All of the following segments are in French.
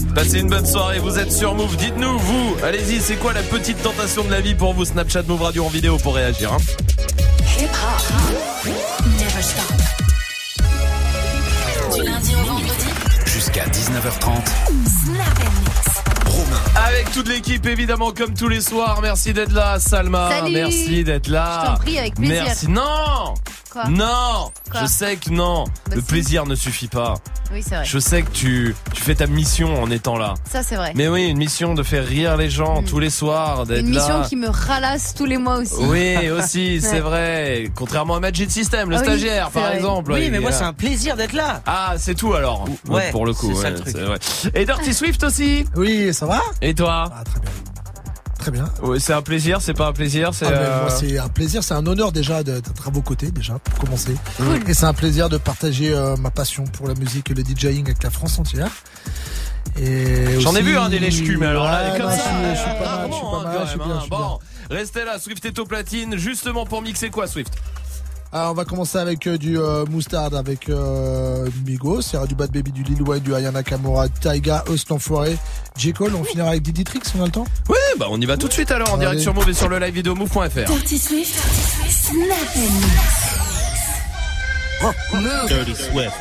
Passez une bonne soirée, vous êtes sur Move. Dites-nous, vous, allez-y, c'est quoi la petite tentation de la vie pour vous? Snapchat Move Radio en vidéo pour réagir. Hip hop, never stop. Du lundi au vendredi jusqu'à 19h30. Snap and Mix. Romain. Avec toute l'équipe, évidemment, comme tous les soirs. Merci d'être là, Salma. Salut. Merci d'être là. Je t'en prie, avec plaisir. Merci. Non. Quoi? Non. Quoi? Je sais que non. Bah Le si. plaisir ne suffit pas. Oui, c'est vrai. Je sais que tu fais ta mission en étant là. Ça, c'est vrai. Mais oui, une mission de faire rire les gens tous les soirs, d'être Une mission là. qui me ralasse tous les mois aussi. Oui, aussi, Ouais. c'est vrai. Contrairement à Magic System, le Ah oui, stagiaire, c'est par vrai. exemple. Oui, il mais est moi là. c'est un plaisir d'être là. Ah, c'est tout alors. Ouais, pour le coup, c'est ça ouais, le truc. c'est vrai. Et Dirty Swift aussi. Oui, ça va? Et toi? Ah, très bien. Très bien. Oui, c'est un plaisir, c'est pas un plaisir, c'est. Moi, c'est un plaisir, c'est un honneur déjà d'être à vos côtés, déjà, pour commencer. Cool. Et c'est un plaisir de partager ma passion pour la musique et le DJing avec la France entière. Et J'en ai aussi- vu des lèche-cul, mais alors là, Ouais, comme non, ça. je suis pas mal, je suis pas mal, je suis bien, je suis bien. Bon, restez là, Swift est au platine, justement pour mixer quoi, Swift? Alors on va commencer avec du Moustaard avec Migos, il y aura du Bad Baby, du Lil Wayne, du Aya Nakamura, Taiga, Host l'Enfoiré, J. Cole. On finira avec Diddy Trix, on a le temps? Oui, bah on y va tout de suite alors en direct Allez. sur Move et sur le live vidéo move.fr. Dirty Swift, Snap and Mix. Dirty Swift.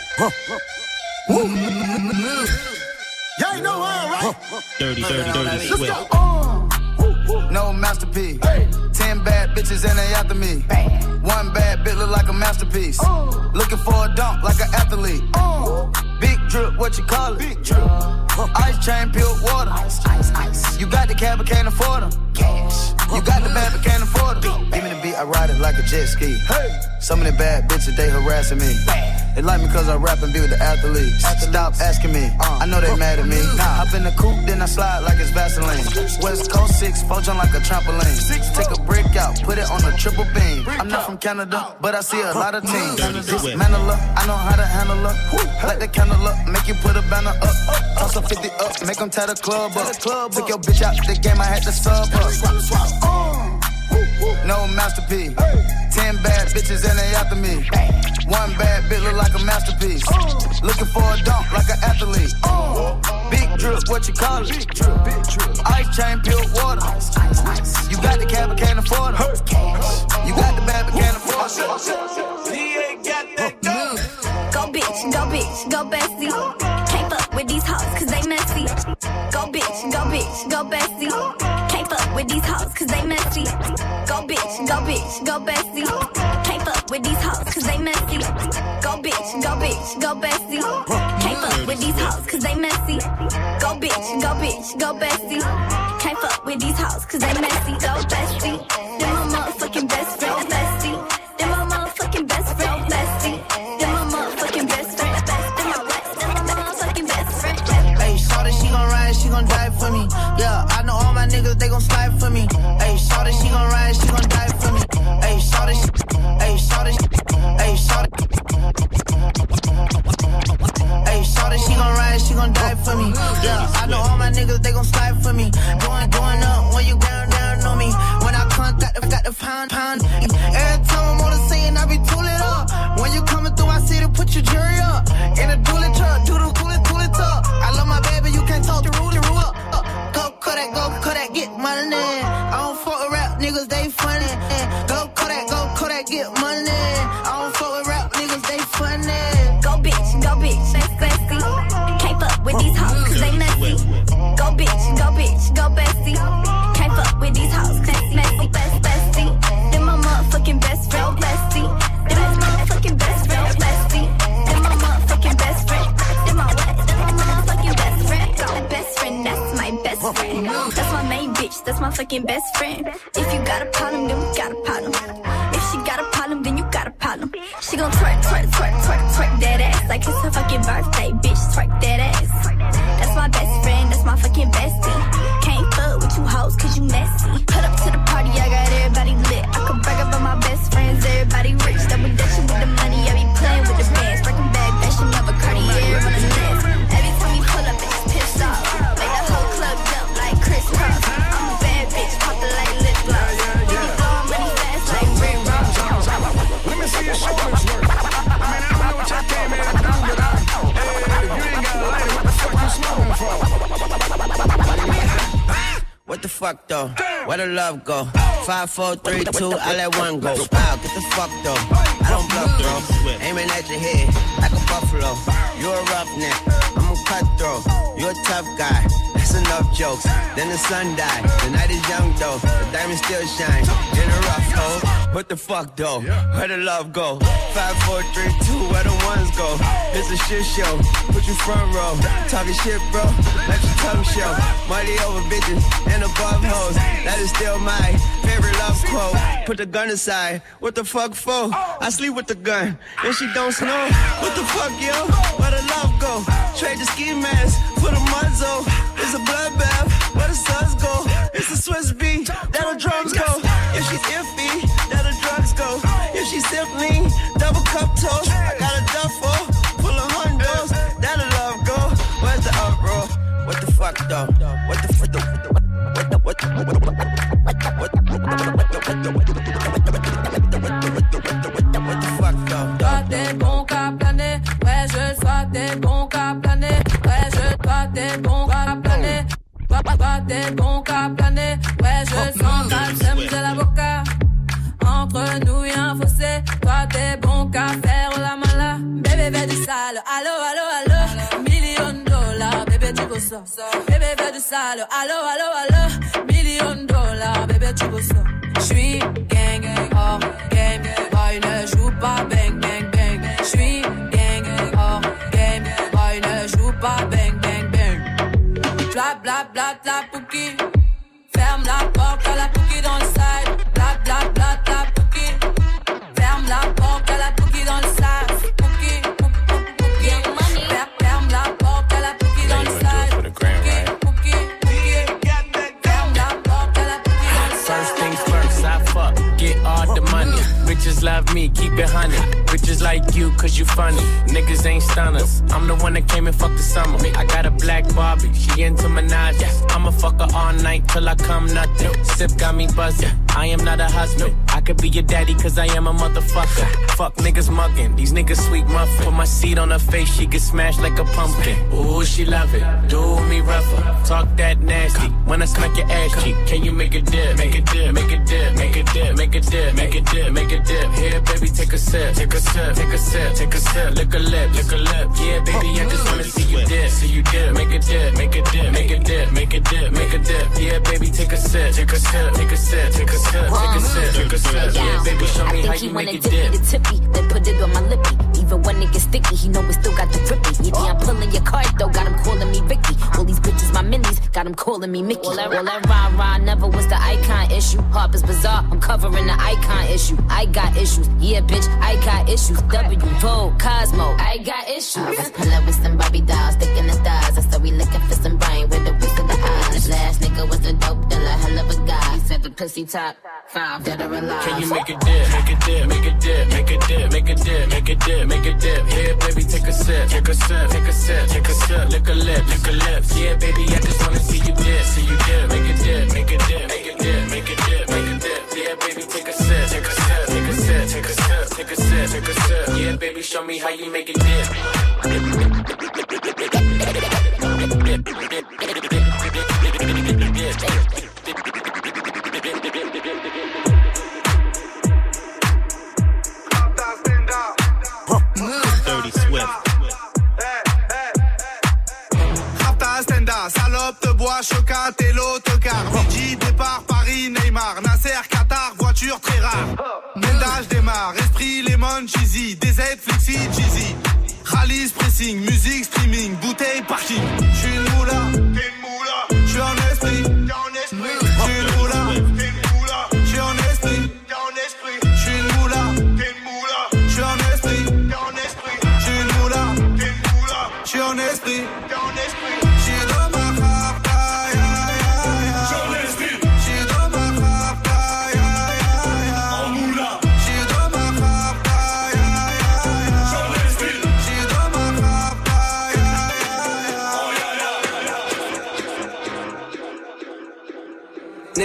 Y'all ain't know right? Dirty Swift. No masterpiece. 10 bad bitches and they after me. One bad bitch look like a masterpiece. Looking for a dunk like an athlete. Big drip, what you call it? Big drip. Ice chain, pure water. Ice. You got the cab, but can't afford them. Cash. You got the bad, but can't afford them. Give me the beat, I ride it like a jet ski. Some of the bad bitches, they harassing me. They like me cause I rap and be with the athletes. Stop asking me, I know they mad at me. Hop in the coupe, then I slide like it's Vaseline. West Coast 6, four jump like a trampoline. Take a brick out, put it on a triple beam. I'm not from Canada, but I see a lot of teams. Dismantle her, I know how to handle her. Light the candle up, make you put a banner up. Toss a 50 up, make them tie the club up. Took your bitch out the game, I had to sub up. No masterpiece. 10 bad bitches and they after me. One bad bitch look like a masterpiece. Looking for a dunk like an athlete. Big drip, what you call it? Ice chain, pure water. You got the cab, but can't afford it. You got the bad, but can't afford it. He ain't got that dope. Go bestie. Can't fuck with these hoes cause they messy. Go bestie. Can't fuck with these hoes cause they messy. Go bestie. Can't fuck with these hoes cause they messy. Go bestie. Can't fuck with these hoes cause they messy. Go bestie. Can't fuck with these hoes cause they messy. Go bestie. They're my motherfucking best friend, bestie. They're my motherfucking best friend, bestie. They're my motherfucking best friend, bestie. They're my motherfucking best friend. Hey, shawty, she gon' ride, she gon' die for me. Yeah, I know all my niggas, they gon' slide for me. Hey, shawty, she gon' ride, she gon' die for me. Hey, shawty, hey, shawty, hey, shawty. Hey, shawty, she gon' ride, she gon' die for me. Yeah, I know all my niggas, they gon' slide for me. Going up when you down on me. When I come, got the pound. Every time I'm on the scene, I be tooling up. When you coming through, I see to put your jury up. In a dually truck, do the cool it up. I love my baby, you can't talk the rule up. Go Kodak, get money. I don't fuck with rap niggas, they funny. Go Kodak, get money. I don't fuck with rap niggas, they funny. Go bitch, bestie. Can't fuck with these hoes cause they messy. Go bitch, go bestie. Can't fuck with these hoes cause they messy. Bestie. They're my motherfucking best friend, bestie. They're my motherfucking best friend, bestie. They're my motherfucking best friend. They're my what? They're my motherfucking best friend. My best friend, that's my best friend. That's my main bitch, that's my fucking best friend. If you got a problem, then we got a problem. If she got a problem, then you got a problem. She gon' twerk that ass like it's her fucking birthday, bitch. Twerk that ass. That's my best friend, that's my fucking bestie. Can't fuck with you hoes cause you messy. Put up to the party, I got everybody lit. I could brag about my best friends, everybody rich. Double dutching with the money, I be playing with the bands. Breaking bag, fashion of a Cartier on the list. Every time we pull up, it's pissed off. Make the whole club jump like Chris Cross. I'm a bad bitch, poppin' like lip gloss. We be blowing money fast like Rick Ross. Let me see your shoulders work. I mean, I don't know what y'all came here to do, but fuck though? Where the love go? 5, 4, 3, 2, I let one go. Wow, get the fuck though. I don't bluff, bro. Aiming at your head like a buffalo. You're a roughneck, I'm a cutthroat. You're a tough guy, that's enough jokes. Then the sun died, the night is young though. The diamond still shine in a rough hole. What the fuck though? Where the love go? 5, 4, 3, 2, where the ones go? It's a shit show, put you front row. Talking shit, bro, let your tongue show. Money over bitches and above hoes. That is still my favorite love quote. Put the gun aside, what the fuck for? I sleep with the gun, and she don't snow. What the fuck, yo? Where the love go? Trade the ski mask for the muzzle. It's a bloodbath, where the suns go? It's a Swiss beat, that the drums go. If she's iffy, that the drugs go. If she's simply double cup toast, I got a duffel full of hundos. That the love go. Where's the uproar? What the fuck though? What the fuck? What the fuck though? Toi t'es bon qu'à planer, ouais je sois t'es bon qu'à planer, ouais je toi t'es bon qu'à planer, toi t'es bon qu'à planer, ouais je sens la sème de l'avocat. Entre nous y'a un fossé, toi t'es bon qu'à faire la mala. Bébé fais du sale, allo allo allo, $1,000,000, bébé tu veux ça. Bébé fais du sale, allo allo allo, $1,000,000, bébé tu veux ça. J'suis gang, hors game, boy ne joue pas bang bang bang. J'suis gang, hors game, boy ne joue pas bang bang bang. Bla bla bla bla pouki, ferme la porte à la pouki dans le side. Bla bla bla bla pouki, ferme la porte à la pouki dans le side. Pouki, pouki, ferme la porte à la pouki dans le side. Pouki, ferme la porte à la pouki dans le side. First things first, I fuck, get all the money. Bitches love me, keep it honey. Bitches like you, cause you funny. Niggas ain't stunners. I'm the one that came and fucked the summer. I got a black Barbie, she into Minaj. I'ma fuck her all night till I come nothing. Sip got me buzzing, I am not a husband. I could be your daddy cause I am a motherfucker. Fuck niggas mugging, these niggas sweet muffin. Put my seed on her face, she get smashed like a pumpkin. Ooh, she love it, do me rougher. Talk that nasty, when I smack your ass cheek. Can you make a dip, make a dip, make a dip, make a dip, make a dip, make a dip, make a dip. Here baby take a sip, take a sip, take a sip, take a sip. Lick a lip, lick a lip. Yeah baby I just wanna see you dip, see you dip. Make a dip, make a dip, make a dip, make a dip, make a dip. Yeah baby take a sip, take a sip, take a sip, take a sip, take a sip, take a sip. Yeah baby show me how you make a dip. The tippy, then put it on my lippy. Even when it gets sticky, he know it still got the grippy. Yeah, I'm pulling your card though, got him calling me Vicky. All these bitches my minis, got him calling me Mickey. All that rah-rah never was the icon issue. Harper's Bazaar, I'm covering the icon issue. I got issues, yeah bitch, I got issues. W, Vogue, Cosmo, I got issues. I was pulling with some Barbie dolls, sticking the stars. I said we looking for some brain with the whisk of the eyes. The last nigga was a dope dealer, hell of a guy. He said the pussy top 5, dead or alive. Can you make a dip, make a dip, make a dip, make a dip, make a dip, make a dip, make a dip. Here baby take a sip, take a sip, take a sip, take a sip. Lick a lip, lick a lip. Yeah baby I just wanna see you dip, see you dip. Make a dip, make a dip, make a dip, make a dip, make a dip. Yeah baby take a sip, take a sip, take a sip, take a sip, take a sip, take a sip. Yeah baby show me how you make a dip. Dirty Swift. Rapta Stenda, salope de bois, chocat et l'autocar. Fidji, départ, Paris, Neymar, Nasser, Qatar, voiture très rare. Ménage démarre, esprit, lemon, cheesy, DZ, flexi, cheesy. Rallye, pressing, musique, streaming, bouteille, parking. J'suis une moula, t'es une moula. J'suis en esprit, t'es en esprit. J'suis une moula, t'es une moula. J'suis en esprit, t'es en esprit. J'suis une moula, t'es une moula. J'suis en esprit, t'es en esprit. J'suis une moula, t'es une moula. J'suis en esprit, t'es en esprit. J'suis dans ma rapta, ya ya ya. J'suis en esprit. J'suis dans ma rapta, ya ya ya. En moula. J'suis dans ma rapta, ya ya ya. J'suis en esprit. J'suis dans ma rapta, ya ya ya. Oh ya ya ya.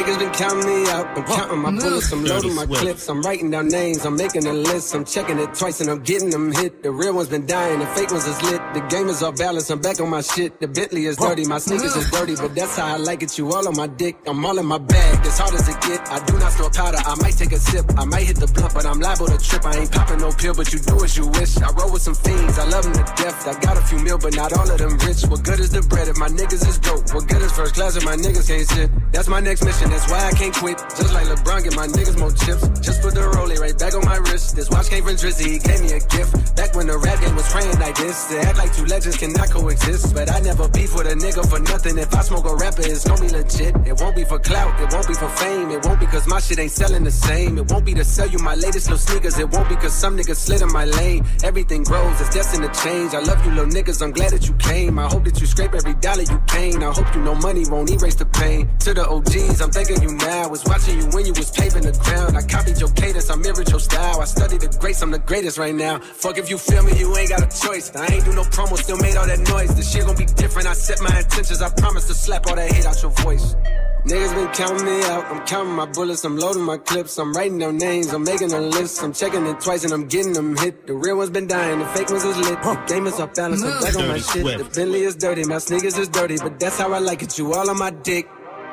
Niggas been counting me out. I'm counting my bullets, I'm loading my clips. I'm writing down names, I'm making a list. I'm checking it twice and I'm getting them hit. The real ones been dying, the fake ones is lit. The game is off balance, I'm back on my shit. The Bentley is dirty, my sneakers is dirty, but that's how I like it. You all on my dick, I'm all in my bag. As hard as it get, I do not store powder. I might take a sip, I might hit the blunt, but I'm liable to trip. I ain't popping no pill, but you do as you wish. I roll with some fiends, I love them to death. I got a few mil, but not all of them rich. What good is the bread if my niggas is broke? What good is first class if my niggas can't sit? That's my next mission, that's why I can't quit. Just like LeBron, get my niggas more chips. Just put the rollie right back on my wrist. This watch came from Drizzy, he gave me a gift. Back when the rap game was praying like this. To act like two legends cannot coexist. But I never beef with a nigga for nothing. If I smoke a rapper, it's gonna be legit. It won't be for clout, it won't be for fame. It won't be cause my shit ain't selling the same. It won't be to sell you my latest little sneakers. It won't be cause some niggas slid in my lane. Everything grows, it's destined to change. I love you little niggas, I'm glad that you came. I hope that you scrape every dollar you came. I hope you know money won't erase the pain. To the OGs, I'm thanking you now. Was watching you when you was paving the ground. I copied your cadence, I mirrored your style. I studied the greats, I'm the greatest right now. Fuck if you feel me, you ain't got a choice. I ain't do no promo, still made all that noise. This shit gon' be different, I set my intentions. I promise to slap all that hate out your voice. Niggas been counting me out, I'm counting my bullets, I'm loading my clips, I'm writing down names, I'm making a list, I'm checking it twice and I'm getting them hit. The real ones been dying, the fake ones is lit, the game is off balance, I'm back on my shit. The Bentley is dirty, my sneakers is dirty, but that's how I like it, you all on my dick.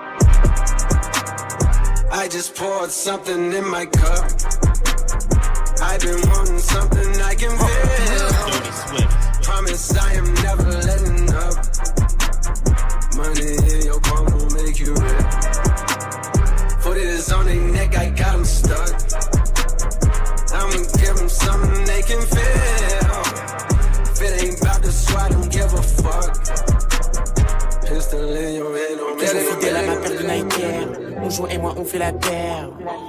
I just poured something in my cup. I've been wanting something I can feel. Promise I am never letting up. Money in your palm will make you rich. Put it on their neck, I got them stuck. I'ma give them something they can feel. If it ain't about the swat, don't give a fuck. Pistol in your head, don't let it fidèle à ma paire de Nike. Mon jour et moi on fait la paire.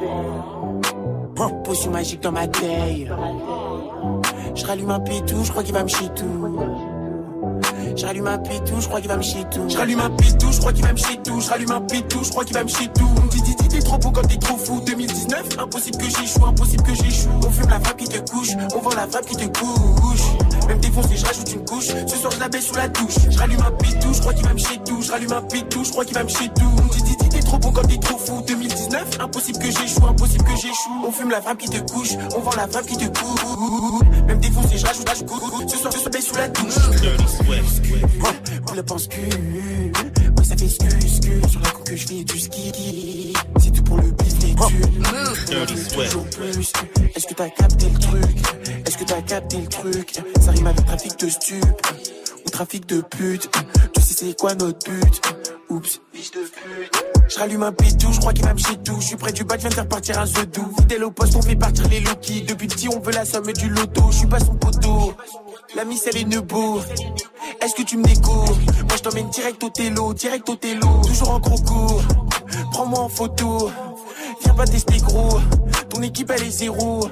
Potion magique dans ma taille. Je rallume un pétou, je crois qu'il va me chier tout. Je rallume un pétou, je crois qu'il va me chier tout. Je rallume un pétou, je crois qu'il va me chier tout. Je rallume un pétou, je crois qu'il va me chier tout. On me dit t'es trop beau quand t'es trop fou. 2019, impossible que j'échoue, impossible que j'échoue. On fume la femme qui te couche, on vend la femme qui te couche. Même défoncé, je rajoute une couche. Ce soir je la baisse sous la douche. Je rallume un pétou, je crois qu'il va me chier tout. Je rallume un pétou, je crois qu'il va me chier tout. On me dit t'es trop beau quand t'es trop fou. 2019, impossible que j'échoue, impossible que j'échoue. On fume la femme qui te couche, on vend la femme qui te couche. Même défoncé, je rajoute une couche. Ce soir je la baisse sous la douche. Pour le pense-cul, ouais ça fait scus sur la coupe que je fais du ski. C'est tout pour le business toujours plus. Est-ce que t'as capté le truc? Est-ce que t'as capté le truc? Ça rime avec trafic de stup ou trafic de pute. Tu sais c'est quoi notre but? Oups, biche de pute. Je rallume un pétou, je crois qu'il va me chier tout. Je suis près du bas, je viens de faire partir un zedou. Fidèle au poste, on fait partir les low-key. Depuis petit, on veut la somme du loto. Je suis pas son poteau, la miss elle est nebo. Est-ce que tu me découvres? Moi je t'emmène direct au télo. Toujours en gros cours, prends-moi en photo. Viens pas tester gros, ton équipe elle est zéro.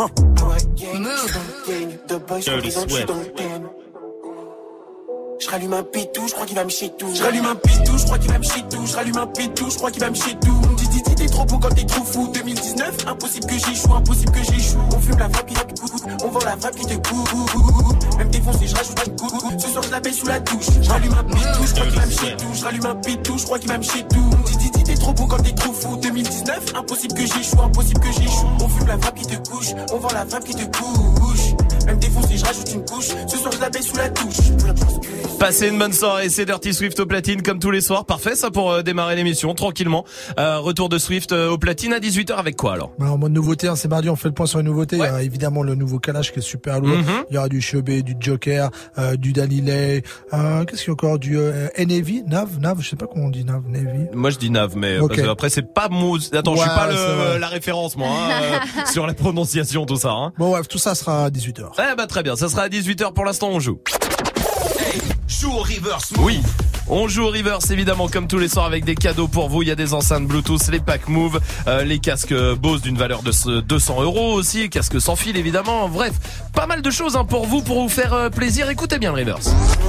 The boys je suis dans le thème. Je rallume un pétou, je crois qu'il va me chier tout. Je rallume un pétou, je crois qu'il va me chier tout. Je rallume un pétou, je crois qu'il va me chier tout. On me dit t'es trop beau quand t'es trop fou. 2019, impossible que j'échoue, impossible que j'échoue. On fume la frappe qui te coûte, on vend la frappe qui te coûte. Même défoncé, je rajoute une coupe. Ce soir je la baisse sous la douche. Je rallume un pétou, je crois qu'il va me chier tout. Je rallume un pétou, je crois qu'il va me chier tout. On me dit t'es trop beau quand t'es trop fou. 2019, impossible que j'échoue, impossible que j'échoue. On fume la frappe qui te couche, on vend la frappe qui te couche. Même défoncé, je rajoute une couche. Ce soir je la baisse sous la douche. Passez une bonne soirée, c'est Dirty Swift au platine comme tous les soirs. Parfait ça pour démarrer l'émission tranquillement. Retour de Swift au platine à 18h avec quoi alors? En mode nouveauté, c'est mardi, on fait le point sur les nouveautés. Ouais. Il y a évidemment le nouveau Kalash qui est super lourd. Il y aura du Chebet, du Joker, du Danilei. Qu'est-ce qu'il y a encore? Du Navi, Nav, je sais pas comment on dit Navi. Moi je dis Nav, mais okay. Parce que après c'est pas Attends, je suis pas la référence moi sur la prononciation tout ça. Hein. Bon bref, tout ça sera à 18h. Eh bah très bien, ça sera à 18h pour l'instant on joue. Joue au reverse. Oui. On joue au reverse évidemment comme tous les soirs avec des cadeaux pour vous. Il y a des enceintes Bluetooth, les packs Move, les casques Bose d'une valeur de 200 € aussi, casques sans fil évidemment. Bref, pas mal de choses pour vous faire plaisir. Écoutez bien le reverse.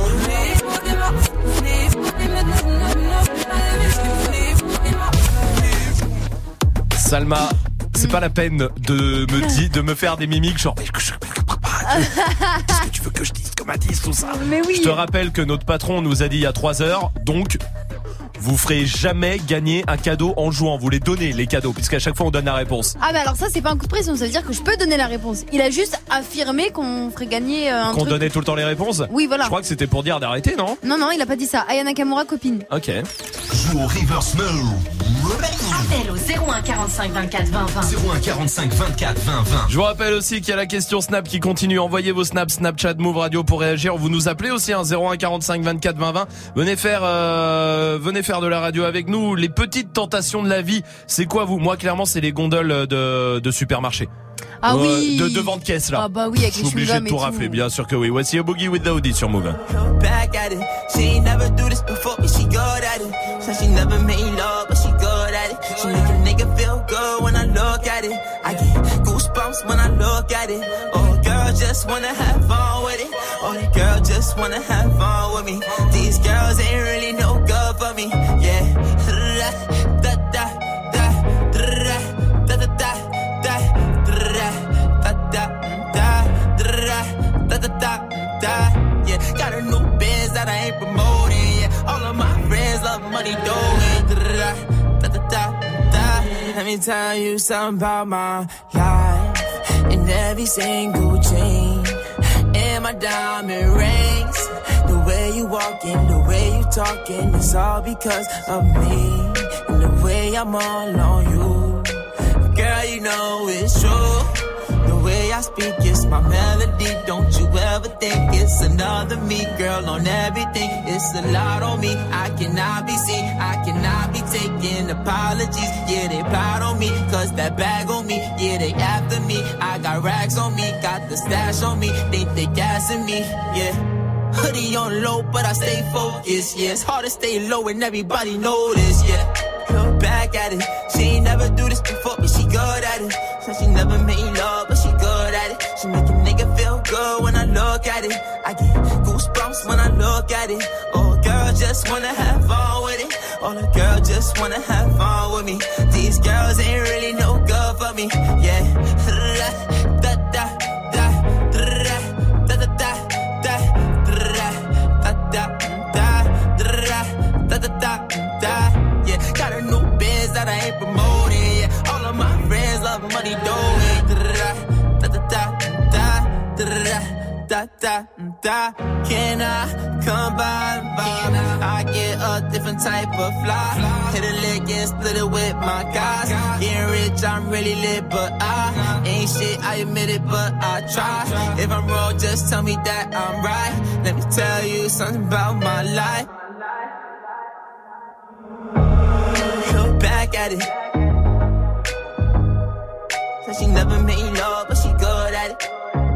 Salma, c'est pas la peine de me faire des mimiques genre qu'est-ce que tu veux que je dise comme indice tout ça. Mais oui. Je te rappelle que notre patron nous a dit il y a 3 heures, donc vous ferez jamais gagner un cadeau en jouant. Vous les donnez, les cadeaux, puisqu'à chaque fois on donne la réponse. Ah, mais alors ça, c'est pas un coup de pression. Ça veut dire que je peux donner la réponse. Il a juste affirmé qu'on ferait gagner un Qu'on truc. donnait tout le temps les réponses? Oui, voilà. Je crois que c'était pour dire d'arrêter, non? Non, il a pas dit ça. Aya Nakamura, copine. Ok. Joue au Reverse Mode. Appel au 01 45 24 20 20. 01 45 24 20 20. Je vous rappelle aussi qu'il y a la question Snap qui continue. Envoyez vos snaps, Snapchat, Move Radio pour réagir. Vous nous appelez aussi, 01 45 24 20 20. Venez faire de la radio avec nous. Les petites tentations de la vie, c'est quoi vous? Moi, clairement, c'est les gondoles de supermarché. Ah oui. De devant de caisse, là. Ah bah oui, avec Je les suis obligé chewing-gums de et tout tout. rafler, bien sûr que oui. Voici A Boogie with Daoudi sur Move. Back at it. She ain't never do this before, but she good at it. Said she never made love, but she good at it. She make a nigga feel good when I look at it. I get goosebumps when I look at it. Oh, girl just wanna have fun with it. Oh, the girl just wanna have fun with me. These girls ain't really no good for me. Yeah. Da da da da da da da da da. Yeah, got a new biz that I ain't promoting. Yeah, all of my friends love money doing. Let me tell you something about my life. In every single chain, in my diamond rings, the way you walking, the way you talking, it's all because of me. And the way I'm all on you, girl, you know it's true. The way I speak, it's my melody. Don't you ever think it's another me, girl, on everything. It's a lot on me. I cannot be seen. I cannot be taking apologies. Yeah, they plot on me, cause that bag on me. Yeah, they after me. I got racks on me, got the stash on me. They gassing me, yeah. Hoodie on low, but I stay focused, yeah. It's hard to stay low and everybody know this, yeah. Look back at it. She ain't never do this before, but she good at it. Said she never made love, but she good at it. She make a nigga feel good when I look at it. I get goosebumps when I look at it. Oh, girl just wanna have fun with it. Oh, the girl just wanna have fun with me. These girls ain't really no good for me, yeah. Da da da da da da da. Yeah, got a new biz that I ain't promoting. Yeah, all of my friends love money doing. Can I come by? I get a different type of fly. Hit a lick and split it with my guys. Getting rich, I'm really lit, but I ain't shit. I admit it, but I try. If I'm wrong, just tell me that I'm right. Let me tell you something about my life. Look back at it. Said she never made love, but she good at it.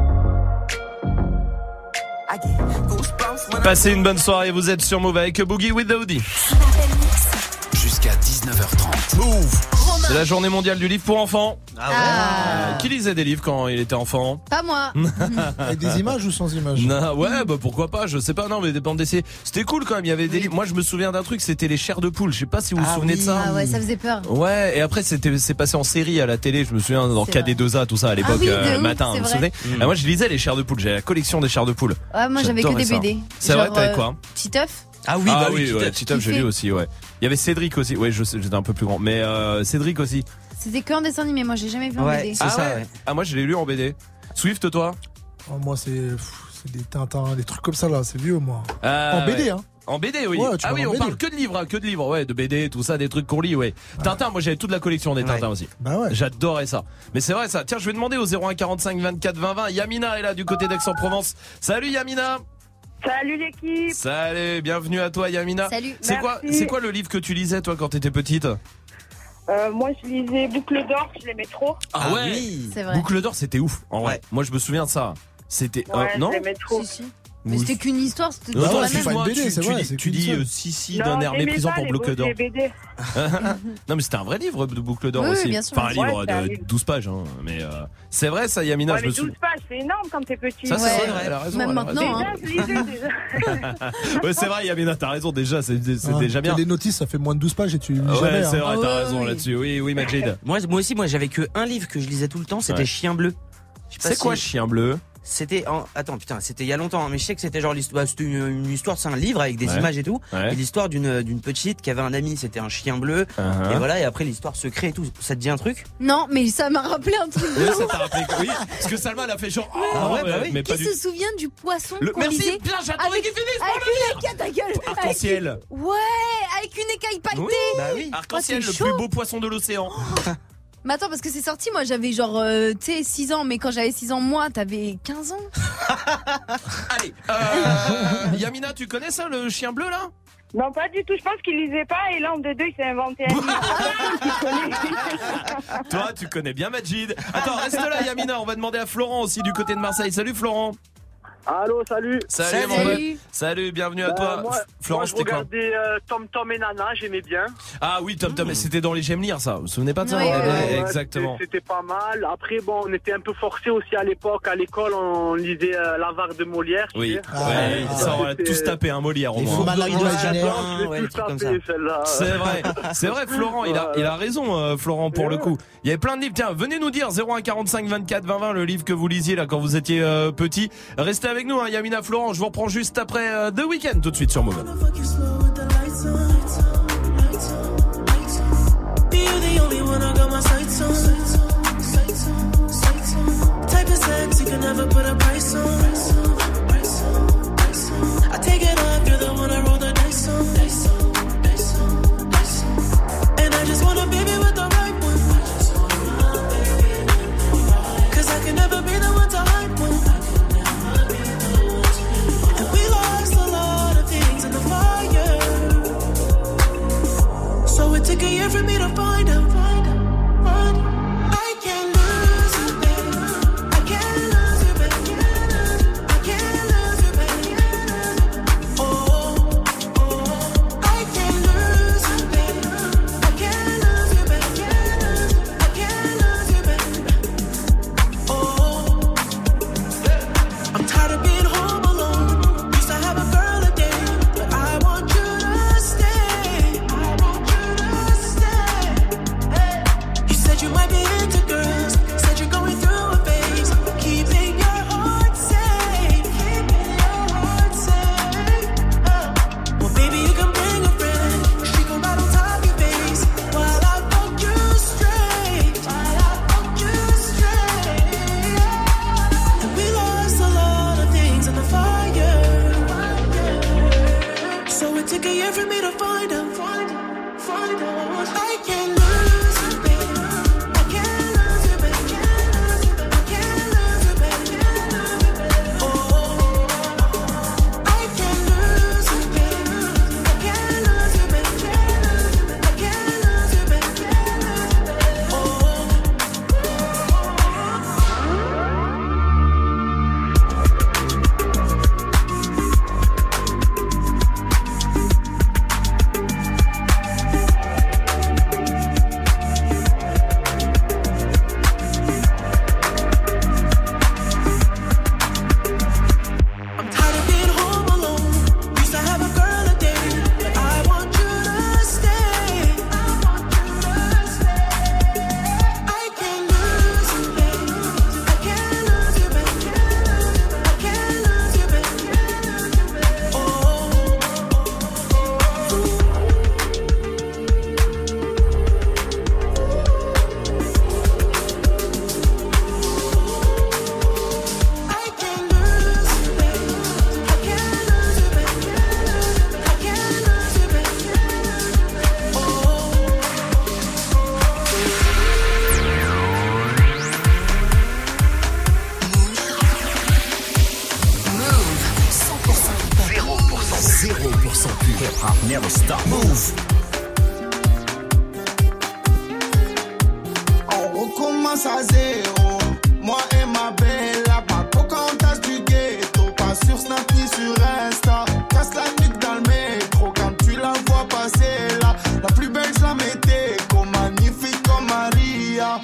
I get goosebumps when Passez une bonne soirée, vous êtes sur Move avec Boogie with Daoudi. Jusqu'à 19h30. Move. C'est la journée mondiale du livre pour enfants. Ah. Qui lisait des livres quand il était enfant? Pas moi. Avec des images ou sans images? Non, ouais, bah pourquoi pas, je sais pas, non, mais des bandes dessinées. C'était cool quand même, il y avait des livres. Moi, je me souviens d'un truc, c'était les chairs de poule. Je sais pas si vous vous souvenez de ça. Ah ouais, ça faisait peur. Ouais, et après c'est passé en série à la télé, je me souviens dans C'est KD2A, tout ça à l'époque, Ah oui, de ouf, matin, c'est vous vous vrai. souvenez? Ah, moi je lisais les chairs de poule, j'avais la collection des chairs de poule. Ouais, moi j'avais que J'adorais des ça. BD. C'est vrai, Genre, t'avais quoi? Titeuf. Ah oui, ouais, Titeuf, j'ai lu aussi, ouais. Il y avait Cédric aussi, ouais, j'étais un peu plus grand, mais Cédric aussi. C'était que en dessin animé, moi j'ai jamais vu en BD. C'est ça, ouais. Ah, moi je l'ai lu en BD. Swift, toi? Oh, moi c'est des Tintins, des trucs comme ça là, c'est vieux moi. En BD, hein. En BD, oui. Ouais, Ah oui, on parle que de livres, ouais, de BD, tout ça, des trucs qu'on lit, ouais. Tintin, moi j'avais toute la collection des Tintins aussi. Bah ouais. J'adorais ça. Mais c'est vrai ça. Tiens, je vais demander au 01 45 24 20 20. Yamina est là du côté d'Aix-en-Provence. Salut Yamina. Salut l'équipe. Salut, bienvenue à toi Yamina. Salut. C'est quoi le livre que tu lisais toi quand t'étais petite? Moi je lisais Boucle d'or, je l'aimais trop. Ah ouais. C'est vrai. Boucle d'or, c'était ouf. En vrai. Moi je me souviens de ça. C'était non. Je l'aimais trop. Si. Mais c'était qu'une histoire, c'était Non, toujours attends, la même. excuse-moi, tu dis si d'un air méprisant pour Boucle d'or. Non mais c'était un vrai livre de Boucle d'or Oui, aussi. bien sûr. Enfin un livre Ouais, c'est un de livre. 12 pages hein. Mais c'est vrai ça Yamina, Ouais, je mais me souviens. 12 pages, c'est énorme quand t'es petit. Ça c'est vrai, elle a raison. Même elle a raison. maintenant, hein. Je lisais déjà. Ouais, c'est vrai Yamina, t'as raison déjà, c'est déjà bien. Les notices, ça fait moins de 12 pages et tu lis Ouais, jamais. c'est hein. vrai, t'as raison là-dessus. Oui, Majid. Moi aussi, j'avais que un livre que je lisais tout le temps, c'était Ouais. Chien bleu. Je sais pas C'est quoi Chien bleu? c'était il y a longtemps, mais je sais que c'était genre c'était une histoire, c'est un livre avec des images et tout, et l'histoire d'une petite qui avait un ami, c'était un chien bleu, et voilà, et après l'histoire se crée et tout. Ça te dit un truc? Non, mais ça m'a rappelé un truc. Oui, ça t'a rappelé, oui, parce que Salma elle a fait genre, mais qui se souvient du poisson qu'on Merci, lisait bien, j'attendais qu'il finisse pour le lire. Ta gueule. Arc-en-ciel. Ouais, avec une écaille pailletée. Oui, Arc-en-ciel, le plus beau poisson de l'océan. Mais attends, parce que c'est sorti, moi j'avais genre, 6 ans, mais quand j'avais 6 ans, moi, t'avais 15 ans. Allez, Yamina, tu connais ça, le chien bleu là? Non, pas du tout. Je pense qu'il lisait pas et là, en deux, il s'est inventé un livre. Toi, tu connais bien Majid. Attends, reste là, Yamina. On va demander à Florent aussi du côté de Marseille. Salut, Florent. Allô, salut. Salut, mon pote. Salut, bienvenue à toi. Florent, je regardais Tom Tom et Nana, j'aimais bien. Ah oui, Tom Tom, c'était dans les J'aime lire, ça. Vous vous souvenez pas de ça? Exactement. C'était pas mal. Après, bon, on était un peu forcés aussi à l'époque. À l'école, on lisait l'avare de Molière. Oui, ça, on a tous tapé un Molière au moins. C'est vrai, Florent, il a raison, Florent, pour le coup. Il y avait plein de livres. Tiens, venez nous dire 01 45 24 20 20 le livre que vous lisiez là quand vous étiez petit. Restez avec nous, hein, Yamina, Florent. Je vous reprends juste après The Weeknd tout de suite sur Move. Took a year for me to find him. I can't lose you, baby. I can't lose you, baby. I can't lose you, baby. Oh, I can't lose you, baby. I can't lose you, baby. I can't lose you, baby. Oh, I'm tired of being home alone. Used to have a girl a day, but I want you to stay. You might be into girls, said you're going through a phase. Keeping your heart safe, keeping your heart safe. Well, baby, you can bring a friend. She gon' ride on top of your face while I fuck you straight. And we lost a lot of things in the fire. So it took a year for me to find them. I can't lose you, baby. Never stop. Move. On recommence à zéro. Moi et ma belle, la Pocahontas du ghetto. Pas sur Snap ni sur Insta. Casse la nuque dans le métro. Quand tu la vois passer là, la plus belle je la mettais. Comme magnifique comme Maria.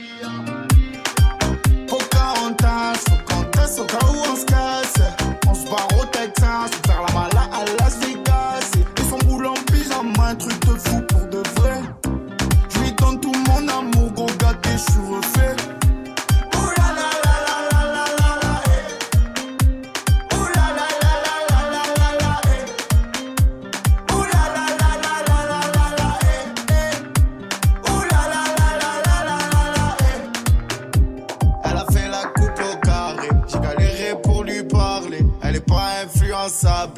Pocahontas, Pocahontas, au cas où on se casse. On se barre au Texas, faire la mala à Las Vegas. Et son boule en pyjama, un truc de fou pour de vrai. Je lui donne tout mon amour, gros gâté, je suis refait.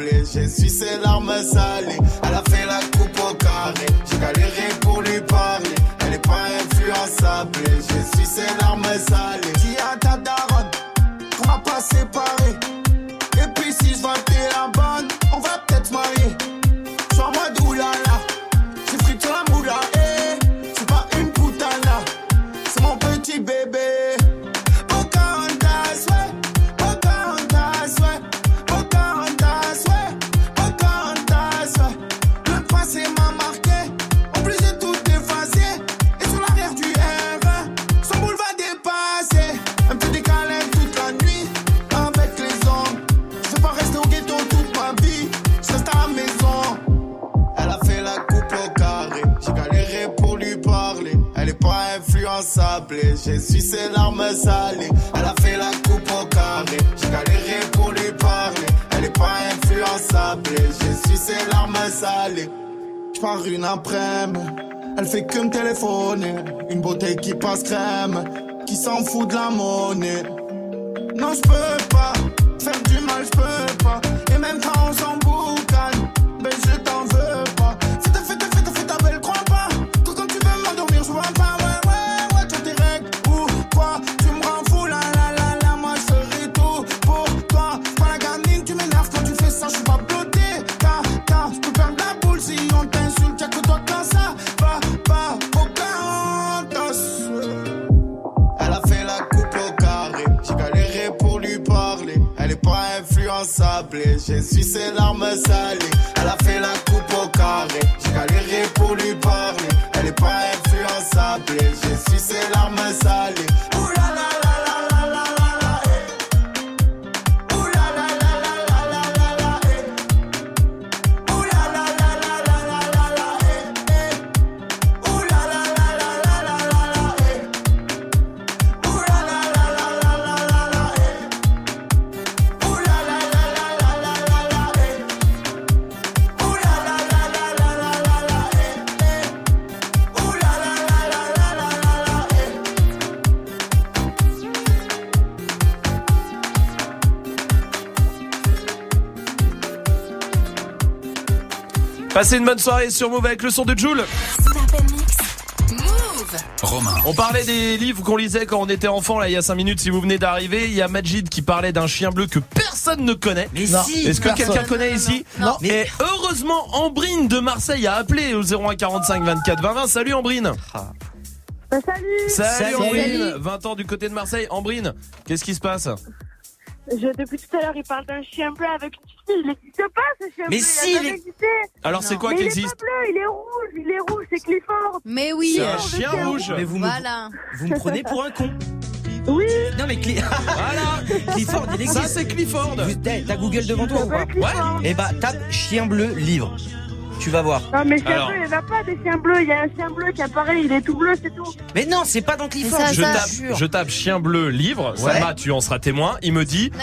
sablé. J'ai su ses larmes salées. Elle a fait la coupe au carré. J'ai galéré pour lui parler. Elle est pas influençable. J'ai su ses larmes salées. Dis à ta daronne qu'on va pas séparer. Et puis si je vois que t'es la bonne, on va peut-être se marier. Je suis en mode oulala. J'ai frité la moula. C'est pas une putana. C'est mon petit bébé. J'ai su ses larmes salées. Elle a fait la coupe au carré. J'ai galéré pour lui parler. Elle est pas influençable. J'ai su ses larmes salées. J'pars une après-midi. Elle fait que me téléphoner. Une bouteille qui passe crème. Qui s'en fout de la monnaie. Non j'peux pas faire du mal, j'peux pas. Et même quand on s'en boucane, ben je t'en veux pas. Fais ta belle, crois pas. Que quand tu veux m'endormir, je vois pas. J'ai su ses larmes salées. Elle a fait la coupe au carré. J'ai galéré pour lui parler. Elle est pas influençable. J'ai su ses larmes salées. Passez une bonne soirée sur Move avec le son de Jul. Romain. On parlait des livres qu'on lisait quand on était enfant là il y a 5 minutes. Si vous venez d'arriver, il y a Majid qui parlait d'un chien bleu que personne ne connaît. Mais si. Est-ce que quelqu'un connaît ici? Non. Et heureusement, Ambrine de Marseille a appelé au 01 45 24 20 20. Salut Ambrine. Salut Ambrine. 20 ans du côté de Marseille. Ambrine, qu'est-ce qui se passe? Depuis tout à l'heure, il parle d'un chien bleu avec une fille. Il n'existe pas ce chien mais bleu. Si, il existé. Alors c'est quoi mais qui il existe? Il est pas bleu, il est rouge, c'est Clifford. Mais oui. C'est un chien rouge. Mais vous me prenez pour un con. Oui. Non mais voilà. Clifford, il existe. Ça c'est Clifford. T'as Google devant toi ou pas? Ouais. Et bah tape chien bleu livre. Tu vas voir. Non mais chien bleu, il n'y en a pas des chiens bleus. Il y a un chien bleu qui apparaît, il est tout bleu, c'est tout. Mais non, c'est pas dans Clifford. Je tape chien bleu livre. Ouais. Sama, tu en seras témoin. Il me dit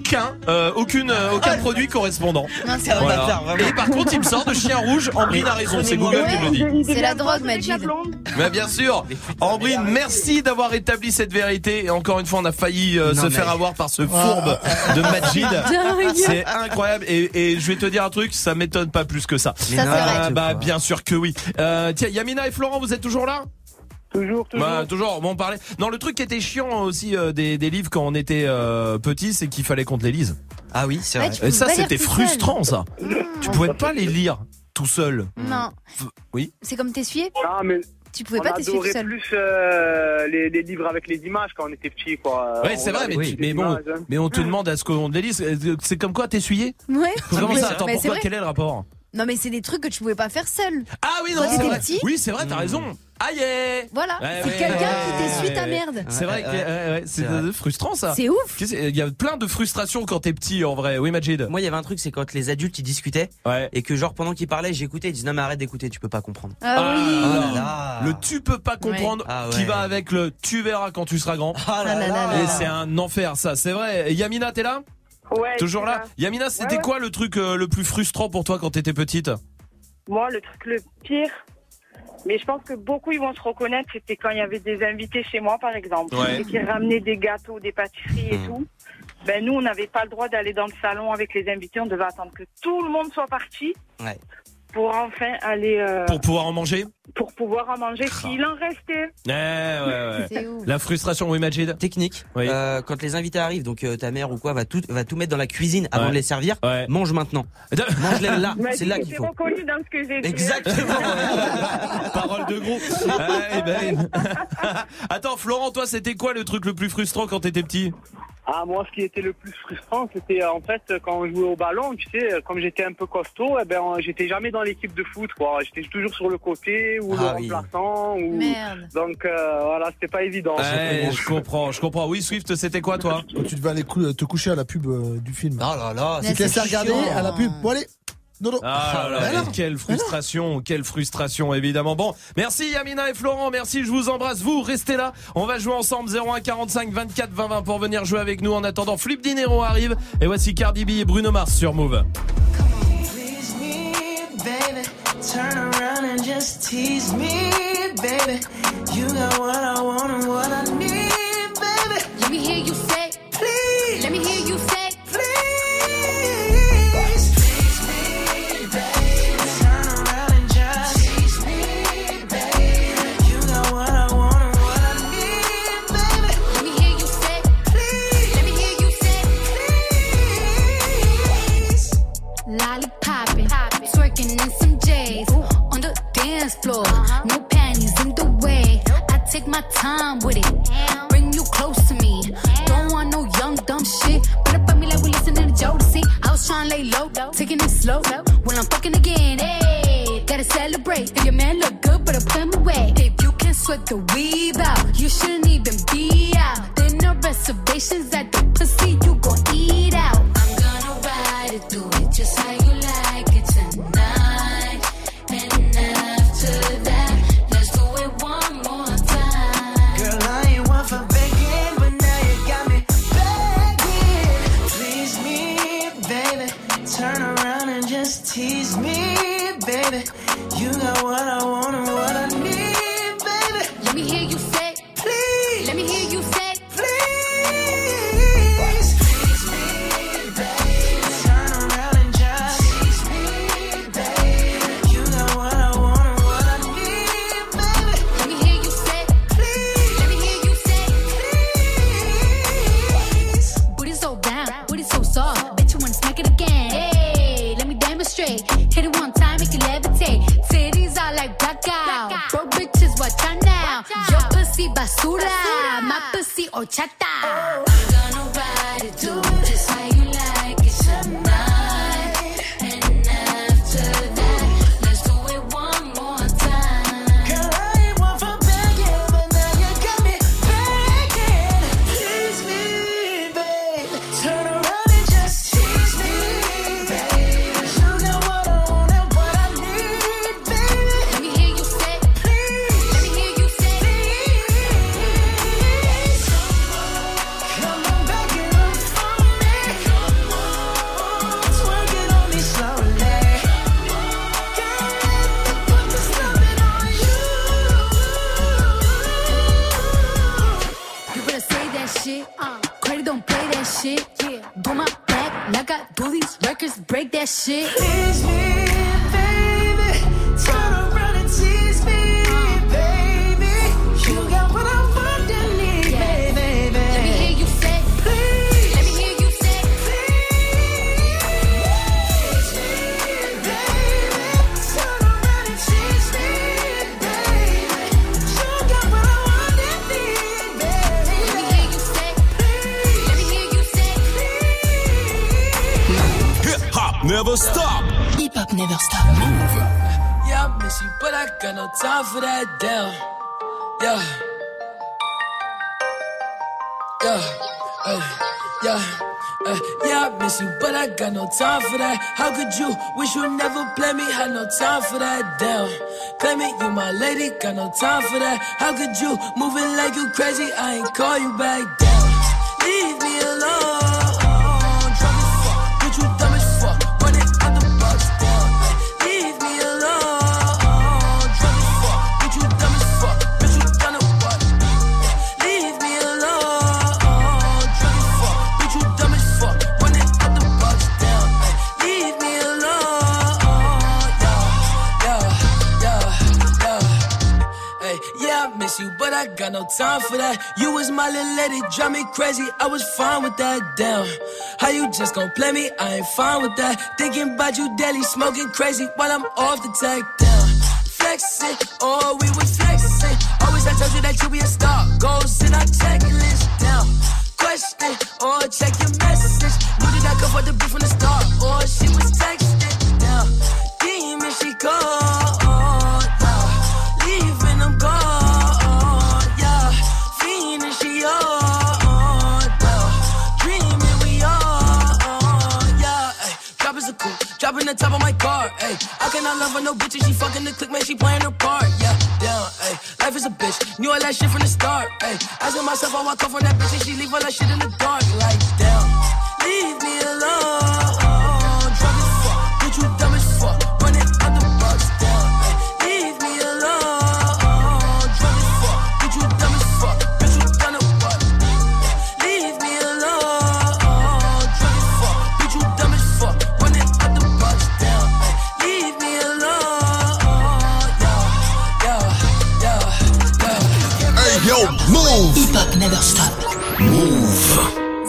aucun produit correspondant. Non, c'est Voilà. bâtard, vraiment. Et par contre, il me sort de chien rouge. Ambrine a raison, c'est Google qui me le dit. C'est la drogue, Majid. Mais bien sûr. Ambrine, merci d'avoir établi cette vérité. Et encore une fois, on a failli faire avoir par ce fourbe de Majid. C'est incroyable. Et je vais te dire un truc, ça m'étonne pas plus que ça. Bah bien sûr que oui. Tiens, Yamina et Florent, vous êtes toujours là? Toujours. Bah, toujours. Bon, on parlait. Non, le truc qui était chiant aussi des livres quand on était petit, c'est qu'il fallait qu'on te les lise. Ah oui, c'est vrai. Et ça, c'était frustrant, ça. Tu pouvais pas les lire tout seul. Non. Oui. C'est comme t'essuyer. Ah mais tu pouvais pas t'essuyer tout seul. On adorait plus les livres avec les images quand on était petit, quoi. Ouais, c'est vrai, mais on te demande à ce qu'on les lise. C'est comme quoi t'essuyer? Ouais. Comment ça? Attends, mais pourquoi? Quel est le rapport? Non mais c'est des trucs que tu pouvais pas faire seul. Ah oui, non, c'est vrai. Oui, c'est vrai, t'as raison. Aïe. Voilà, c'est quelqu'un qui t'essuie ta merde. C'est vrai que c'est frustrant ça. C'est ouf. Il y a plein de frustrations quand t'es petit en vrai. Oui, Majid. Moi, il y avait un truc, c'est quand les adultes ils discutaient et que genre pendant qu'ils parlaient, j'écoutais, ils disaient non mais arrête d'écouter, tu peux pas comprendre. Ah oui. Le tu peux pas comprendre qui va avec le tu verras quand tu seras grand. Et c'est un enfer ça, c'est vrai. Et Yamina, t'es là? Ouais. Toujours là. Yamina, c'était quoi le truc le plus frustrant pour toi quand t'étais petite? Moi, le truc le pire, mais je pense que beaucoup ils vont se reconnaître, c'était quand il y avait des invités chez moi, par exemple, et qui ramenaient des gâteaux, des pâtisseries et tout. Ben nous, on n'avait pas le droit d'aller dans le salon avec les invités. On devait attendre que tout le monde soit parti. Ouais. Pour enfin aller... Pour pouvoir en manger. Pour pouvoir en manger s'il en restait. Ouais. C'est ouf. La frustration, oui, Majid. Technique. Oui. Quand les invités arrivent, donc ta mère ou quoi va tout mettre dans la cuisine avant de les servir. Ouais. Mange maintenant. Mange-les là. C'est là qu'il faut. C'est reconnu dans ce que j'ai dit. Exactement. Parole de groupe. Attends, Florent, toi, c'était quoi le truc le plus frustrant quand t'étais petit? Ah, moi, ce qui était le plus frustrant, c'était en fait quand on jouait au ballon, tu sais, comme j'étais un peu costaud, j'étais jamais dans l'équipe de foot, quoi. J'étais toujours sur le côté ou le remplaçant. Merde. Donc voilà, c'était pas évident. Je comprends. Oui, Swift, c'était quoi, toi? Quand tu devais aller te coucher à la pub du film. Oh là là, tu te laissais regarder à la pub. Bon allez. Non. Quelle frustration, évidemment. Bon, merci Yamina et Florent, merci, je vous embrasse. Vous, restez là, on va jouer ensemble 01 45 24 20 20 pour venir jouer avec nous. En attendant, Flip Dinero arrive et voici Cardi B et Bruno Mars sur Move. Please me, baby. Turn around and just tease me, baby. You got what I want and what I need, baby. Let me hear you say, please. Let me hear you say, lollipopping, twerking in some J's on the dance floor. No panties in the way. I take my time with it. Bring you close to me. Don't want no young dumb shit. Put up on me like we listening to Jodeci. I was trying to lay low, taking it slow. When I'm fucking again, hey, gotta celebrate. If your man look good, but put him away. If you can sweat the weave out, you shouldn't even be out. There no reservations at the pussy, you gon' eat out. I'm gonna ride it through it just how you like it tonight. And after that, let's do it one more time. Girl, I ain't one for begging, but now you got me begging. Please me, baby. Turn around and just tease me, baby. You got what I want and what I need, baby. Let me hear you say, please. Let me hear you say, hit it one time, make it levitate. Titties are like blackout. Broke bitches, watch out now. Your pussy basura, my pussy horchata. I'm gonna ride it, do it just how you like it tonight. And after that, let's do it one more time. Girl, I ain't one for begging, but now you got me begging. Please me, babe. Turn around and just tease me, babe. Credit don't play that shit. Do my back like I do these records, break that shit. Tease me, baby. Turn around and tease me, baby. You got what I want and need, baby. Let me hear you say, please. Let me hear you say, please, baby. Turn around and tease me, baby. You got what I want and need, baby. Let me hear you say, please. Let me hear you say, please. Hip hop never stop. Hip hop never stop. Move. Yeah, I miss you, but I got no time for that. Damn. Yeah. Yeah, I miss you, but I got no time for that. How could you wish you never play me? Had no time for that. Damn. Claim it, you my lady, got no time for that. How could you moving like you crazy? I ain't call you back. Damn. Leave me alone. Drunk as fuck, bitch, you dumb as fuck. Running out the box. Damn. Leave me alone. Drunk as fuck, bitch, you dumb as fuck. Bitch, you done a what? Leave me alone. Drunk as fuck, bitch, you dumb as miss you, but I got no time for that. You was my little lady, drive me crazy. I was fine with that. Damn, how you just gon' play me? I ain't fine with that. Thinking about you daily, smoking crazy while I'm off the tag. Down, flexing, oh we was flexing. Always I told you that you be a star. Goals in our checklist. Down, question, or check your message. Knew that I could afford the beat from the start, or she was texting. Down, demon she called. Leaving them gone, yeah. Fiending she on, dreaming we on, yeah. Ay, drop is a coupe, dropping the top of my car. Ay, I cannot love her, no bitches. She fucking the click, man. She playing her part, yeah. Down, ay, life is a bitch. Knew all that shit from the start. Ay, asking myself how I come from that bitch and she leave all that shit in the dark. Like, damn, leave me alone. Drunk as fuck, bitch, you dumb as fuck. Running out the box, down. Ay, leave me alone. Yo, move! Hip Hop Never Stop. Move!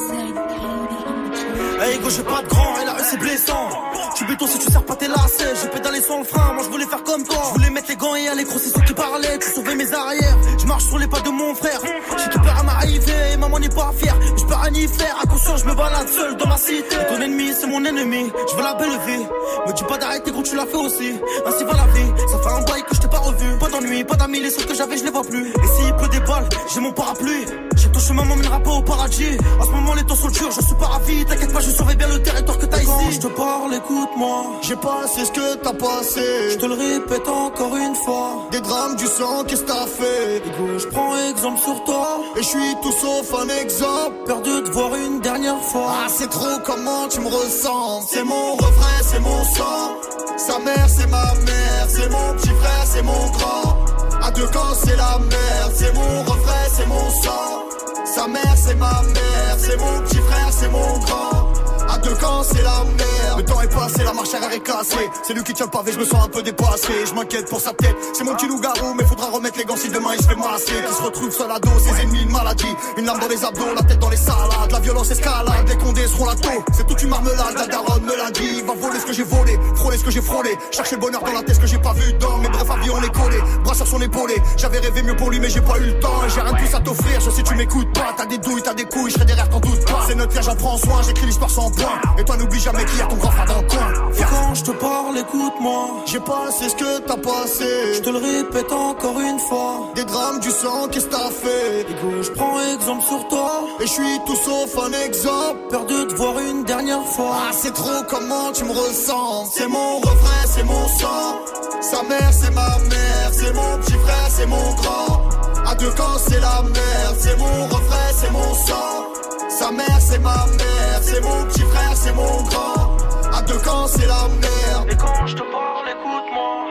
Hey gauche j'ai pas de grand et la rue c'est blessant. Tu béton si tu sers pas tes lacets. J'ai pédalé sans le frein, moi je voulais faire comme toi. Je voulais mettre les gants et aller crosser ceux qui parlaient. Tu sauvais mes arrières, je marche sur les pas de mon frère. J'ai tout peur à m'arriver et maman n'est pas fière. Mais je peux rien y faire, à conscience je me balade seul dans ma cité. Ton ennemi c'est mon ennemi, je veux la belle vie. Me dis pas d'arrêter gros tu l'as fait aussi. Ainsi va la vie, ça fait un bail que je t'ai pas revu. Pas d'ennui, pas d'amis, les seuls que j'avais je les vois plus. Et s'il pleut des balles, j'ai mon parapluie. J'ai ton chemin m'emmènera pas au paradis. En ce moment les temps sont durs, je suis pas ravi. T'inquiète pas, je surveille bien le territoire que t'as ici. Quand je te parle, écoute-moi. J'ai passé ce que t'as passé. Je te le répète encore une fois. Des drames, du sang, qu'est-ce que t'as fait? Égo, je prends exemple sur toi. Et je suis tout sauf un exemple. Peur de te voir une dernière fois. Ah, c'est trop comment tu me ressens. C'est mon refrain, c'est mon sang. Sa mère, c'est ma mère. C'est mon petit frère, c'est mon grand. À deux camps, c'est la merde. C'est mon refrain, c'est mon sang. Sa mère, c'est ma mère. C'est mon petit frère, c'est mon grand. À deux camps, c'est la merde. Le temps est passé, la marche arrière est cassée. C'est lui qui tient le pavé, je me sens un peu dépassé. Je m'inquiète pour sa tête, c'est mon petit loup-garou. Mais faudra remettre les gants si demain il se fait masser. Qui se retrouve seul à dos, ses ennemis, une maladie. Une lame dans les abdos, la tête dans les salades. La violence escalade, les condés seront la taux. C'est toute une marmelade, la daronne me l'a dit. Va voler ce que j'ai volé, frôler ce que j'ai frôlé. Chercher le bonheur dans la tête, ce que j'ai pas vu dans. Mais bref, avion on est collé, bras sur son épaulé. J'avais rêvé mieux pour lui, mais j'ai pas eu le temps. J'ai rien de plus à t'offrir, je sais tu m'écoutes pas. T'as des douilles, t'as des couilles, je serai derrière, t'en doute pas. C'est notre vie, j'en prends soin, j'écris l'histoire sans point. Et toi n'oublie jamais qu'il y a ton grand frère dans le coin. Et quand je te parle, écoute-moi. J'ai passé ce que t'as passé. Je te le répète encore une fois. Des drames, du sang, qu'est-ce que t'as fait? Égo, je prends exemple sur toi. Et je suis tout sauf un exemple. Peur de te voir une dernière fois. Ah, c'est trop comment tu me ressens. C'est mon refrain, c'est mon sang. Sa mère, c'est ma mère. C'est mon petit frère, c'est mon grand. À deux camps, c'est la merde. C'est mon refrain, c'est mon sang. Sa mère, c'est ma mère. C'est mon petit frère, c'est mon grand. À deux camps, c'est la merde. Et quand je te parle, écoute-moi.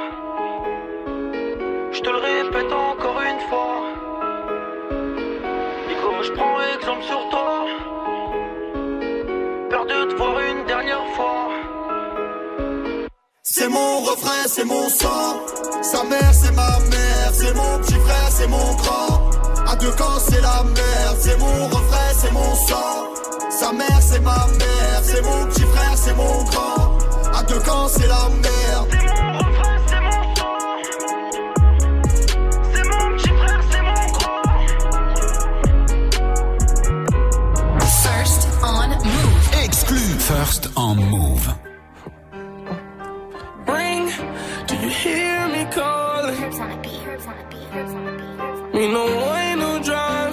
Je te le répète encore une fois. Et comme je prends exemple sur toi. Peur de te voir une dernière fois. C'est mon refrain, c'est mon sang. Sa mère, c'est ma mère. C'est mon petit frère, c'est mon grand. À deux camps, c'est la merde. C'est mon refrain, c'est mon sang. Sa mère, c'est ma mère. C'est mon petit frère, c'est mon grand. À deux camps, c'est la merde. C'est mon refrain, c'est mon sang. C'est mon petit frère, c'est mon grand. First on Move. Exclu. First on Move. Ring, do you hear me calling? Me no way, no drive.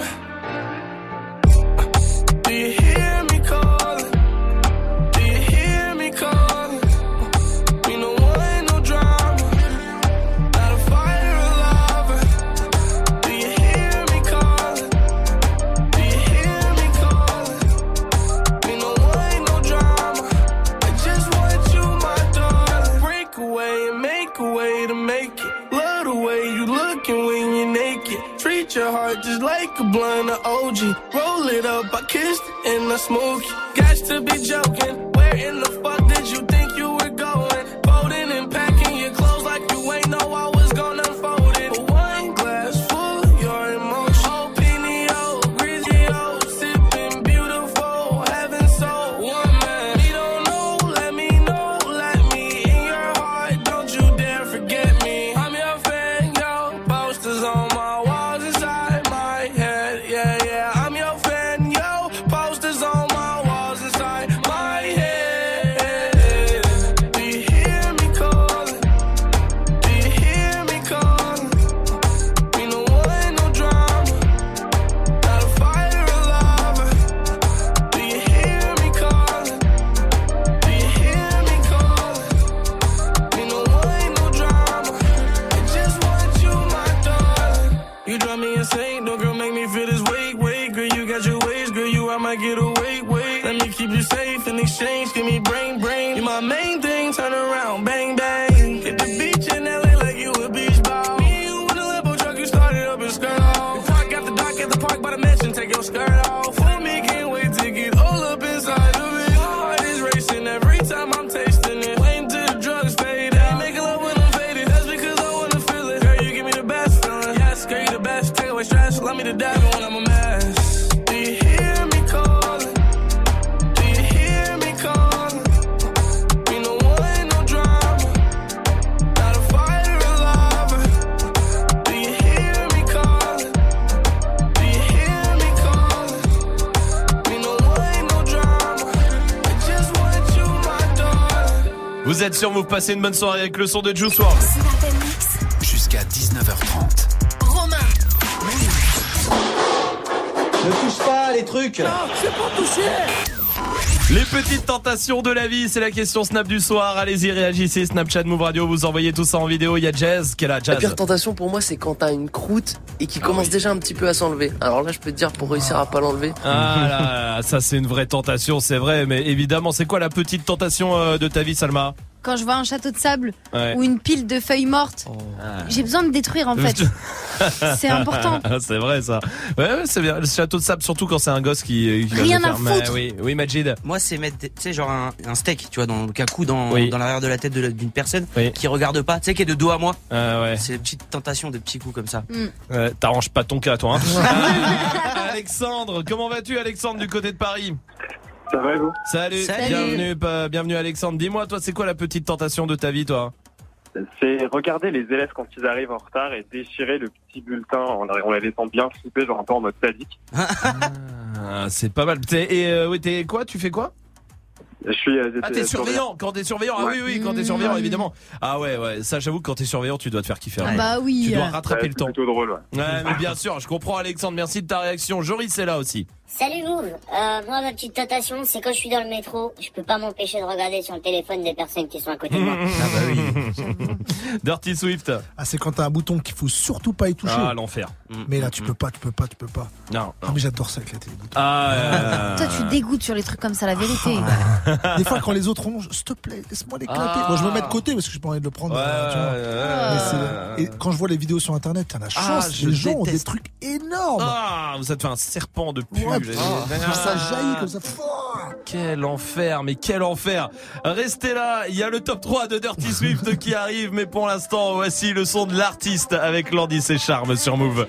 Do you hear me calling? Do you hear me calling? Me no way, no drama. Not a fire alive. Do you hear me calling? Do you hear me calling? Me no way, no drama. I just want you, my darling. Break away and make a way to make it. Love the way you looking when you're naked. Treat your heart just like a blunt of OG. Roll it up, I kissed it and I smoke it. Got to be joking. Where in the fuck did you think you were going? Folding and packing your clothes like you ain't know I was gonna unfold it. But one glass full, you're êtes sur Move, passez une bonne soirée avec le son de Juice WRLD. Jusqu'à 19h30. Romain. Ne touche pas les trucs. Non, c'est pas touché. Les petites tentations de la vie, c'est la question Snap du soir. Allez-y, réagissez. Snapchat Move Radio, vous envoyez tout ça en vidéo. Il y a Jazz qui est là. Jazz. La pire tentation pour moi, c'est quand t'as une croûte et qui commence déjà un petit peu à s'enlever. Alors là, je peux te dire, pour réussir à pas l'enlever. Ah là, ça c'est une vraie tentation, c'est vrai. Mais évidemment, c'est quoi la petite tentation de ta vie, Salma? Quand je vois un château de sable ou une pile de feuilles mortes, j'ai besoin de détruire en fait. C'est important. C'est vrai ça. Ouais, c'est bien. Le château de sable, surtout quand c'est un gosse qui rien à foutre. Oui, Majid. Moi, c'est mettre, tu sais, genre un steak, tu vois, dans le cacou, dans l'arrière de la tête d'une personne qui regarde pas, tu sais, qui est de dos à moi. C'est une petite tentation de petits coups comme ça. T'arranges pas ton cas, toi. Hein. Alexandre, comment vas-tu, Alexandre, du côté de Paris? Ça va et vous? Salut. Bienvenue Alexandre. Dis-moi, toi, c'est quoi la petite tentation de ta vie, toi? C'est regarder les élèves quand ils arrivent en retard et déchirer le petit bulletin en les laissant bien flipper, genre un peu en mode sadique. C'est pas mal. T'es quoi? Tu fais quoi? Je suis. T'es surveillant. Quand t'es surveillant, oui, quand t'es surveillant, évidemment. Ah ouais, ça, j'avoue que quand t'es surveillant, tu dois te faire kiffer. Bah oui. Tu dois rattraper le temps. C'est plutôt drôle. Ouais, mais bien sûr, je comprends, Alexandre. Merci de ta réaction. Joris est là aussi. Salut Move. Moi, ma petite tentation, c'est quand je suis dans le métro, je peux pas m'empêcher de regarder sur le téléphone des personnes qui sont à côté de moi. Ah bah oui. Dirty Swift. Ah, c'est quand t'as un bouton qu'il faut surtout pas y toucher. Ah, l'enfer. Mais là, tu peux pas. Non. Ah, mais j'adore ça avec la télé. Toi, tu dégoûtes sur les trucs comme ça, la vérité. Des fois, quand les autres rongent, s'il te plaît, laisse-moi l'éclater. Moi, je me mets de côté parce que j'ai pas envie de le prendre. Et quand je vois les vidéos sur internet, t'en as chance. Les gens ont des trucs énormes. Ah, vous êtes fait un serpent de pub. Ça jaillit comme ça. Quel enfer, mais quel enfer. Restez là, il y a le top 3 de Dirty Swift qui arrive, mais pour l'instant, voici le son de l'artiste avec Landy et Charme sur Move.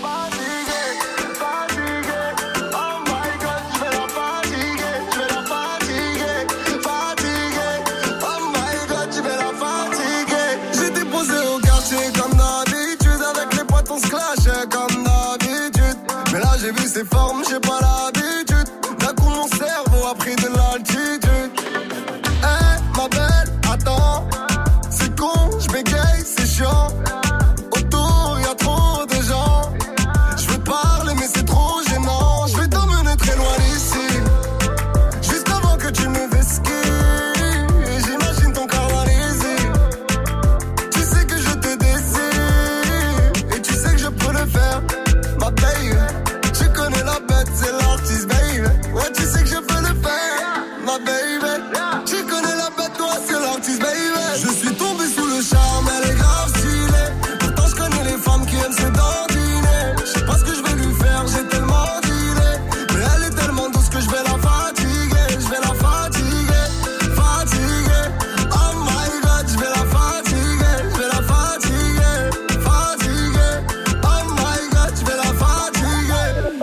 J'étais posé au quartier comme d'habitude, avec les potes on se clashait comme d'habitude. Mais là j'ai vu ses formes, j'ai pas l'habitude. D'un coup mon cerveau a pris de l'altitude. Ma belle, attends, c'est con, je bégaye, c'est chiant. Autour y'a trop de gens. Je veux parler mais c'est trop gênant. Je vais t'emmener très loin d'ici, juste avant que tu me vesquilles. J'imagine ton corps dans les yeux. Tu sais que je te désire et tu sais que je peux le faire. Ma baby, tu connais la bête, c'est l'artiste, baby. Ouais, tu sais que je peux le faire. Ma baby, tu connais la bête, toi, c'est l'artiste, baby. Je suis tombé sous le charme, elle est grave stylée. Pourtant, je connais les femmes qui aiment se dandiner. Je sais pas ce que je vais lui faire, j'ai tellement dealé. Mais elle est tellement douce que je vais la fatiguer. Je vais la fatiguer, fatiguer. Oh my god, je vais la fatiguer. Je vais la fatiguer, fatiguer. Oh my god, je vais la fatiguer.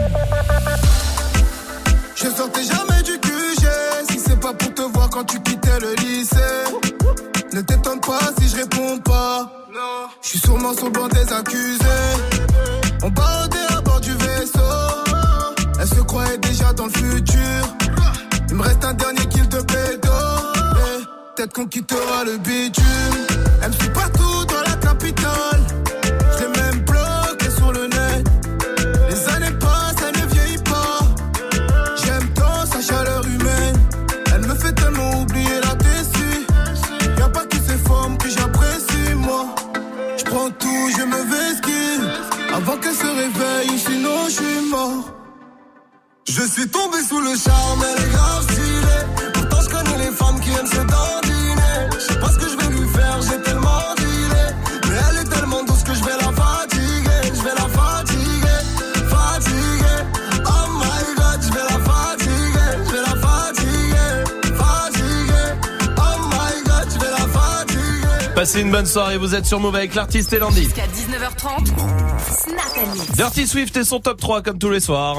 Je sortais jamais du QG. Si c'est pas pour te voir quand tu quittais le lycée. Ne t'étonne pas si je réponds pas. Je suis sûrement sur le banc des accusés. On barodait à bord du vaisseau. Elle se croyait déjà dans le futur. Il me reste un dernier kill de pédo. Peut-être qu'on quittera le bitume. Elle me suit partout dans la capitale. Je l'ai même bloqué sur le net. Les années passent, elle ne vieillit pas. J'aime tant sa chaleur humaine. Elle me fait tellement oublier la déçue. Y'a pas que ces formes que j'apprécie, moi. J'prends tout, je me vesquille avant qu'elle se réveille, sinon je suis mort. Je suis tombé sous le charme, elle est grave stylée. Pourtant je connais les femmes qui aiment se dandiner. Je sais pas ce que je vais lui faire, j'ai tellement dealé. Mais elle est tellement douce que je vais la fatiguer. Je vais la fatiguer, fatiguer. Oh my god, je vais la fatiguer. Je vais la fatiguer, fatiguer. Oh my god, je vais la fatiguer. Passez une bonne soirée, vous êtes sur Move avec l'artiste et Landy. Jusqu'à 19h30, Snap & Mix. Dirty Swift et son top 3 comme tous les soirs.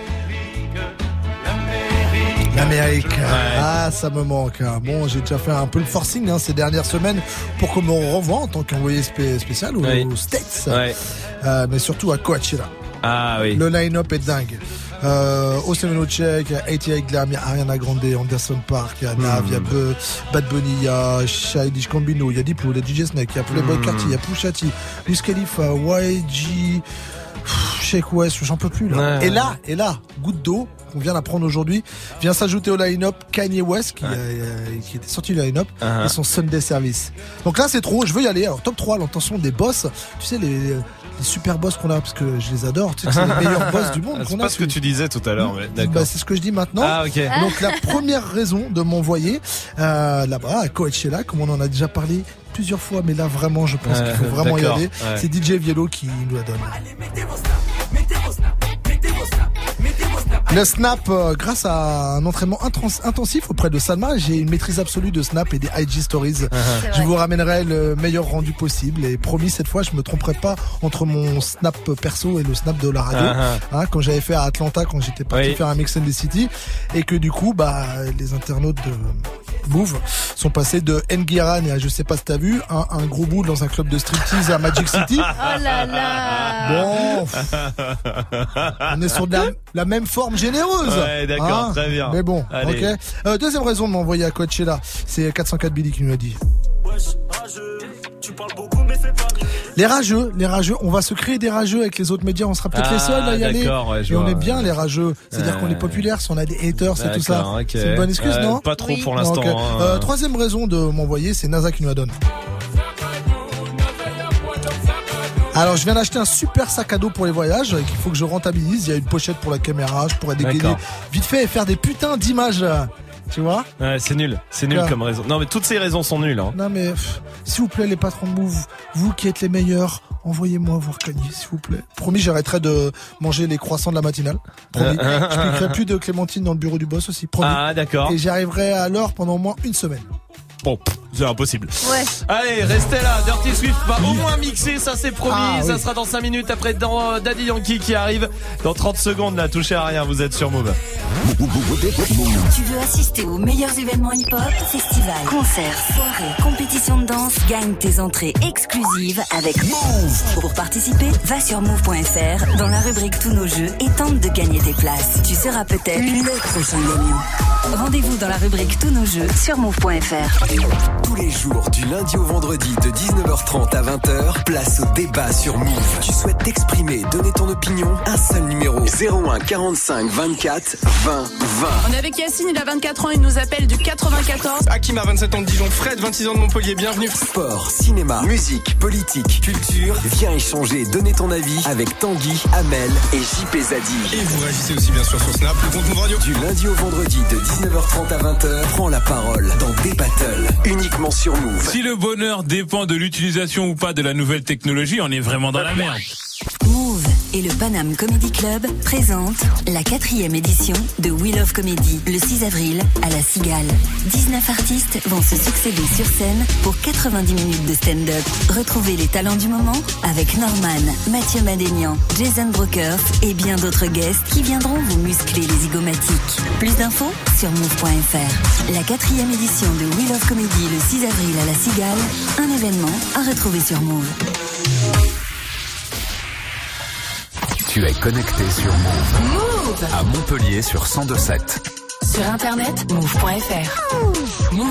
L'Amérique, ah ça me manque. Bon, j'ai déjà fait un peu le forcing ces dernières semaines pour qu'on me renvoie en tant qu'envoyé spécial aux States, mais surtout à Coachella. Ah oui. Le line-up est dingue. Osemeno Check, 88 Glam, il y a Ariana Grande, Anderson Park, il y a Nav, il y a Bad Bunny, il y a Childish Gambino, il y a Diplo, il y a DJ Snake, il y a Playboy Carti, il y a Pusha T, Wiz Khalifa, YG, Sheik West, j'en peux plus là. Ouais. Et là, goutte d'eau, on vient d'apprendre aujourd'hui, vient s'ajouter au line-up Kanye West qui était sorti du line-up et son Sunday Service. Donc là c'est trop, je veux y aller. Alors top 3, l'intention des boss, tu sais les super boss qu'on a, parce que je les adore, tu sais que c'est les meilleurs boss du monde qu'on a. C'est pas ce que tu disais tout à l'heure, mais d'accord. Bah, c'est ce que je dis maintenant. Ah, ok. Donc la première raison de m'envoyer là-bas à Coachella, comme on en a déjà parlé plusieurs fois, mais là vraiment je pense qu'il faut vraiment y aller. C'est DJ Viello qui nous la donne. Le Snap, grâce à un entraînement intensif auprès de Salma, j'ai une maîtrise absolue de Snap et des IG Stories. Je vous ramènerai le meilleur rendu possible et promis cette fois je me tromperai pas entre mon Snap perso et le Snap de la radio. Quand j'avais fait à Atlanta, quand j'étais parti faire un Mix and the City, et que du coup les internautes de Move sont passés de Nguiran et je sais pas si t'as vu un gros bout dans un club de striptease à Magic City. Oh là là. Bon, on est sur de la même forme généreuse. Ouais, d'accord, très bien. Mais bon, allez. Ok. Deuxième raison de m'envoyer à Coachella, c'est 404 Billy qui nous l'a dit. Les rageux, on va se créer des rageux avec les autres médias, on sera peut-être les seuls à y aller. Et on est bien les rageux, c'est-à-dire qu'on est populaire, si on a des haters et tout ça. Okay. C'est une bonne excuse, non? Pas trop pour l'instant. Okay. Troisième raison de m'envoyer, c'est NASA qui nous la donne. Alors je viens d'acheter un super sac à dos pour les voyages qu'il faut que je rentabilise. Il y a une pochette pour la caméra, je pourrais dégainer vite fait et faire des putains d'images. Tu vois? Ouais, c'est nul comme raison. Non mais toutes ces raisons sont nulles. Non mais s'il vous plaît les patrons de Move, vous qui êtes les meilleurs, envoyez-moi voir Kanye s'il vous plaît. Promis, j'arrêterai de manger les croissants de la matinale. Promis. Je piquerai plus de clémentine dans le bureau du boss aussi. Promis. Ah d'accord. Et j'y arriverai à l'heure pendant au moins une semaine. Bon, c'est impossible. Ouais. Allez, restez là. Dirty Swift va au moins mixer, ça c'est promis. Ça sera dans 5 minutes après Daddy Yankee qui arrive dans 30 secondes là. Touchez à rien, vous êtes sur Move. Tu veux assister aux meilleurs événements hip-hop, festivals, concerts, soirées, compétitions de danse? Gagne tes entrées exclusives avec Move. Pour participer, va sur move.fr dans la rubrique Tous nos jeux et tente de gagner tes places. Tu seras peut-être le prochain gagnant. Rendez-vous dans la rubrique Tous nos jeux sur move.fr. Tous les jours, du lundi au vendredi, de 19h30 à 20h, place au débat sur Move. Tu souhaites t'exprimer, donner ton opinion? Un seul numéro, 01 45 24 20 20. On est avec Yacine, il a 24 ans, il nous appelle du 94. Hakim a 27 ans de Dijon, Fred, 26 ans de Montpellier, bienvenue. Sport, cinéma, musique, politique, culture, viens échanger, donner ton avis avec Tanguy, Amel et JP Zadi. Et vous réagissez aussi bien sûr sur Snap, le compte Move Radio. Du lundi au vendredi, de 19h30 à 20h, prends la parole dans des battles, uniquement sur Move. Si le bonheur dépend de l'utilisation ou pas de la nouvelle technologie, on est vraiment dans la merde. Move et le Paname Comedy Club présentent la 4e édition de We Love Comedy le 6 avril à la Cigale. 19 artistes vont se succéder sur scène pour 90 minutes de stand-up. Retrouvez les talents du moment avec Norman, Mathieu Madénian, Jason Brokers et bien d'autres guests qui viendront vous muscler les zygomatiques. Plus d'infos sur move.fr. La 4e édition de We Love Comedy le 6 avril à la Cigale, un événement à retrouver sur Move. Tu es connecté sur Move. Move à Montpellier sur 102.7. Sur internet, move.fr. Move.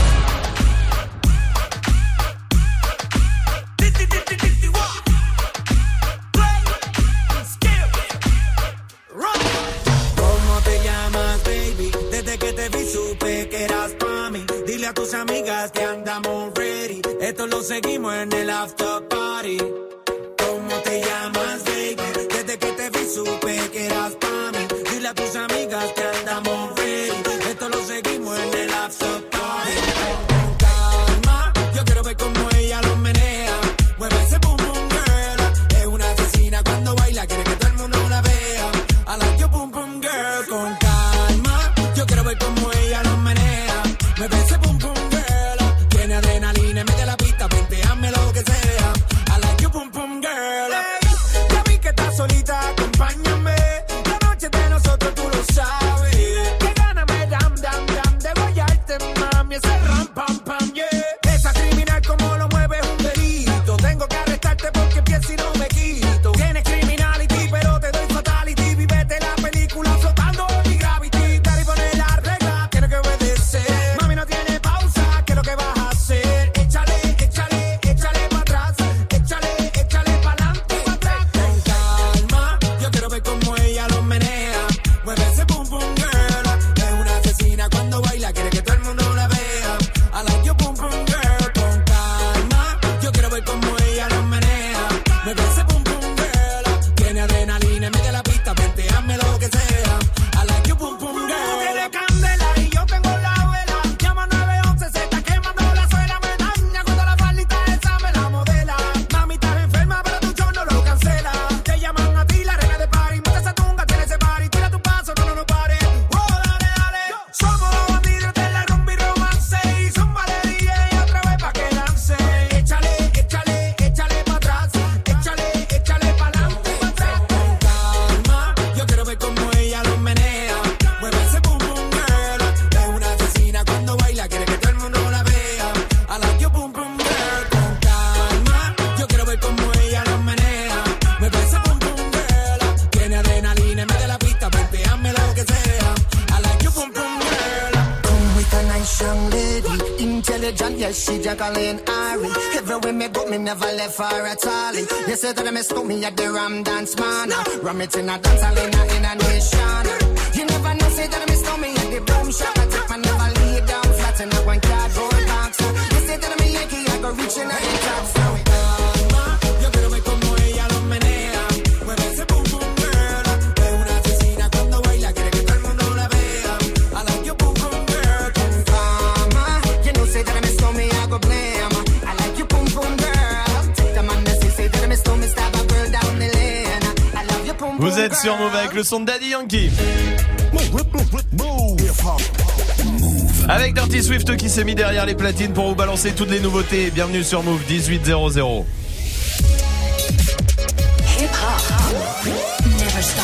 ¿Cómo te llamas, baby? Desde que te vi supe que eras pa' mí. Dile a tus amigas que andamos ready. Esto lo seguimos en el after party. ¿Cómo te llamas, baby? Desde que te vi supe que eras pa' mí. Dile a tus amigas que andamos ready. Esto lo seguimos en el after party. Con calma, yo quiero ver cómo ella lo menea. Mueve ese boom boom girl. Es una asesina cuando baila, quiere que todo el mundo la vea. I like your boom boom girl. Con calma, yo quiero ver cómo ella lo menea. Mueve ese boom boom girl. Tiene adrenalina, mete la pista, venteame lo que sea. I like your boom boom girl. Ya vi que estás solita, acompáñame. La noche de nosotros tú lo sabes. Que gana me dam dam dam de guayarte más. she Jacqueline Ari. Everywhere me go, me never left her at all. You say that me stole me at the Ram Dance Man. Ram it in a dance hall in a nation. You never know, say that me stole me at the Boom Shop. I take my never lay down flat in a one cardboard box. You say that me Yankee, I go reaching out the top. So yo quiero ver como ella lo menea. Mueve ese boom boom girl. Es una asesina cuando baila, quiere que todo el mundo la vea. I like your boom boom girl. Fama, you know say that me stole me, I go blame. I like your boom boom girl. Take the man that say that me stole me, stab a girl down the lane. I love your boom boom girl. Vous êtes sur Move avec le son de Daddy Yankee. Avec Dirty Swift qui s'est mis derrière les platines pour vous balancer toutes les nouveautés. Bienvenue sur Move 1800. Never stop.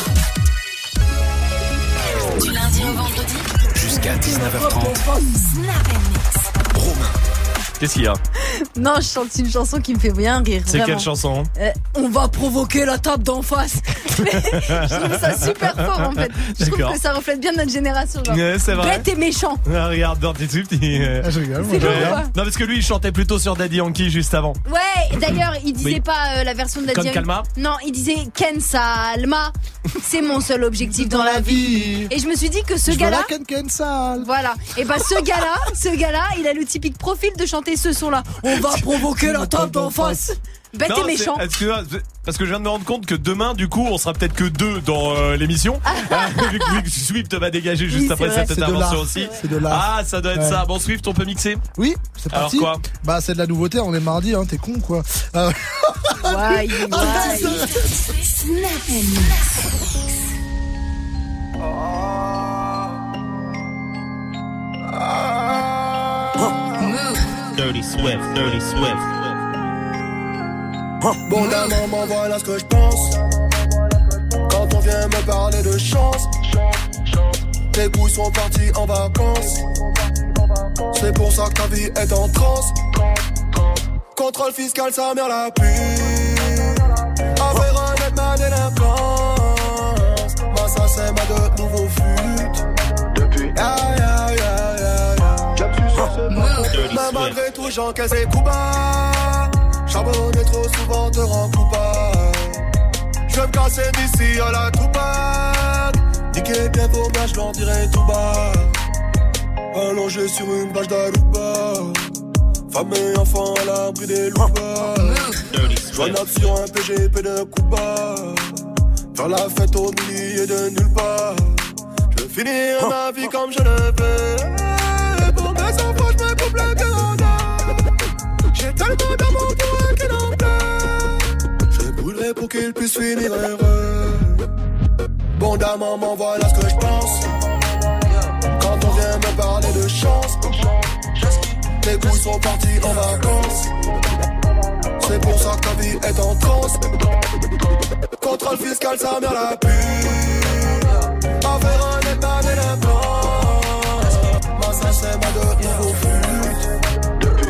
Du lundi au vendredi jusqu'à 19h30. Snap and mix. Romain. Qu'est-ce qu'il y a? Non, je chante une chanson qui me fait bien rire. C'est vraiment. quelle chanson? On va provoquer la table d'en face. Je trouve ça super fort en fait. Je trouve que ça reflète bien notre génération. Genre. Ouais, c'est vrai. Bête et méchant. Ah, regarde, Dirty Swift, je rigole. C'est Non, parce que lui, il chantait plutôt sur Daddy Yankee juste avant. Ouais, d'ailleurs, il disait pas la version de Daddy Comme Yankee. Calma? Non, il disait Ken Salma. C'est mon seul objectif dans la vie. Et je me suis dit que ce gars-là. Ken Sal. Voilà. Et bah, ce gars-là, il a le typique profil de chanter ce son-là. On va provoquer la table d'en face. Bête et méchant. Parce que je viens de me rendre compte que demain, du coup, on sera peut-être que deux dans l'émission. Vu que Swift va dégager juste après cette intervention aussi. C'est de l'art. Ah, ça doit être ça. Bon, Swift, on peut mixer? Oui, c'est parti. Alors quoi? Bah, c'est de la nouveauté, on est mardi, hein, t'es con quoi. Ouais. Snap and mix. Dirty Swift. Bon d'un moment, voilà ce que je pense. Quand on vient me parler de chance, tes couilles sont partis en vacances. C'est pour ça que ta vie est en transe. Contrôle fiscal, sa mère la pue. Affaire honnête, ma délinquance. Moi ça c'est ma de nouveau fut. Depuis mais malgré tout j'encaisse les coups bas. Charbonner trop souvent te rend coupable. Je vais me casser d'ici à la Tupac. Niquer bien vos mains, je leur dirai tout bas. Allongé sur une bâche d'Aruba. Femme et enfant à l'abri des loupas. Joignable sur un PGP de Cuba. Faire la fête au milieu de nulle part. Je veux finir ma vie comme je le veux. Pour mes enfants, je me coupe le Canada. J'ai tellement d'amour pour un qui n'en pleure. Je brûlerai pour qu'il puisse finir heureux. Bon d'un moment, voilà ce que je pense. Quand on vient me parler de chance, tes couilles sont partis en vacances. C'est pour ça que ta vie est en transe. Contrôle fiscal, sa mère la pue. Affaire honnête, ma délinquance. Moi ça c'est ma de nouveau fut.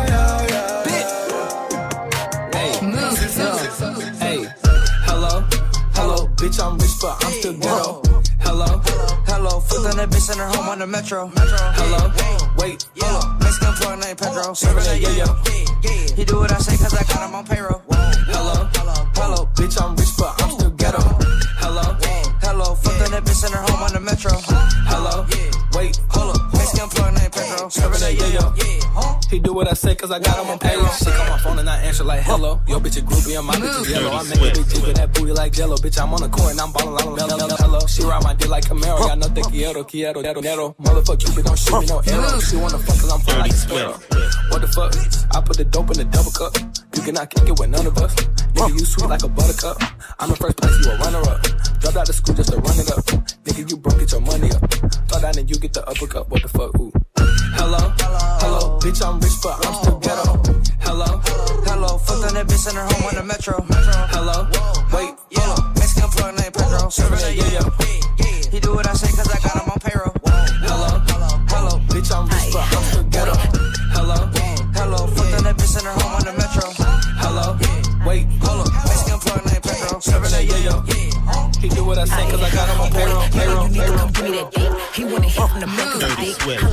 Hey, hello, bitch, I'm rich, but I'm still ghetto. Hello, fuck on that bitch in her home on the metro. Hello, wait, hold up, Mexican plug named Pedro, serving that yo-yo. He do what I say cause I got him on payroll. Hello, bitch, I'm rich, but I'm still ghetto. Hello, fuck on that bitch in her home on the metro. Hello, wait, hold up, Mexican plug named Pedro, serving that yo-yo. He do what I say cause I got him on payroll. She call my phone and I answer like hello. Yo bitch a groupie and my bitch is yellow. I make a big G with that booty like Jello. Bitch I'm on the court and I'm ballin' hello. She ride my dick like Camaro. Got nothing quiero. Motherfucker Cupid don't shoot me no arrow. She wanna fuck cause I'm fly like a sparrow. What the fuck? I put the dope in the double cup. You cannot kick it with none of us. Nigga you sweet like a buttercup. I'm in first place, you a runner up. Dropped out of school just to run it up. Nigga you broke, get your money up. Thought down and you get the uppercut. What the fuck? Ooh. Hello, bitch, I'm rich, but I'm still ghetto. Hello, fuck on that bitch in her home on the metro. Hello, wait, hold up, Mexican plug named Pedro, serving that yo-yo. He do what I say cause I got him on payroll. Hello, bitch, I'm rich, but I'm still ghetto. Hello, fuck on that bitch in her home on the metro. Hello, wait, hold up, Mexican plug named Pedro, serving that yo-yo. He do what I say cause I got him on payroll. Give me that dick. He wanna hit from the back of the dick. I like to fuck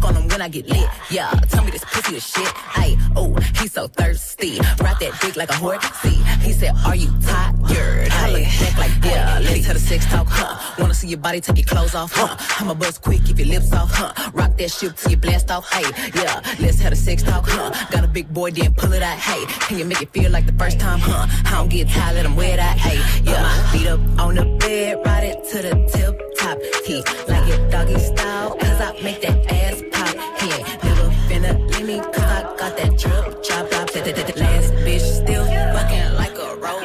on him when I get lit. Yeah, tell me this pussy is shit. Ay, oh, he's so thirsty. Ride that dick like a horsey. He said, are you tired? I look back like, yeah, let's have a sex talk, Wanna see your body, take your clothes off, I'ma buzz quick, keep your lips off, Rock that shit till you blast off, hey, yeah, let's have a sex talk, Got a big boy, then pull it out, hey. Can you make it feel like the first time, I don't get tired, let him wear that, hey, yeah. Feet up on the bed, ride it to the tip top, T. Like it doggy style, cause I make that ass pop, he ain't never finna leave me, cause I got that drip, chop, chop, that last bitch still fucking like a robot.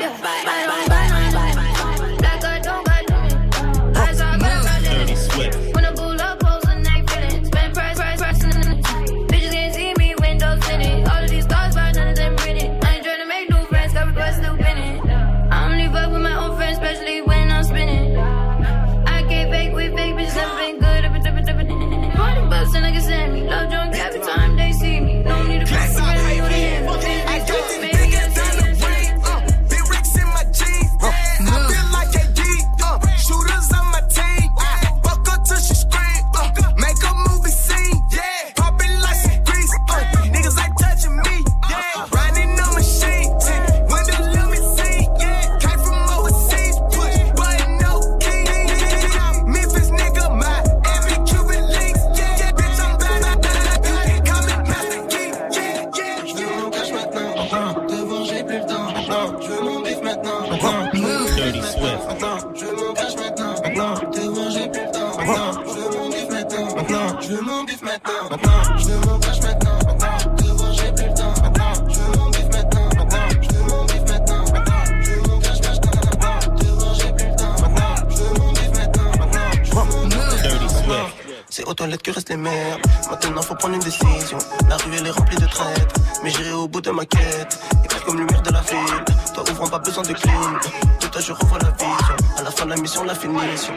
C'est aux toilettes que restent les merdes. Maintenant faut prendre une décision. La rue elle est remplie de traîtres, mais j'irai au bout de ma quête. Éclair comme lumière de la ville. Toi ouvrant pas besoin de clim. Tout à je revois la vision. À la fin de la mission, la finition.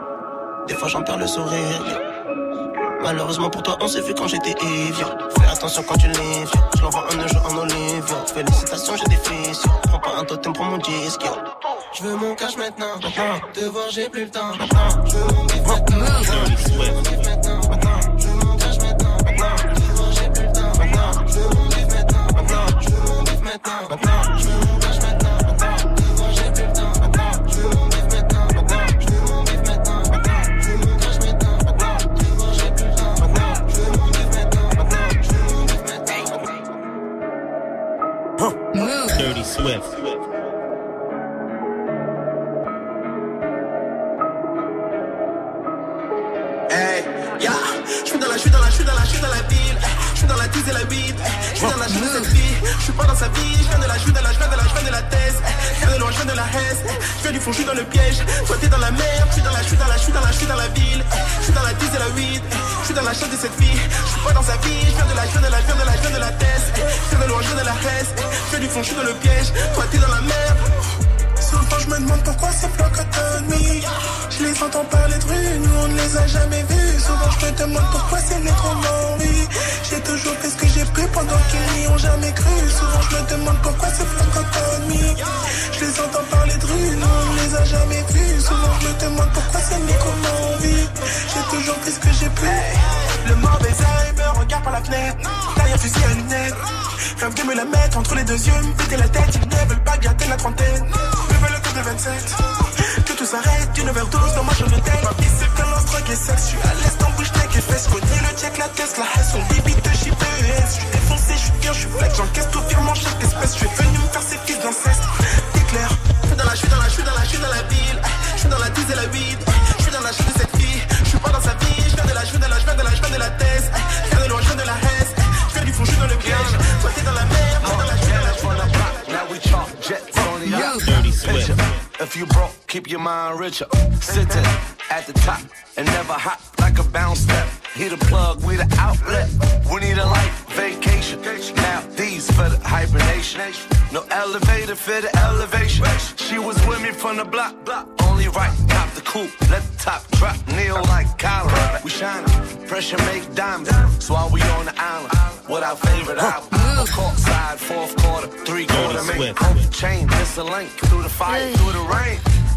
Des fois j'en perds le sourire. Malheureusement pour toi on s'est vu quand j'étais évier. Fais attention quand tu livres. Je l'envoie un jeu en olive. Félicitations j'ai des fissures. Prends pas un totem pour mon disque. Je veux mon cash maintenant. Te voir j'ai plus le temps. Je veux mon bif maintenant. Je veux mon bif maintenant. Je veux mon cash maintenant. Te voir j'ai plus le temps. Je veux mon bif maintenant. Je veux mon bif maintenant. Je veux mon cash maintenant. Te voir j'ai plus le temps. Je veux mon bif maintenant. Je veux mon bif maintenant. Je veux mon cash maintenant. Te voir j'ai plus le temps. Je veux mon bif maintenant. Je veux mon bif maintenant. Dirty Swift. Je suis dans la ville, je suis dans la 10 et la 8, je suis dans la chaîne de cette fille, je suis pas dans sa vie, je viens de la thèse, je viens de loin, je viens de la haine, je viens du fond, je suis dans le piège, toi t'es dans la merde, je suis dans la ville, je suis dans la 10 et la 8, je suis dans la chaîne de cette fille, je suis pas dans sa vie, je viens de la thèse, je viens de loin, je viens de la haine, je viens du fond, je suis dans le piège, toi t'es dans la merde. Souvent je me demande pourquoi ces francophones. Je les entends parler de rue, nous on ne les a jamais vus. Souvent je me demande pourquoi c'est né trop oui. J'ai toujours fait ce que j'ai pu pendant qu'ils n'y ont jamais cru. Souvent je me demande pourquoi ces francophones. Je les entends parler de rue, nous on ne les a jamais vus. Souvent je me demande pourquoi c'est né trop oui. J'ai toujours fait ce que j'ai pu. Le mauvais œil me regarde par la fenêtre. Derrière fusil à lunettes. Rêve de me la mettre entre les deux yeux, me péter la tête. Ils ne veulent pas garder la trentaine. Le coup de 27, que tout s'arrête, une overdose dans ma chambre de tête. Ma vie c'est violence, drogue et sexe. Je suis à l'est en bouche, tech et fesses. Connais le check, la Tesla, la son limite de JPS. Je suis défoncé, je suis bien, je suis flex. J'encaisse tout virement chaque espèce. Je suis venu me faire ces fils d'inceste. T'es clair, je suis dans la ville. Je suis dans la 10 et la 8. Je suis dans la chaîne de cette fille. Je suis pas dans sa vie. Je viens de la thèse. Je viens de loin, je viens de la haine. Je viens du fond, je suis dans le piège. Toi t'es dans la merde, je suis dans la Now we talk jets on the yacht. Dirty Swift. If you broke, keep your mind richer. Sitting at the top and never hop like a bounce step. He the plug, we the outlet. We need a life vacation. Now these for the hibernation. No elevator for the elevation. She was with me from the block. Only right, top the coupe. Let the top drop. Kneel like Colin. We shining. Pressure make diamonds. So while we on the island, what our favorite album? Court side, fourth quarter, 3 quarter. Make a chain. Miss a link through the fire, through the rain.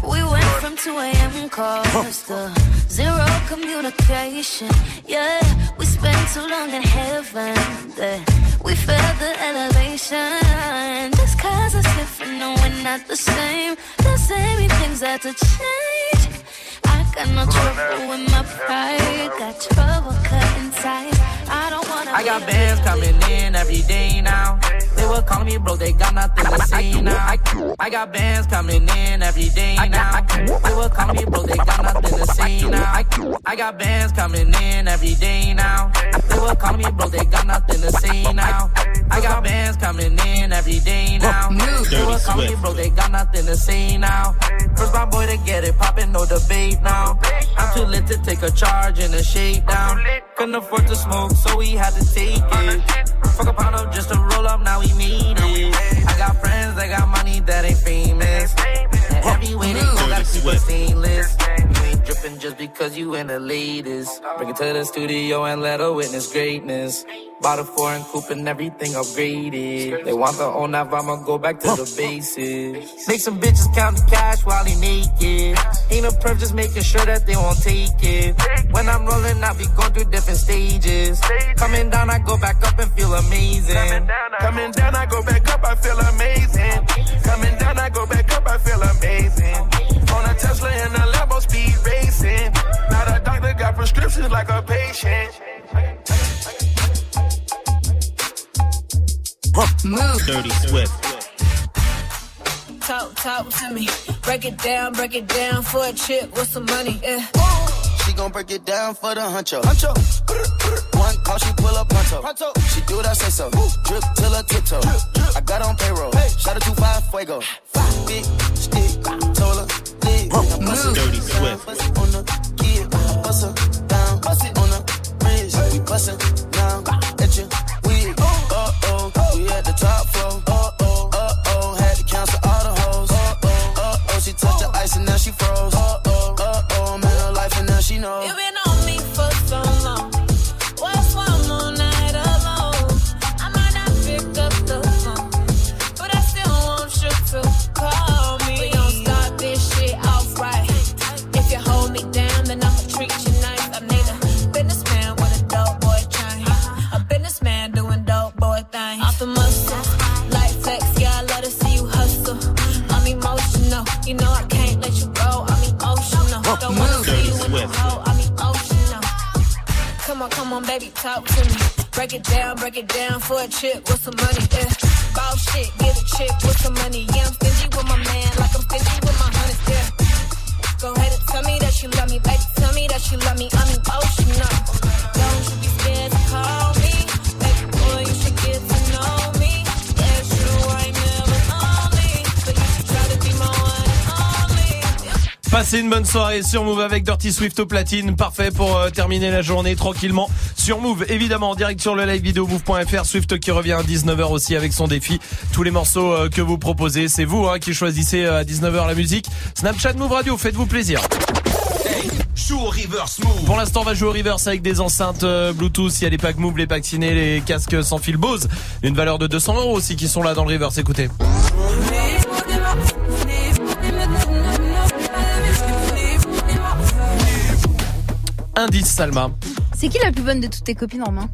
We went from 2 a.m. calls to zero communication. Yeah, we spent too long in heaven. We felt the elevation. Just cause it's different, no, we're not the same. The same things had to change. I got no trouble with my pride. Got trouble cutting ties. I don't wanna. I got bands coming in every day now. They were calling me bro, they got nothing to say now. I got bands coming in every day now. They were calling me bro, they got nothing to say now. I got bands coming in every day now. They were calling me bro, they got nothing to say now. I got bands coming in every day now. They were calling me bro, they got nothing to say now. First my boy to get it poppin', no debate now. I'm too lit to take a charge and a shakedown. Couldn't afford to smoke, so we had to take it. Fuck a pound up just to roll up, now we made it. I got friends that got money that ain't famous. And everywhere they go, gotta keep it stainless. You ain't drippin' just because you in the latest. Bring it to the studio and let her witness greatness. Bought a foreign coupe and everything upgraded. They want the old nav, I'ma go back to the basics. Make some bitches count the cash while they naked. Ain't a perf, just making sure that they won't take it. When I'm rolling, I be going through different stages. Coming down, I go back up and feel amazing. Coming down, I go back up, I feel amazing. Coming down, I go back up, I feel amazing. On a Tesla and a Lambo speed racing. Now the doctor got prescriptions like a patient. Move. Dirty Swift. Talk to me. Break it down for a chick with some money. Yeah. She gon' break it down for the huncho. One call, she pull up pronto. She do what I say so. Drip till her tiptoe. I got on payroll. Shout out to 5 Fuego. Big stick, told her. Dirty Swift. On the kid, bust her down. Bust it on the bridge. We bustin' down at your wig. We at the top floor. Had to cancel all the hoes. She touched the ice and now she froze. Man, her life and now she knows. You been on me for so long. What's one more night alone? I might not pick up the phone, but I still want you to call me. We gon' start this shit off right. If you hold me down, then I'ma treat you nice. I need a businessman with a dope boy chain. A businessman doing dope boy things. Off the muscle, like flex, yeah, I love to see you hustle. I'm emotional, you know I can't let you go. I'm emotional, don't wanna see you in the hole. I'm emotional. Come on, baby, talk to me. Break it down for a chick with some money. Yeah. Boss shit, get a chick with some money. Yeah, I'm stingy with my man, like I'm stingy with my honey. Yeah. Go ahead and tell me that you love me, baby. Tell me that you love me. I'm emotional. Don't you be scared to call me, baby boy. You should get to know me. Yeah, true, I ain't never lonely, but you should try to be my one and only. Passez une bonne soirée sur Move avec Dirty Swift au platine. Parfait pour terminer la journée tranquillement sur Move. Évidemment en direct sur le live vidéo move.fr. Swift qui revient à 19h aussi avec son défi. Tous les morceaux que vous proposez, c'est vous qui choisissez à 19h la musique. Snapchat Move Radio, faites-vous plaisir. Hey, joue au reverse Move. Pour l'instant, on va jouer au reverse avec des enceintes Bluetooth. Il y a les packs Move, les packs ciné, les casques sans fil Bose. Une valeur de 200 € aussi qui sont là dans le reverse. Écoutez. Indice Salma. C'est qui la plus bonne de toutes tes copines, Romain?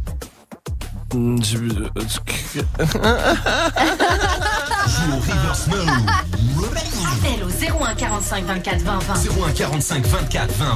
Joue au reverse Move. Appel au 01 45 24 20 20. 01 45 24 20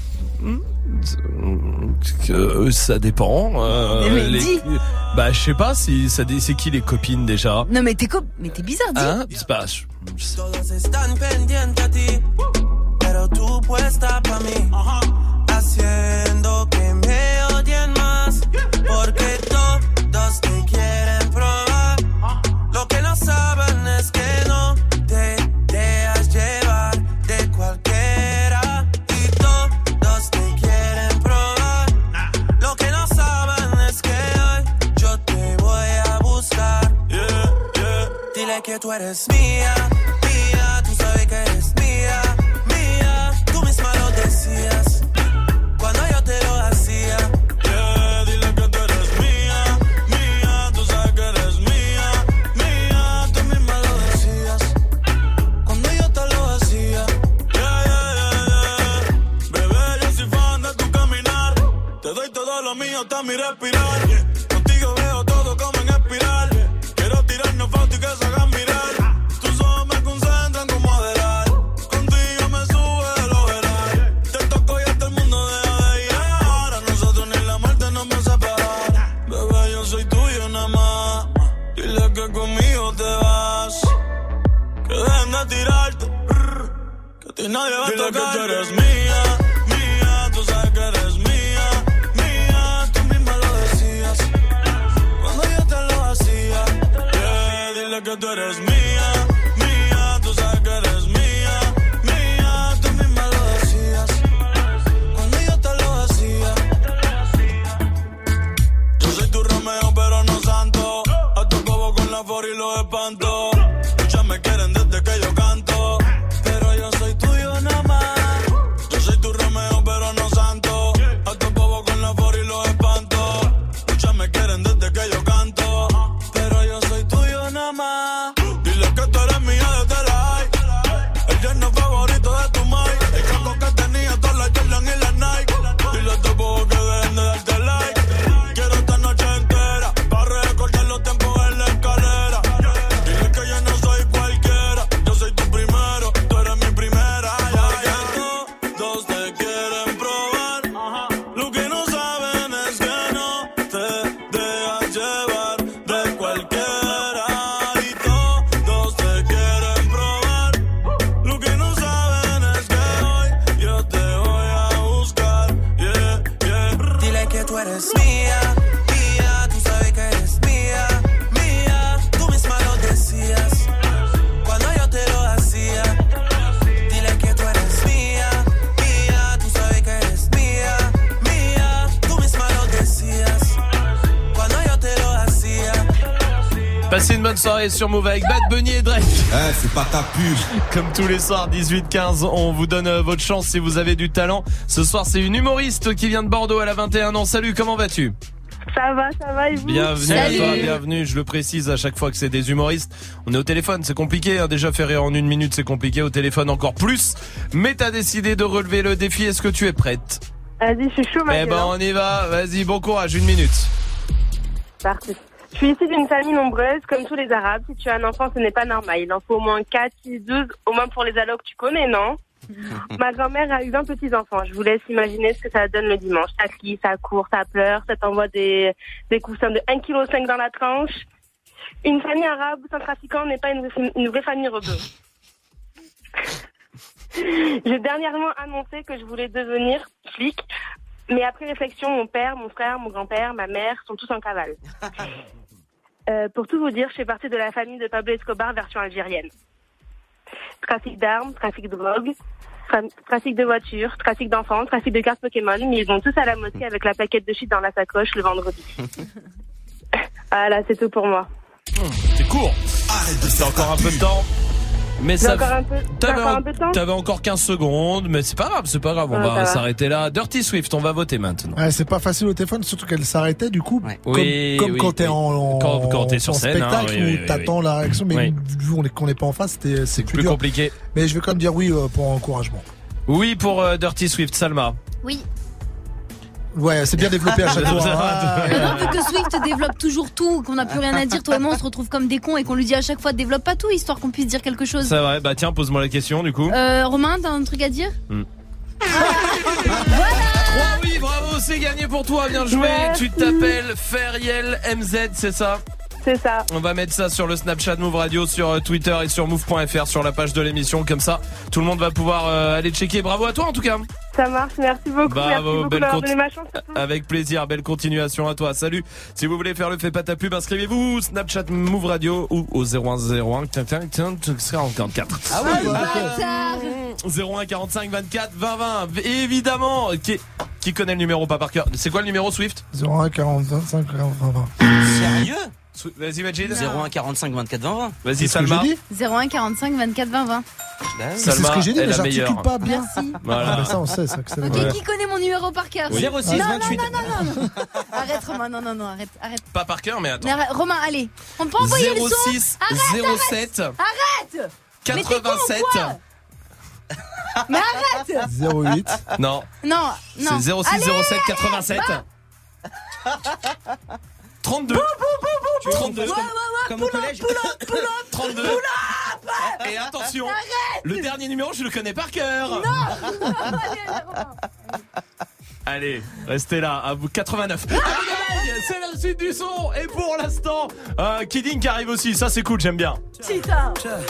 20. Ça dépend. Dis. Bah je sais pas si ça c'est qui les copines déjà. Non mais t'es bizarre, dis. C'est pas. Todos están pendientes a ti, pero tú puesta pa' mí, haciendo que me odien más, porque todos te quieren probar. Lo que no saben es que no te dejas llevar de cualquiera, y todos te quieren probar. Lo que no saben es que hoy yo te voy a buscar. Dile que tú eres mía. Tú sabes que eres mía, tú misma lo decías cuando yo te lo hacía. Dile que tú eres mía, tú sabes que eres mía, tú misma lo decías cuando yo te lo hacía. que conmigo te vas. Que dejen de tirarte. Que a ti nadie va a tocar. Dile que tú eres mía, mía. Tú sabes que eres mía, mía. Tú misma lo decías cuando yo te lo hacía. Yeah, dile que tú eres mía, mía. Tú sabes que eres mía, mía. Tú misma lo decías cuando yo te lo hacía. Yo soy tu Romeo pero no santo. A tu bobo con la for y lo espanto. Muchas me quieren desde que yo canto, pero yo soy tuyo nada más. Yo soy tu Romeo pero no santo. A tu bobo con la for y lo espanto. Muchas me quieren desde que yo canto, pero yo soy tuyo nada más. Dile que tú eres mía desde la high. El yerno favorito de tu mai. El campo que tenía todas las Jordan y las Nike. Dile a tu bobo que dejen de darte like. Quiero esta noche entera para recordar los tiempos en la escalera. Dile que yo no soy cualquiera. Yo soy tu primero, tú eres mi primera. Ya, todos te quieren probar. Lo que no saben es que no te dejas llevar de cualquiera. Y todos te quieren probar. Lo que no saben es que hoy yo te voy a buscar. Yeah, yeah. Dile que tú eres mía, mía. Tú sabes que eres mía, mía. Tú misma lo decías cuando yo te lo hacía. Dile que tú eres mía, mía. Tú sabes que eres mía, mía. Tú misma lo decías cuando yo te lo hacía. Passez une bonne soirée sur Move avec Bad Bunny et Drake. C'est pas ta pub. Comme tous les soirs, 18-15, on vous donne votre chance si vous avez du talent. Ce soir, c'est une humoriste qui vient de Bordeaux, elle a 21 ans. Salut, comment vas-tu? Ça va et vous? Bienvenue à toi, bienvenue. Je le précise à chaque fois que c'est des humoristes. On est au téléphone, c'est compliqué. Hein. Déjà, faire rire en 1 minute, c'est compliqué. Au téléphone, encore plus. Mais t'as décidé de relever le défi. Est-ce que tu es prête? Vas-y, je suis chaud, Eh ben, on y va. Vas-y, bon courage, 1 minute. Parti. Je suis issue d'une famille nombreuse, comme tous les Arabes. Si tu as un enfant, ce n'est pas normal. Il en faut au moins 4, 6, 12, au moins pour les allocs, tu connais, non? Ma grand-mère a eu 20 petits-enfants. Je vous laisse imaginer ce que ça donne le dimanche. Ça crie, ça court, ça pleure, ça t'envoie des coussins de 1,5 kg dans la tranche. Une famille arabe sans trafiquant n'est pas une vraie famille rebeu. J'ai dernièrement annoncé que je voulais devenir flic, mais après réflexion, mon père, mon frère, mon grand-père, ma mère sont tous en cavale. Pour tout vous dire, je fais partie de la famille de Pablo Escobar version algérienne. Trafic d'armes, trafic de drogue, trafic de voitures, trafic d'enfants, trafic de cartes Pokémon, mais ils vont tous à la mosquée avec la plaquette de shit dans la sacoche le vendredi. Voilà, c'est tout pour moi. C'est court. C'est encore un peu de temps. Mais J'ai ça, encore un peu de temps. t'avais encore 15 secondes, mais c'est pas grave, on va s'arrêter là. Dirty Swift, on va voter maintenant. Ouais, c'est pas facile au téléphone, surtout qu'elle s'arrêtait du coup. Oui, comme oui, quand t'es quand t'es sur en scène, spectacle hein, où t'attends la réaction, mais vu qu'on n'est pas en face, c'est plus dur. compliqué. Mais je vais quand même dire oui pour encouragement. Oui pour Dirty Swift, Salma. Oui. Ouais, c'est bien développé à chaque fois. Non, vu que Swift développe toujours tout, qu'on n'a plus rien à dire, toi et moi on se retrouve comme des cons et qu'on lui dit à chaque fois développe pas tout, histoire qu'on puisse dire quelque chose. C'est vrai, bah tiens, pose-moi la question du coup. Romain, t'as un truc à dire? Voilà. 3 oui, bravo, c'est gagné pour toi, bien joué. Tu t'appelles Feriel MZ, c'est ça? C'est ça. On va mettre ça sur le Snapchat Move Radio, sur Twitter et sur move.fr, sur la page de l'émission. Comme ça, tout le monde va pouvoir aller checker. Bravo à toi en tout cas. Ça marche, merci beaucoup. Bravo, merci beaucoup belle d'avoir donné ma chance. Avec plaisir, belle continuation à toi. Salut. Si vous voulez faire le fait pas ta pub, inscrivez-vous Snapchat Move Radio ou au 0101 44. Ah oui, 01 45 24 20 20. Évidemment, qui connaît le numéro pas par cœur? C'est quoi le numéro Swift? 01 45 20. Sérieux? Vas-y Majid. 01 45 24 20 20. Vas-y Salma. 01 45 24 20 20. C'est ce que j'ai dit, mais j'articule pas bien. Merci. Voilà. Mais ça on sait, ça que c'est. Ok, qui connaît mon numéro par cœur? 06 28. Non. Arrête Romain, non, arrête. Pas par cœur, mais attends. Mais arrête, Romain, allez. On peut envoyer le son. 06 07 Arrête. 87. Mais arrête. 08. Non. C'est 06 07 87. 32. 32. Comme au collège. 32. Et attention, le dernier numéro, je le connais par cœur. Non. Allez, restez là, à vous 89. c'est la suite du son. Et pour l'instant, Kidding qui arrive aussi. Ça, c'est cool, j'aime bien. Tita.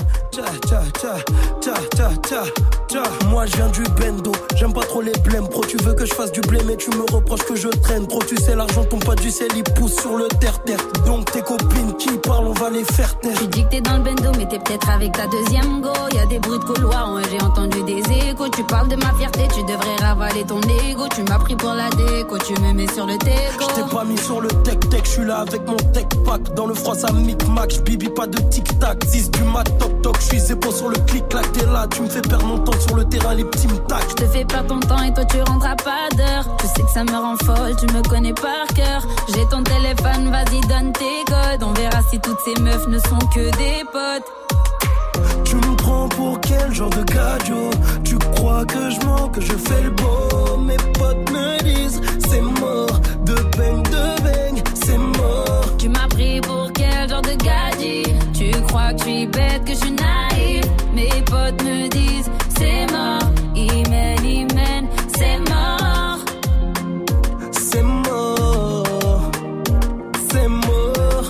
Moi je viens du bendo, j'aime pas trop les blèmes. Pro, tu veux que je fasse du blé, mais tu me reproches que je traîne. Trop, tu sais, l'argent tombe pas du ciel, il pousse sur le terre-terre. Donc tes copines qui parlent, on va les faire taire. Tu dis que t'es dans le bendo, mais t'es peut-être avec ta deuxième go. Y'a des bruits de couloir, ouais, j'ai entendu des échos. Tu parles de ma fierté, tu devrais ravaler ton ego. Tu m'as pris pour la déco, tu me mets sur le déco. Je t'ai pas mis sur le tech-tech, je suis là avec mon tech-pack. Dans le froid, ça micmac, j'bibi pas de tic-tac. 10 du mat, toc-toc, je suis zépo sur le clic-clac. T'es là, tu me fais perdre mon temps sur le terrain, les petits me tac. Je te fais perdre ton temps et toi tu rentres à pas d'heure. Tu sais que ça me rend folle, tu me connais par cœur. J'ai ton téléphone, vas-y donne tes codes. On verra si toutes ces meufs ne sont que des potes. Tu me prends pour quel genre de gadio? Tu crois que je mens, que je fais le beau? Mes potes me disent c'est mort, de bang, c'est mort. Tu m'as pris pour quel genre de gadget? Tu crois que je suis bête, que je suis naïve? Mes potes me disent c'est mort, Imen, c'est mort. C'est mort, c'est mort.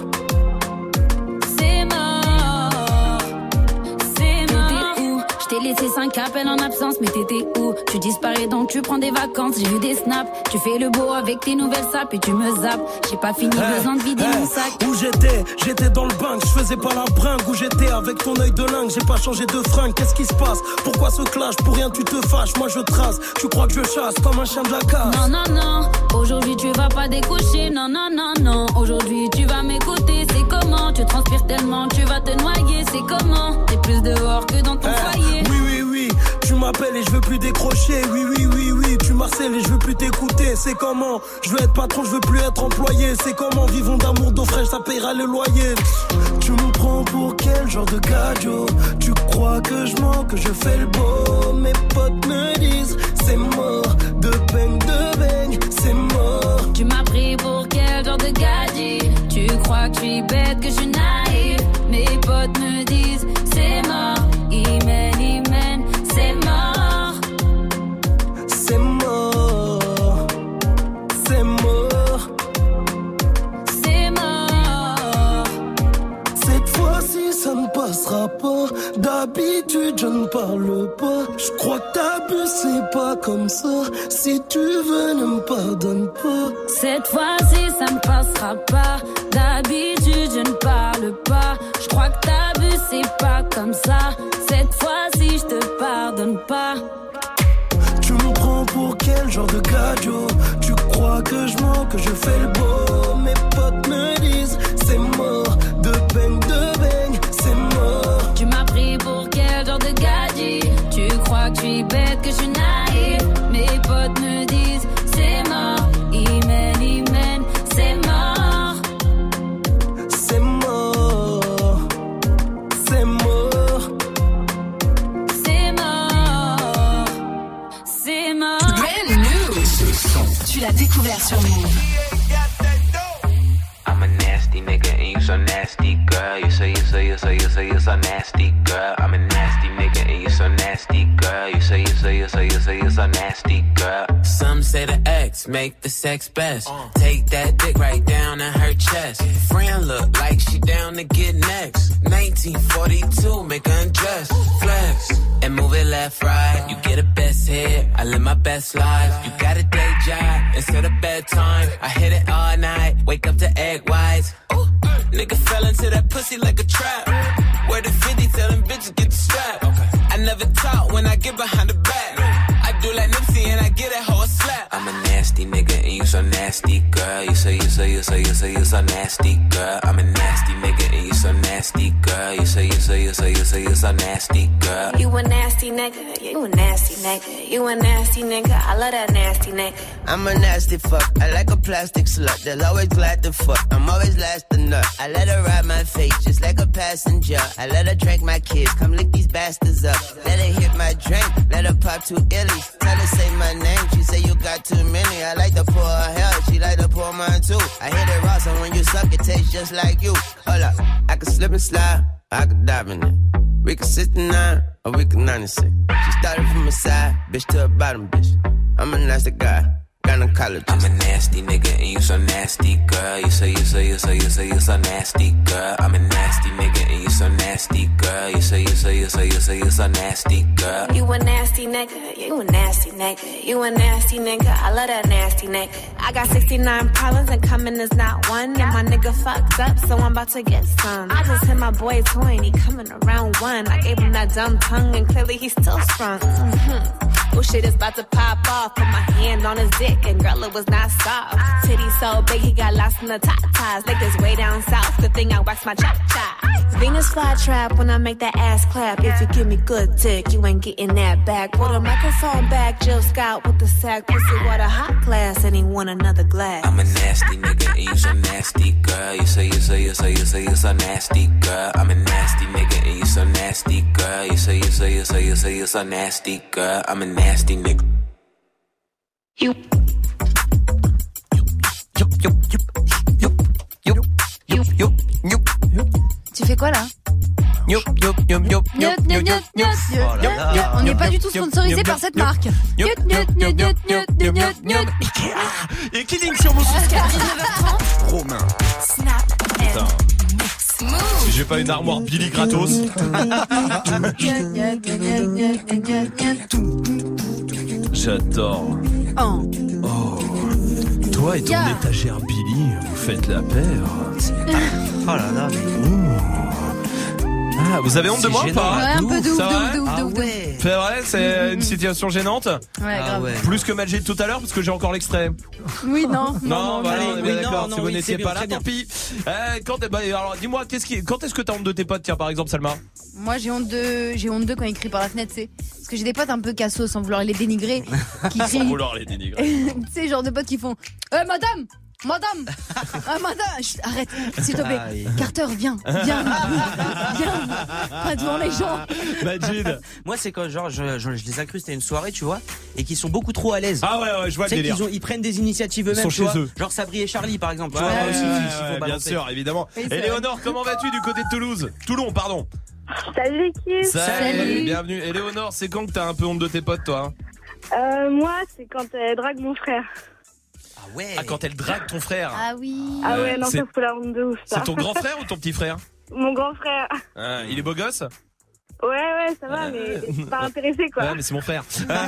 C'est mort, c'est mort. T'étais où? Je t'ai laissé 5 appels en absence, mais t'étais où? Tu disparais donc tu prends des vacances, j'ai vu des snaps. Tu fais le beau avec tes nouvelles sapes et tu me zappes. J'ai pas fini, besoin de vider mon sac. Où j'étais dans le bank, je faisais pas la bringue. Où j'étais avec ton œil de lingue, j'ai pas changé de fringue. Qu'est-ce qui se passe? Pourquoi ce clash? Pour rien tu te fâches, moi je trace. Tu crois que je chasse comme un chien de la casse? Non, aujourd'hui tu vas pas découcher. Non, aujourd'hui tu vas m'écouter. C'est comment? Tu transpires tellement, tu vas te noyer. C'est comment? T'es plus dehors que dans ton foyer. Oui, tu m'appelles et je veux plus décrocher. Oui, tu m'harcèles et je veux plus t'écouter. C'est comment? Je veux être patron, je veux plus être employé. C'est comment? Vivons d'amour, d'eau fraîche, ça paiera le loyer. Tu me prends pour quel genre de gadio? Tu crois que je mens, que je fais le beau? Mes potes me disent c'est mort, de bang, c'est mort. Tu m'as pris pour quel genre de gadget? Tu crois que je suis bête, que je suis naïve? Mes potes me disent c'est mort, Imen, c'est mort. C'est mort, c'est mort. C'est mort. Cette fois-ci ça ne passera pas. D'habitude je ne parle pas. Je crois que t'abuses, c'est pas comme ça. Si tu veux ne me pardonne pas. Cette fois-ci ça ne passera pas. D'habitude je ne parle pas. Je crois que t'abuses, c'est pas comme ça. Cette fois-ci je te pardonne pas. Tu me prends pour quel genre de gadio? Tu crois que je mens, que je fais le beau? Mes potes me disent c'est mort, de bang, c'est mort. Tu m'as pris pour quel genre de gadget? Tu crois que je suis bête, que je suis naïve? Mes potes me disent c'est mort, Imen, c'est mort. C'est mort, c'est mort. C'est mort, c'est mort. Brand new. Ce son, tu l'as découvert sur Move. I'm a nasty nigga and you so nasty, girl. You so nasty, girl. I'm a nasty nigga and you so nasty, girl. You so nasty, girl. Some say the X make the sex best. Take that dick right down in her chest. Friend look like she down to get next. 1942, make her undress. Flex and move it left, right. You get a best hit, I live my best life. You got a day job instead of bedtime. I hit it all night, wake up to egg whites. Ooh, nigga fell into that pussy like a trap. Where the 50, tell them bitches get the strap. I never talk when I get behind the back. I do like Nipsey and I get that hoe a slap. I'm a nasty nigga and you so nasty, girl. You so nasty, girl. I'm a nasty nigga and you so nasty, girl. You so nasty, girl. You a nasty nigga, you a nasty nigga. You a nasty nigga, I love that nasty nigga. I'm a nasty fuck, I like a plastic slut. That's always glad to fuck, I'm always last to nut. I let her ride my face just like a passenger. I let her drink my kids, come lick these bastards up. Let her hit my drink, let her pop 2 illies. Tell her say my name, she say you got too many. I like to pour her hell, she like to pour mine too. I hit it raw, so when you suck it tastes just like you. Hold up, I can slip and slide, I can dive in it. We can 69 or we can 96. She started from the side, bitch to a bottom bitch. I'm a nasty guy, gynecology. I'm a nasty nigga and you so nasty, girl. You so nasty, girl. I'm a nasty nigga and you so nasty, girl. You so nasty, girl. You a nasty nigga, you a nasty nigga, you a nasty nigga, I love that nasty nigga. I got 69 problems and coming is not one. And my nigga fucked up, so I'm about to get some. I just hit my boy toy and he coming around one. I gave him that dumb tongue and clearly he's still strong. Oh shit is about to pop off. Put my hand on his dick and girl it was not soft. Titty so big he got lost in the top ties. Like this way down south, good thing I wax my cha-cha. Venus flytrap when I make that ass clap. If you give me good dick, you ain't getting that back. Put a microphone back, Jill Scout with the sack. Pussy water hot glass and he want another glass. I'm a nasty nigga and you so nasty, girl. You so nasty, girl. I'm a nasty nigga and you so nasty, girl. You so nasty, girl. I'm a nasty nigga. You. Tu fais quoi là? On n'est pas du tout sponsorisé par cette marque. Et Killing sur Move. Romain. Si j'ai pas une armoire Billy gratos. J'adore. Oh. Toi et ton étagère Billy, vous faites la paire. Oh là là. Ah, vous avez honte de moi ou pas? Ouais, un peu de ouf, C'est vrai, c'est une situation gênante. Ouais, grave. Plus que Magic tout à l'heure parce que j'ai encore l'extrait. Oui, non. Voilà, on est bien d'accord. Si vous n'étiez pas là, très bien. tant pis. Alors, dis-moi, quand est-ce que t'as honte de tes potes, tiens, par exemple, Salma? Moi, j'ai honte d'eux quand ils crient par la fenêtre, tu sais. Parce que j'ai des potes un peu cassos sans vouloir les dénigrer. Qui crient. Sans vouloir les dénigrer. Tu sais, genre de potes qui font madame, arrête, s'il te plaît. Carter, viens. Pas devant les gens. Majid. Moi, c'est quand genre je les incruste à une soirée, tu vois, et qui sont beaucoup trop à l'aise. Ah ouais, je vois le délire. Ils prennent des initiatives eux-mêmes, tu vois. Genre Sabri et Charlie, par exemple. Tu vois, aussi, bien sûr, évidemment. Éléonore, comment vas-tu du côté de Toulouse? Toulon, pardon. Salut l'équipe. Salut. Bienvenue. Éléonore, c'est quand que t'as un peu honte de tes potes, toi? Moi, c'est quand elle drague mon frère. Ah, quand elle drague ton frère. Ah oui. Ah ouais, non, ça fout la honte de ouf, ça. C'est ton grand frère ou ton petit frère? Mon grand frère. Il est beau gosse? Ouais, ça va, mais c'est pas intéressé, quoi. Ouais, mais c'est mon frère.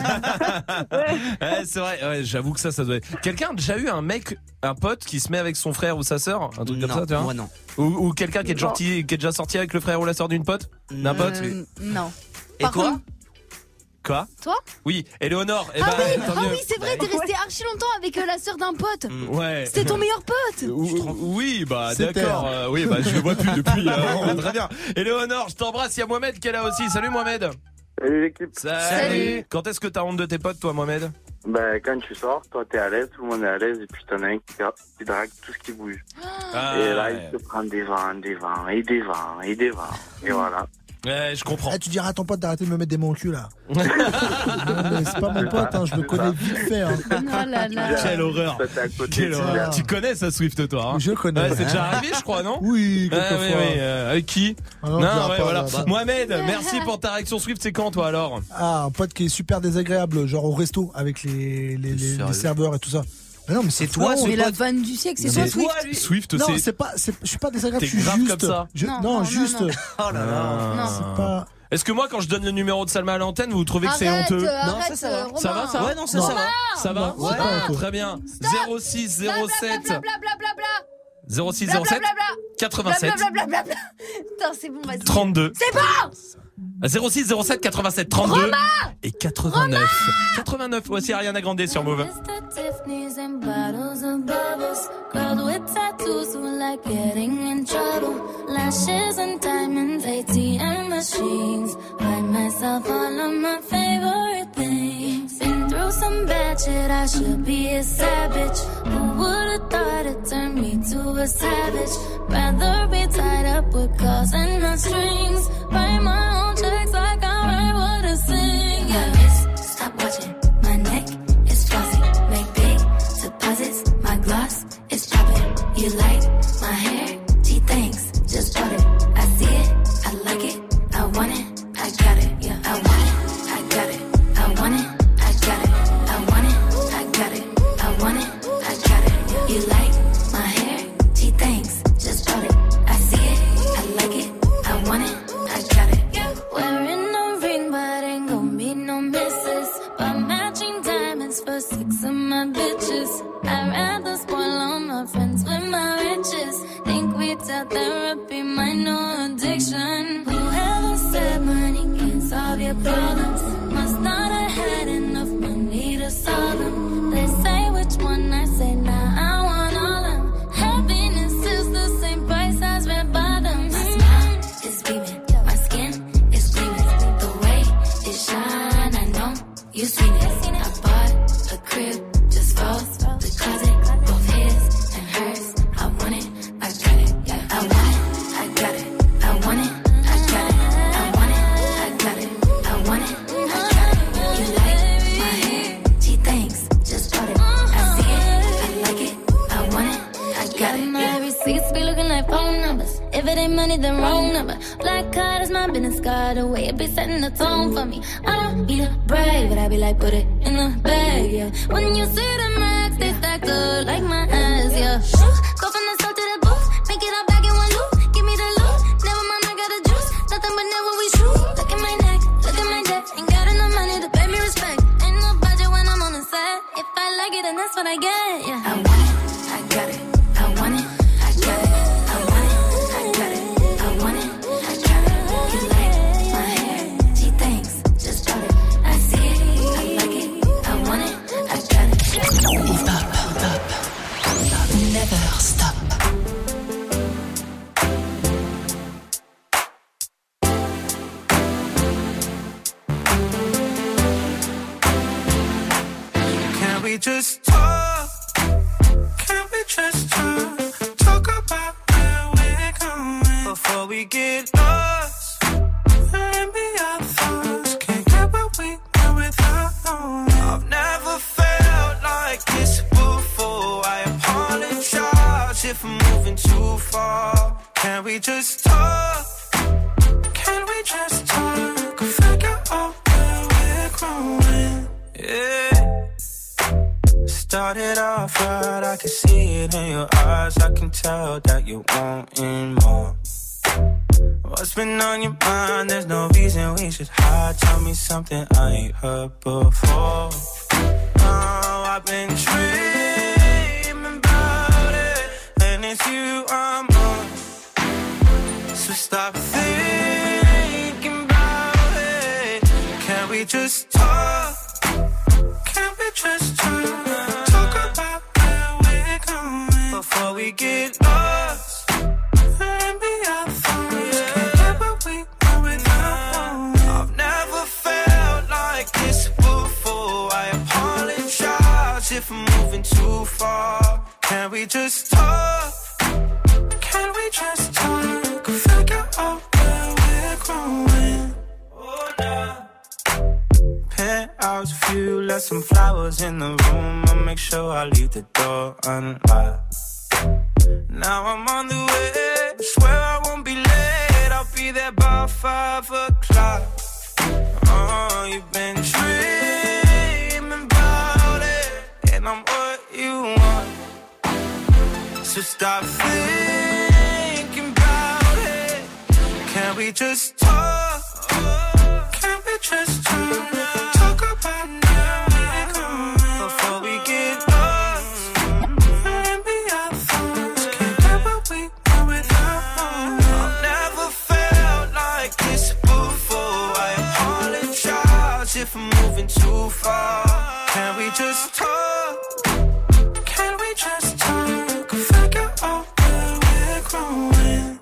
Ouais, c'est vrai. Ouais, j'avoue que ça doit être. Quelqu'un a déjà eu un pote qui se met avec son frère ou sa sœur? Un truc comme ça, tu vois? Moi, non. Ou quelqu'un qui est déjà sorti avec le frère ou la sœur d'une pote? D'un pote? Non. Et toi? Quoi? Toi? Oui, Éléonore. Oui, c'est vrai, t'es resté archi longtemps avec la sœur d'un pote. Ouais. C'était ton meilleur pote. Oui, d'accord. Oui, je le vois plus depuis. Très bien. Éléonore, je t'embrasse. Il y a Mohamed qui est là aussi. Salut Mohamed. Salut l'équipe. Salut. Quand est-ce que t'as honte de tes potes, toi, Mohamed? Quand tu sors, toi t'es à l'aise, tout le monde est à l'aise, et puis t'en as un qui drague tout ce qui bouge. Et là, il te prend des vents, et voilà. Ouais, je comprends. Tu diras à ton pote d'arrêter de me mettre des mots au cul là. Non, mais c'est pas mon pote, je le connais vite fait. Oh là là. Quelle horreur. Tu connais ça, Swift, toi? Je connais. C'est déjà arrivé, je crois, non? Oui, quelquefois. Oui. Avec qui? Non, voilà. Mohamed, merci pour ta réaction. Swift, c'est quand, toi, alors? Un pote qui est super désagréable, genre au resto avec les serveurs et tout ça. Mais non, mais c'est toi, c'est la vanne du siècle, c'est toi, Swift. Swift, non, je suis pas désagréable, je suis grave juste. Comme ça. Non, juste. Oh là là. Non. C'est pas. Est-ce que moi, quand je donne le numéro de Salma à l'antenne, vous trouvez que c'est honteux? Non, ça va. Ça va, ça? Ouais, non, ça va. Ça va? Ouais, très bien. 06 07 06 07 87 Putain, c'est bon, vas-y. 32. C'est bon. 06 07 87 32 et 89. 89. Voici Ariana Grande sur Move. Tiffany's and bottles of bubbles. Girls with tattoos who like getting in trouble. Lashes and diamonds, ATM machines. Buy myself all of my favorite things. Been through some bad shit, I should be a savage. Who would've thought it turned me to a savage? Rather be tied up with calls and not strings. Write my own checks like I write what I sing. Yeah, wrist, stop watching. My neck is flossy. Make big deposits. My gloss is popping. You like my hair? Gee, thanks. Just bought it. I see it. I like it. I want it. I got it. Yeah, I want it. I got it. I want it. I got it. I want it. I got it. I direction. Whoever said money can solve your problems must not have had enough money to solve them. They say which one I say now. I want all of them. Happiness is the same price as red bottoms. My smile is beaming, my skin is gleaming. The way it shine, I know you seen it. I bought a crib just for the closet, both his and hers. I want it, I got it. Yeah, I want it, I got it. I want it, I got it. I want it, I got it. I want it, I got it. You like my hair? Gee, thanks, just bought it. I see it, I like it. I want it, I got it. My receipts be looking like phone numbers. If it ain't money, then wrong number. Black card is my business card. The way it be setting the tone for me. I don't be the brave, but I be like, put it in the bag, yeah. When you see the max, they stacked up like my ass, yeah. Go from the south to the booth, make it all back in one loop. Give me the loot, never mind, I got the juice. Nothing but never we shoot. Look at my neck, look at my debt. Ain't got enough money to pay me respect. Ain't no budget when I'm on the set. If I like it, then that's what I get, yeah. I want it, I got it. I want it, I got it. I want it, I got it. I want it, I got it. You like my hair? Gee, thanks, just bought it. I see it, I like it. I want it, I got it. Hip hop, never stop. Can we just talk? Can we just talk? Talk about where we're going before we get lost. And be our thoughts. Can't get what we want without knowing. I've never felt like this before. I apologize if I'm moving too far. Can we just talk? Can we just talk? Figure out where we're growing. Yeah. Started off right, I can see it in your eyes. I can tell that you're wanting more. What's been on your mind? There's no reason we should hide. Tell me something I ain't heard before. Oh, I've been dreaming about it, and it's you I'm on. So stop thinking about it. Can we just talk? Can we just talk? Before we get lost and be our thoughts. Can't get what we want without. I've never felt like this before. I apologize if I'm moving too far. Can we just talk? Can we just talk? Figure out where we're growing. Oh, nah. Penthouse view, left some flowers in the room. I'll make sure I leave the door unlocked. Now I'm on the way, swear I won't be late. I'll be there by 5 o'clock. Oh, you've been dreaming about it, and I'm what you want. So stop thinking about it. Can we just talk? Can we just talk? Talk about now we're going before we get lost and be our thoughts. Can't get what we want without. I've never felt like this before. I apologize if I'm moving too far. Can we just talk? Can we just talk? Figure out where we're growing.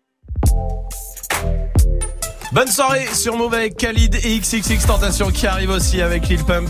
Bonne soirée sur Move avec Khalid et XXX Tentation qui arrive aussi avec Lil Pump.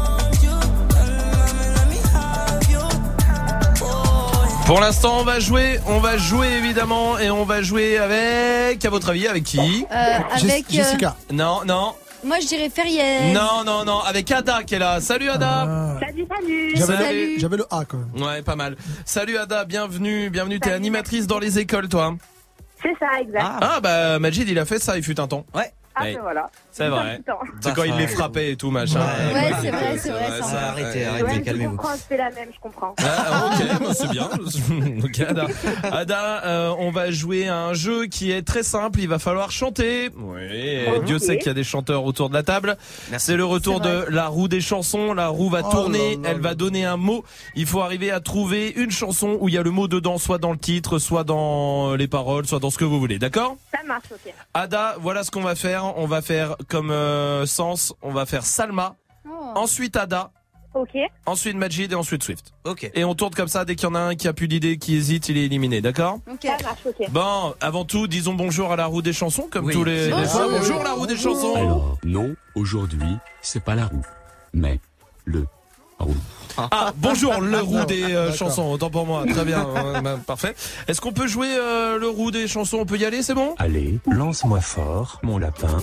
Pour l'instant, on va jouer évidemment, et on va jouer avec, à votre avis, avec qui? Avec Jessica. Non. Moi je dirais Ferrière. Non, avec Ada qui est là. Salut Ada. Salut. J'avais le A quand même. Ouais, pas mal. Salut Ada, bienvenue. T'es animatrice dans les écoles, toi? C'est ça, exact. Ah bah Majid, il a fait ça, il fut un temps. Ouais. Ah, Ouais. ben voilà. C'est vrai. C'est quand il les frappait et tout, machin. Ouais, c'est vrai, c'est vrai. ça. Arrêtez, Ouais, je calmez-vous. comprends, c'est la même, je comprends. Ah, ok, bah, c'est bien. Ok, Ada. Ada, on va jouer à un jeu qui est très simple. Il va falloir chanter. Oui, Ok. Dieu sait qu'il y a des chanteurs autour de la table. C'est le retour de la roue des chansons. La roue va tourner, elle va donner un mot. Il faut arriver à trouver une chanson où il y a le mot dedans, soit dans le titre, soit dans les paroles, soit dans ce que vous voulez. D'accord ? Ça marche, ok. Ada, voilà ce qu'on va faire. On va faire comme Sens, on va faire Salma, ensuite Ada, Ok. ensuite Majid et ensuite Swift. Ok. Et on tourne comme ça, dès qu'il y en a un qui a plus d'idées, qui hésite, il est éliminé, d'accord ? Ça marche, ok. Bon, avant tout, disons bonjour à la roue des chansons, comme Oui. tous les fois. Bonjour la roue des chansons. Alors, non, aujourd'hui, c'est pas la roue, mais le roue. Ah, bonjour le roue des chansons, autant pour moi, très bien, parfait. Est-ce qu'on peut jouer le roue des chansons ? On peut y aller, c'est bon ? Allez, lance-moi fort, mon lapin.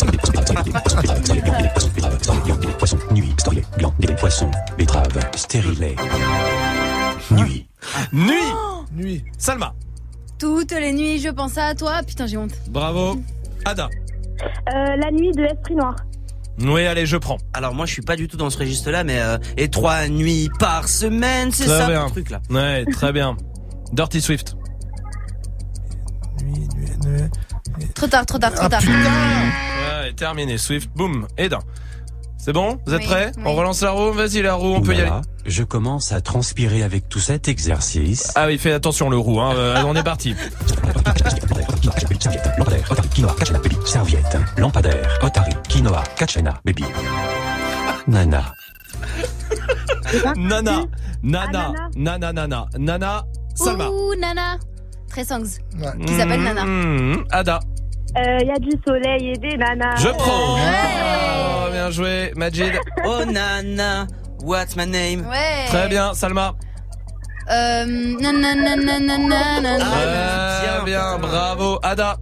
Poisson, nuit, storier, blanc, des poissons, betterave, stérilé. Nuit. Nuit. Salma. Toutes les nuits, je pense à toi. Putain, j'ai honte. Bravo. Ada. La nuit de l'esprit noir. Oui, allez, je prends. Alors moi je suis pas du tout dans ce registre-là, mais et 3 nuits par semaine, c'est Très ça bien. le truc là. Ouais, très bien. Dirty Swift. Trop tard. Ouais, terminé. Swift, boum, Eda. C'est bon ? Vous êtes Oui, prêts ? oui. On relance la roue ? Vas-y, la roue, on peut y aller. Voilà, je commence à transpirer avec tout cet exercice. Ah oui, fais attention le roue, hein. On est parti. Lampadaire, Otari, quinoa, kachana, baby. Serviette, lampadaire, Otari, quinoa, kachana, baby. Nana. Nana, Salma. Ouh, Nana. Très songs. Qui s'appelle Nana. Ada. Il y a du soleil et des nanas. Je prends. Oh, bien joué, Majid. Oh Nana, what's my name? Ouais. Très bien, Salma. Bien, bravo, Ada.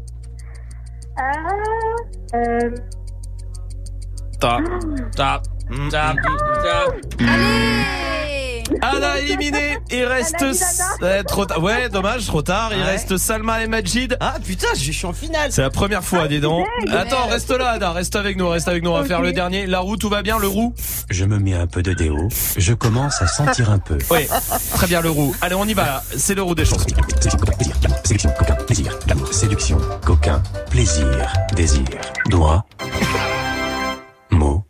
Allez. Ada éliminé. Il reste trop tard. Ouais, dommage, trop tard. Il reste Salma et Majid. Ah putain, je suis en finale. C'est la première fois, dis donc. Attends, reste là, Ada. Reste avec nous. On va faire le dernier. La roue, tout va bien, le roue? Je me mets un peu de déo. Je commence à sentir un peu. Oui, très bien, le roue. Allez, on y va là. C'est le roue des chansons. Séduction, coquin, plaisir, l'amour, séduction, coquin, plaisir, désir, doigt, mot.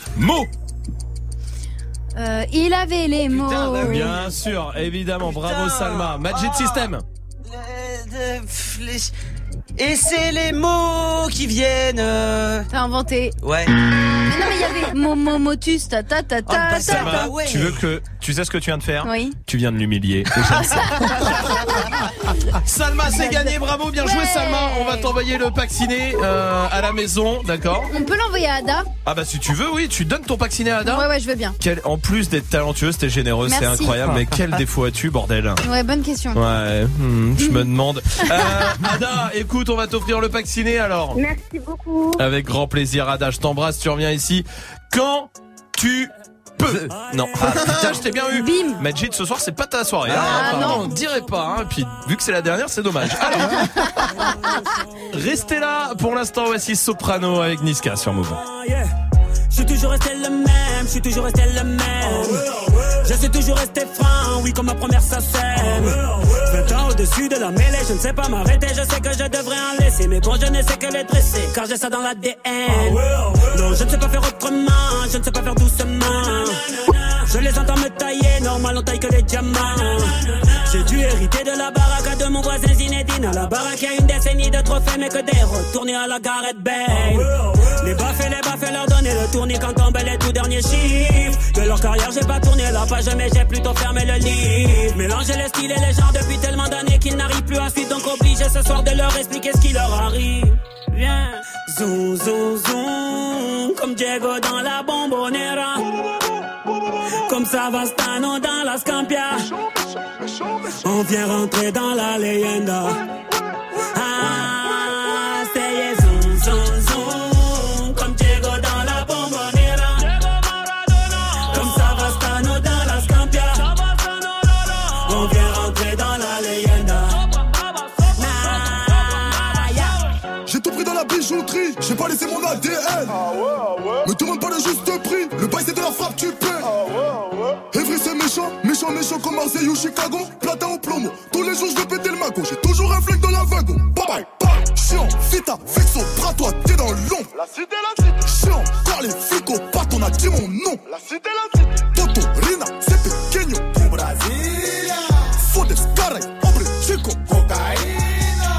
Il avait les mots. Bien sûr, évidemment. Bravo, Salma. Magic System. Et c'est les mots qui viennent. T'as inventé. Ouais. Mais non, mais il y avait motus, ta. Salma, tu sais ce que tu viens de faire? Oui. Tu viens de l'humilier. Salma, c'est gagné. Bravo, bien joué, Salma. On va t'envoyer le pack ciné à la maison, d'accord? On peut l'envoyer à Ada? Ah bah si tu veux, oui, tu donnes ton pack ciné à Ada? Ouais, je veux bien. En plus d'être talentueuse, t'es généreuse, c'est Merci. incroyable. Mais quel défaut as-tu, bordel? Ouais, bonne question. Ouais, je me demande. Ada, écoute, on va t'offrir le pack ciné alors. Merci beaucoup. Avec grand plaisir, Ada, je t'embrasse, tu reviens ici quand tu peux. Non, putain, je t'ai bien eu. Bim. Majid, ce soir, c'est pas ta soirée. Ah, Pardon, non. on dirait pas. Hein. Puis, vu que c'est la dernière, c'est dommage. Alors, restez là. Pour l'instant, voici Soprano avec Niska sur Move. Je suis toujours resté le même, je suis toujours resté le même. Je suis toujours resté franc, oui, comme ma première SACEM. 20 ans au-dessus de la mêlée, je ne sais pas m'arrêter, je sais que je devrais en laisser. Mais bon, je ne sais que les dresser, car j'ai ça dans l'ADN. Non, je ne sais pas faire autrement, je ne sais pas faire doucement. Je les entends me tailler, normal on taille que les diamants. J'ai dû hériter de la baraque de mon voisin Zinedine. À la baraque, il y a une décennie de trophées, mais que des retournés à la Gareth Bale. Les baffes, leur donner le tournis quand tombent les tout derniers chiffres. De leur carrière, j'ai pas tourné la page, mais j'ai plutôt fermé le livre. Mélanger les styles et les genres depuis tellement d'années qu'ils n'arrivent plus à suivre. Donc obligé ce soir de leur expliquer ce qui leur arrive. Viens, zoom, zoom, zoom, comme Diego dans la Bombonera. Comme Savastano dans la Scampia. On vient rentrer dans la leyenda. Ah, c'est zoom, zoom, zoom, comme Diego dans la Bombonera. Comme Savastano dans la Scampia. On vient rentrer dans la leyenda. Je J'ai tout pris dans la bijouterie, j'ai pas laissé mon ADN. Me demande pas le juste prix, le bail c'est de la frappe, tu paies. Evry c'est méchant, méchant, méchant comme Marseille ou Chicago. Platin au plomo, tous les jours je vais péter le mago. J'ai toujours un flingue dans la wagon. Bye bye, bye. Chiant, vita, vexo, bras toi, t'es dans l'ombre. La cité, chiant, quand les flics au pat, on a dit mon nom. La cité, Toto, Rina, c'est pequeño. Du Brasilia. Fodes, caray, hombre, chico. Cocaïna.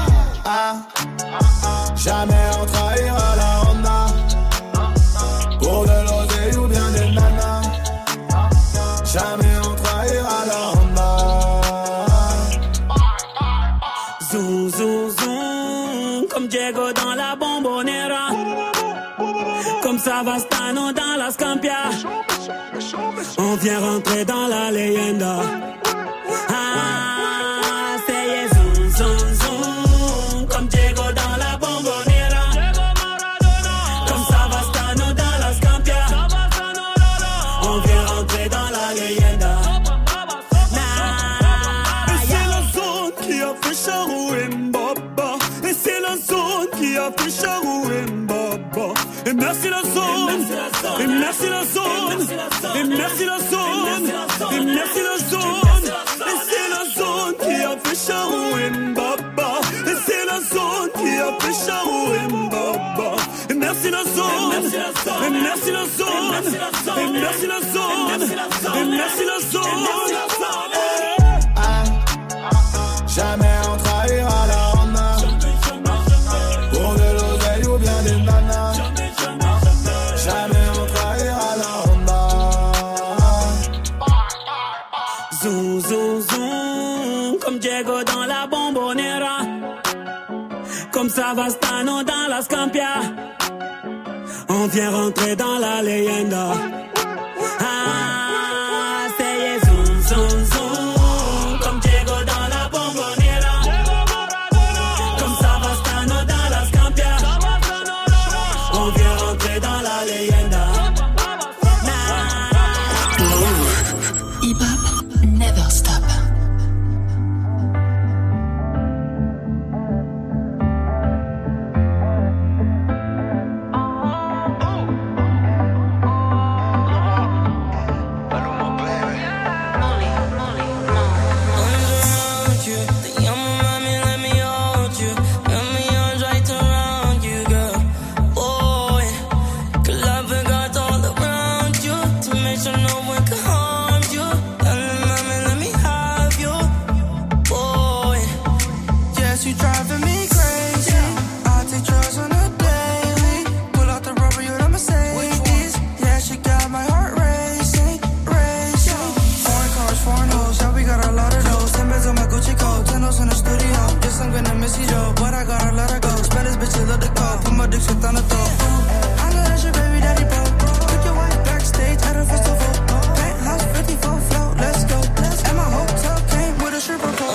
Jamais on trahira la Honda. Pour de l'oseille ou bien des nanas. Jamais on trahira la Honda. Zoom, zoom, zoom. Comme Diego dans la Bombonera. Comme Savastano dans la Scampia. On vient rentrer dans la leyenda. C'est zoom, zoom, zoom. Comme Diego dans la Bombonera. Comme Savastano dans la Scampia. On vient rentrer dans la leyenda. Et c'est la zone qui a fait Charou et Mbaba. Et c'est la zone qui a fait Charou et Mbaba. Et merci la zone. Et merci la zone. Et merci la zone. Et merci la zone. Et c'est la zone qui a fait Charou et Mbaba. Et c'est la zone qui a fait Charou et Mbaba. Et merci la zone. Et merci la zone. Et merci la zone. Et merci la zone. Jamais on trahira la Honda. Pour de l'oseille ou bien des nanas. Jamais on trahira la Honda. Zoom, zoom, zoom. Comme Diego dans la Bombonera. Comme Savastano dans la Scampia. On vient rentrer dans la leyenda. C'est zoom, zoom, zoom. Comme Diego dans la Bombonera. Comme Savastano dans la Scampia. On vient rentrer dans la leyenda. Hip-hop never stop. I'm gonna miss you, Joe, but I gotta let her go. Spend this bitch, love the call. Put my dick shit on the throat. I know that's your baby daddy, bro. Took your wife backstage at a festival. Penthouse 54 float, let's go. And my hotel came with a stripper pole.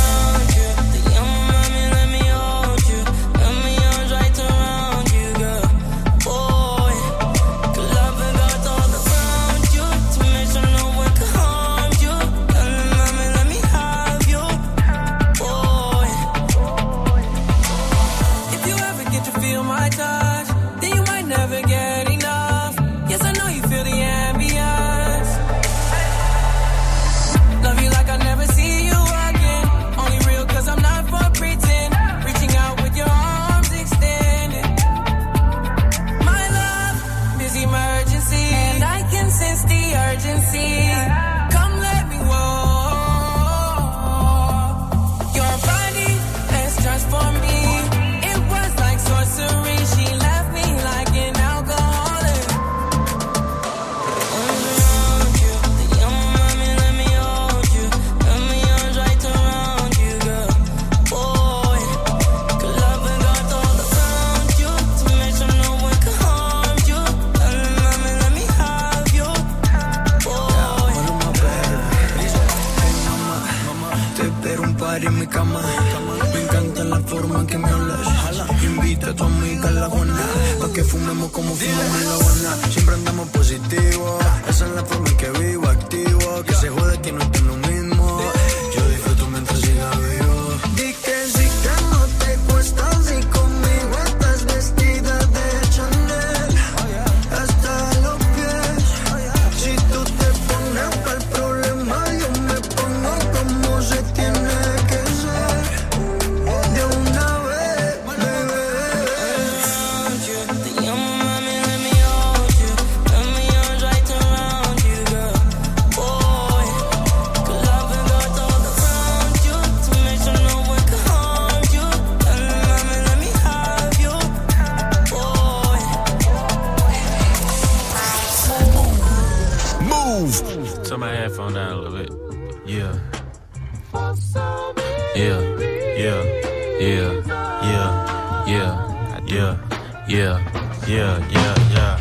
que fumemos como fumamos la buena. Siempre andamos positivo, esa es la forma en que vivo, activo. Que se jode que no esté lo mismo. Yo disfruto mientras siga vivo. Di que sí que no te cuesta, si conmigo headphone down a little bit. Yeah. Yeah. Yeah. Yeah. Yeah. Yeah. Yeah. Yeah. Yeah. Yeah. Yeah.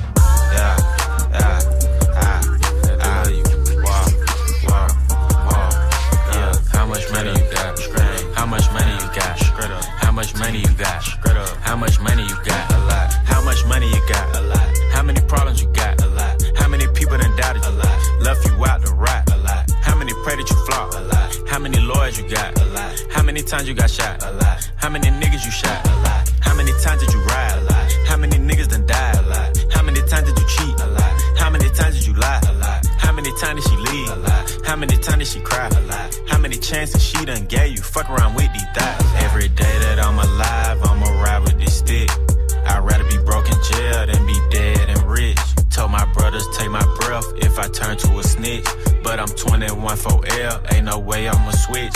How much money you got? How much money you got? How much money you got? How much money you got? A lot. How much money you got? A lot. How many problems you got? A lot. How many people done doubted you? A lot. Left you out to rot? A lot. How many pray that you flop? A lot. How many lawyers you got? A lot. How many times you got shot? A lot. How many niggas you shot? A lot. How many times did you ride? A lot. How many niggas done died? A lot. How many times did you cheat? A lot. How many times did you lie? A lot. How many times did she leave? A lot. How many times did she cry? A lot. How many chances she done gave you? Fuck around with these thighs. Every day that I'm alive, I'ma ride with this stick. I'd rather be broke in jail than be dead and rich. Told my brothers take my breath if I turn to a snitch. But I'm 21 for L, ain't no way I'ma switch.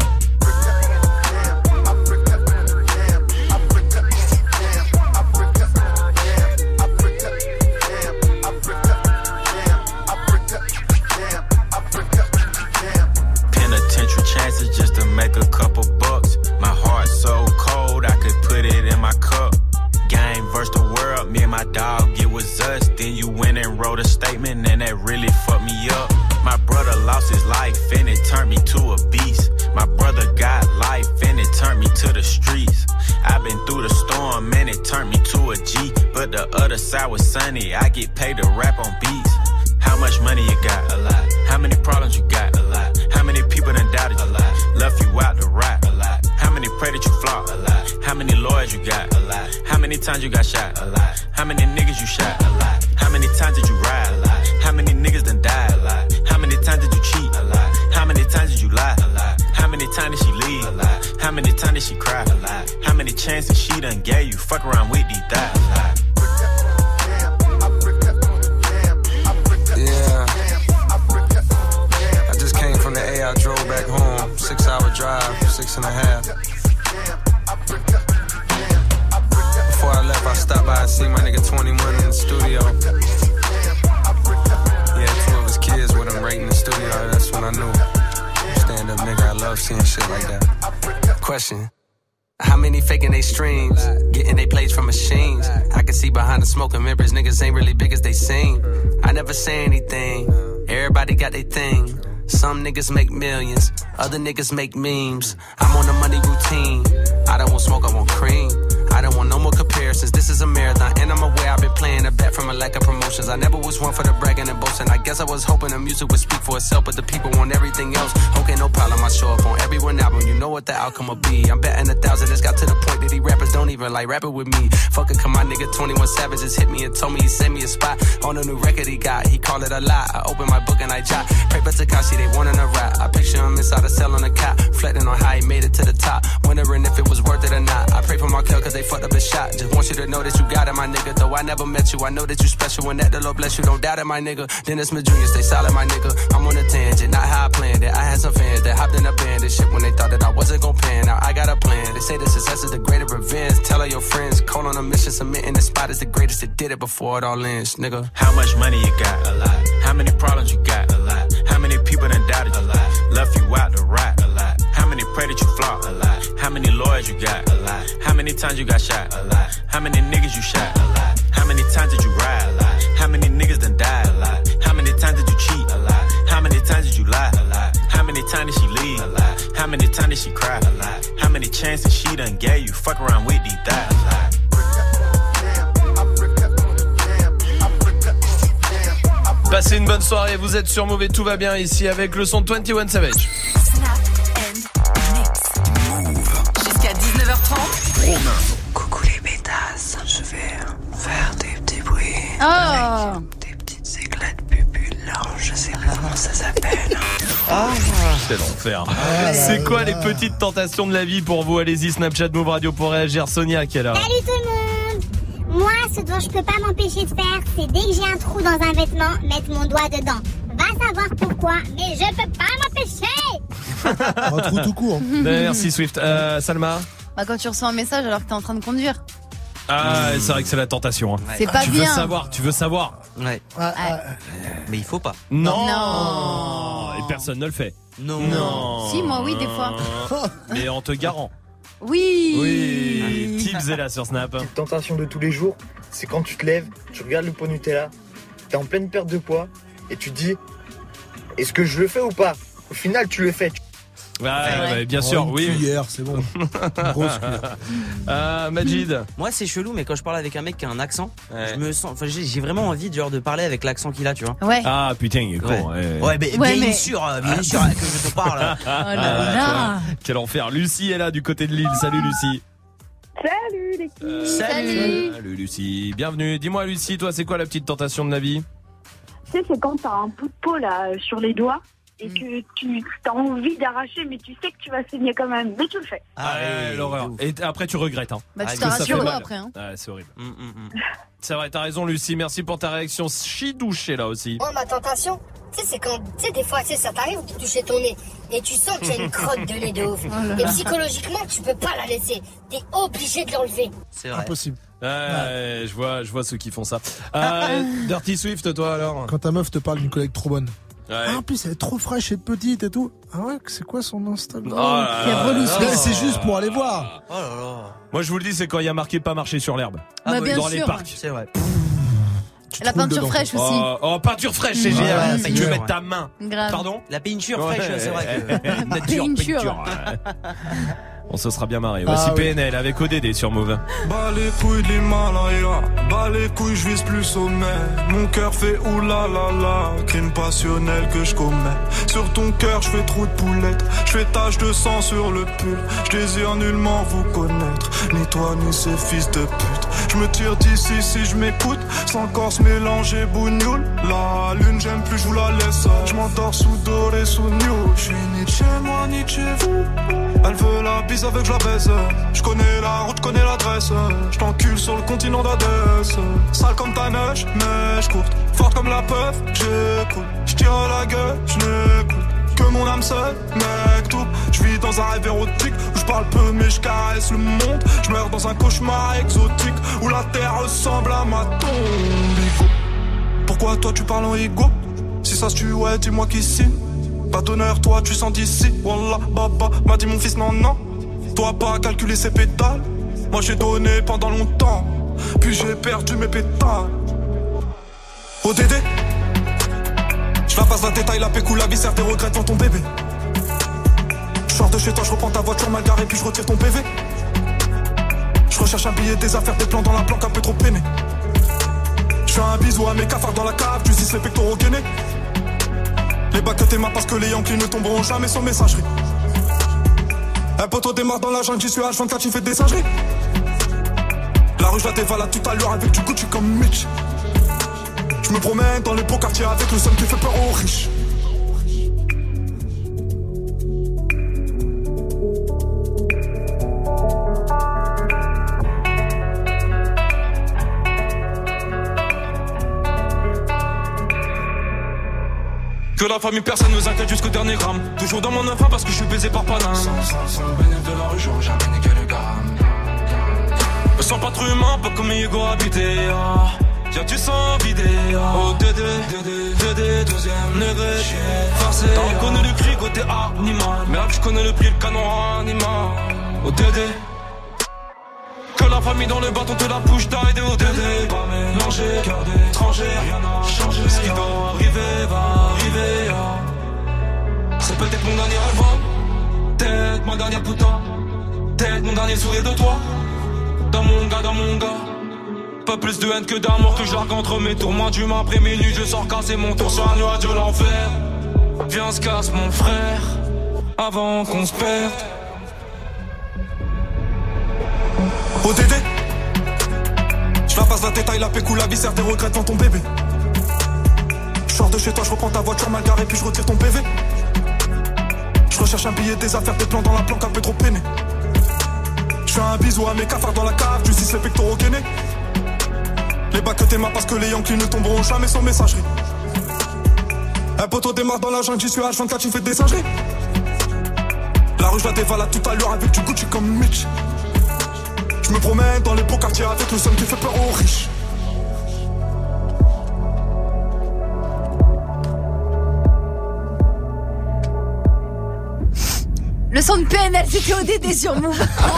Penitentiary chances just to make a couple bucks. My heart so cold I could put it in my cup. Game versus the world, me and my dog, it was us. Then you went and wrote a statement and that really fucked me up. My brother lost his life and it turned me to a beast. My brother got life and it turned me to the streets. I've been through the storm and it turned me to a G. But the other side was sunny, I get paid to rap on beats. How much money you got? A lot. How many problems you got? A lot. How many people done doubted you? A lot. Left you out to rot? A lot. How many pray that you flop? A lot. How many lawyers you got? A lot. How many times you got shot? A lot. How many niggas you shot? A lot. How many times did you ride? A lot. How many niggas done died? A lot. How many times did you cheat? A lot. How many times did you lie? A lot. How many times did she leave? A lot. How many times did she cry? A lot. How many chances she done gave you? Fuck around with these thighs. From the A, I drove back home, 6-hour drive, 6.5. Before I left, I stopped by and see my nigga 21 in the studio. He had 2 of his kids with him right in the studio. That's when I knew. Stand up nigga, I love seeing shit like that. Question. How many faking they streams, getting they plays from machines? I can see behind the smoke and mirrors, niggas ain't really big as they seem. I never say anything, everybody got their thing. Some niggas make millions, other niggas make memes. I'm on the money routine, I don't want smoke, I want cream. I don't want no more comparisons, this is a marathon. And I'm aware I've been playing a bet from a lack of promotions. I never was one for the bragging and boasting. I guess I was hoping the music would speak for itself, but the people want everything else. Okay, no problem, I show up on every one album. You know what the outcome will be. I'm betting 1,000, it's got to the point that these rappers don't even like rapping with me. Fuck it, come my nigga 21 Savage just hit me and told me he sent me a spot on a new record he got. He called it a lie, I opened my book and I jot. Pray for Tekashi, they wanting a rap. I picture him inside a cell on a cot, reflecting on how he made it to the top, wondering if it was worth it or not. I pray for Markel cause they fucked up his shot. Just want you to know that you got it, my nigga. Though I never met you, I know that you special. And that the Lord bless you, don't doubt it, my nigga. Dennis Smith Jr., stay solid, my nigga. I'm on a tangent, not how I planned it. I had some fans that hopped in a band and shit when they thought that I wasn't gon' pan. Now I got a plan. They say the success is the greatest revenge. Tell all your friends, call on a mission, submitting the spot is the greatest that did it before it all ends, nigga. How much money you got? A lot. How many problems you got? A lot. How many people done doubted you? A lot. Left you out to rot? A lot. How many pray that you flop? A lot. How many lawyers you got? A lot. How many times you got shot? A lot. How many niggas you shot? A lot. How many times did you ride? A lot. How many niggas done died? A lot. How many times did you cheat? A lot. How many times did you lie? A lot. How many times did she leave? A lot. How many times did she cry? A lot. How many chances she done gave you? Fuck around with these thighs. Passez une bonne soirée, vous êtes sur Move et tout va bien ici avec le son de 21 Savage. Jusqu'à 19h30. Coucou les pétasses, je vais faire des petits bruits. Oh. Des petites éclats de pupules, là, je sais pas comment ça s'appelle. C'est l'enfer. C'est quoi les petites tentations de la vie pour vous? Allez-y, Snapchat Move Radio pour réagir. Sonia qui est là. Salut tout le monde. Moi, ce dont je peux pas m'empêcher de faire, c'est dès que j'ai un trou dans un vêtement, mettre mon doigt dedans. Va savoir pourquoi, mais je peux pas m'empêcher. Un trou tout court. Merci Swift. Salma? Bah, quand tu reçois un message alors que t'es en train de conduire. Ah, c'est vrai que c'est la tentation. Hein. C'est pas bien. Tu veux savoir. Ouais. Mais il faut pas. Non. Et personne ne le fait. Non. Si, moi oui, des fois. Mais on te garant. Oui. Oui. Tips est là sur Snap. Petite tentation de tous les jours, c'est quand tu te lèves, tu regardes le pot Nutella, t'es en pleine perte de poids et tu te dis, est-ce que je le fais ou pas? Au final, tu le fais. Ouais, bien sûr, oui. Cuillère, c'est bon. Grosse cuillère. Majid. Moi, c'est chelou, mais quand je parle avec un mec qui a un accent, je me sens, enfin, j'ai vraiment envie de parler avec l'accent qu'il a, tu vois. Ouais. Ah putain, il est con. Ouais, bien sûr que je te parle. Oh là là. Quel enfer. Lucie est là du côté de Lille. Salut Lucie. Salut l'équipe. Salut Lucie. Bienvenue. Dis-moi Lucie, toi, c'est quoi la petite tentation de la vie? Tu sais, c'est quand t'as un bout de peau là sur les doigts. Et que tu as envie d'arracher, mais tu sais que tu vas saigner quand même. Mais tu le fais. Ah ouais, l'horreur. Et après, tu regrettes. Hein. Bah, tu t'arraches le doigt après. Hein. Ouais, c'est horrible. C'est vrai, t'as raison, Lucie. Merci pour ta réaction. Chidouche est là aussi. Moi, ma tentation, tu sais, c'est quand, tu sais, des fois, tu sais, ça t'arrive de toucher ton nez et tu sens qu'il y a une crotte de nez de ouf. Et psychologiquement, tu peux pas la laisser. T'es obligé de l'enlever. C'est vrai. Impossible. Ouais, je vois ceux qui font ça. Dirty Swift, toi alors? Quand ta meuf te parle d'une collègue trop bonne. Ouais. Ah, en plus, elle est trop fraîche et petite et tout. Ah ouais, c'est quoi son Instagram? C'est juste pour aller voir. Oh là là. Moi, je vous le dis, c'est quand il y a marqué pas marcher sur l'herbe. Bah, bien dans sûr. les parcs. C'est vrai. La peinture fraîche aussi. Oh, peinture fraîche, c'est génial. Ouais, Tu veux mettre ta main. Grave. Pardon? La peinture fraîche, c'est vrai. Peinture. On se sera bien marré. Voici PNL avec ODD sur Move. Bas les couilles de l'Himalaya, bas les couilles, je vise plus sommet. Mon cœur fait oulala, crime passionnel que je commets. Sur ton cœur, je fais trou de poulette, je fais tache de sang sur le pull. Je désire nullement vous connaître, ni toi ni ces fils de pute. Je me tire d'ici si je m'écoute, sans corps se mélanger bougnoule. La lune, j'aime plus, je vous la laisse. Je m'endors sous doré, sous new. Je suis ni chez moi, ni chez vous. Elle veut la bise avec je la baisse. Je connais la route, je connais l'adresse. Je t'encule sur le continent d'Adès. Sale comme ta neige, mais je courte. Forte comme la peuf, j'écoute. Je tire à la gueule, je n'écoute que mon âme seule, mec tout. Je vis dans un rêve érotique où je parle peu mais je caresse le monde. Je meurs dans un cauchemar exotique où la terre ressemble à ma tombe. Pourquoi toi tu parles en ego? Si ça se tue, ouais, dis-moi qui signe. Pas d'honneur, toi tu sens d'ici. Wallah, baba, m'a dit mon fils, non, non. Toi pas calculer ses pétales. Moi j'ai donné pendant longtemps, puis j'ai perdu mes pétales. ODD, je la passe la détail, la pécou, la viscère, tes regrets devant ton bébé. Je sors de chez toi, je reprends ta voiture mal garée, puis je retire ton PV. Je recherche un billet, des affaires, des plans dans la planque, un peu trop peiné. Je fais un bisou à mes cafards dans la cave, tu dis les pectoraux gainés. Les bacs que tes mains parce que les Yankees ne tomberont jamais sans messagerie. Un poteau démarre dans la jungle, j'y suis H24, tu fais des singeries. La rue je la dévalade tout à l'heure avec du Gucci comme Mitch. Je me promène dans les beaux quartiers avec le seul qui fait peur aux riches. Que la famille personne nous inquiète jusqu'au dernier gramme. Toujours dans mon enfant parce que je suis baisé par Paname. Sans le bénéfice de la rue, j'aurais jamais niqué le gamme. Me sens pas trop humain, pas comme Hugo habité. Tiens tu sens vidé. Oh Dédé, deuxième degré. Forcé. T'as reconnu le cri côté animal. Mais là je connais le prix, le canon animal. Oh Dédé. Que la famille dans le bâton te la bouche d'aide au Dédé. Pas mélangé, cœur d'étranger, rien n'a changé. Ce qui doit arriver va arriver. C'est peut-être mon dernier album, peut-être ma dernière putain, peut-être mon dernier sourire de toi. Dans mon gars, pas plus de haine que d'amour que je largue entre mes tours. Moi d'humain après minuit, je sors casser mon tour sur un nuage de l'enfer. Viens se casse mon frère, avant qu'on se perde. ODD, je la passe la détail, la pécou, la viscère, tes regrets devant ton bébé. Je sors de chez toi, je reprends ta voiture mal garée, puis je retire ton PV. Je recherche un billet, des affaires, des plans dans la planque, un peu trop peiné. Je fais un bisou à mes cafards dans la cave, tu dis les pectoraux gainés. Les bacs que tes mains parce que les Yankees ne tomberont jamais sans messagerie. Un poteau démarre dans la jungle, j'y suis H24, tu fais des singeries. La rue je la dévalade tout à l'heure avec du Gucci comme Mitch. Je me promène dans les beaux quartiers avec le seul qui fait peur aux riches. son de PNL, c'était ODD sur Move.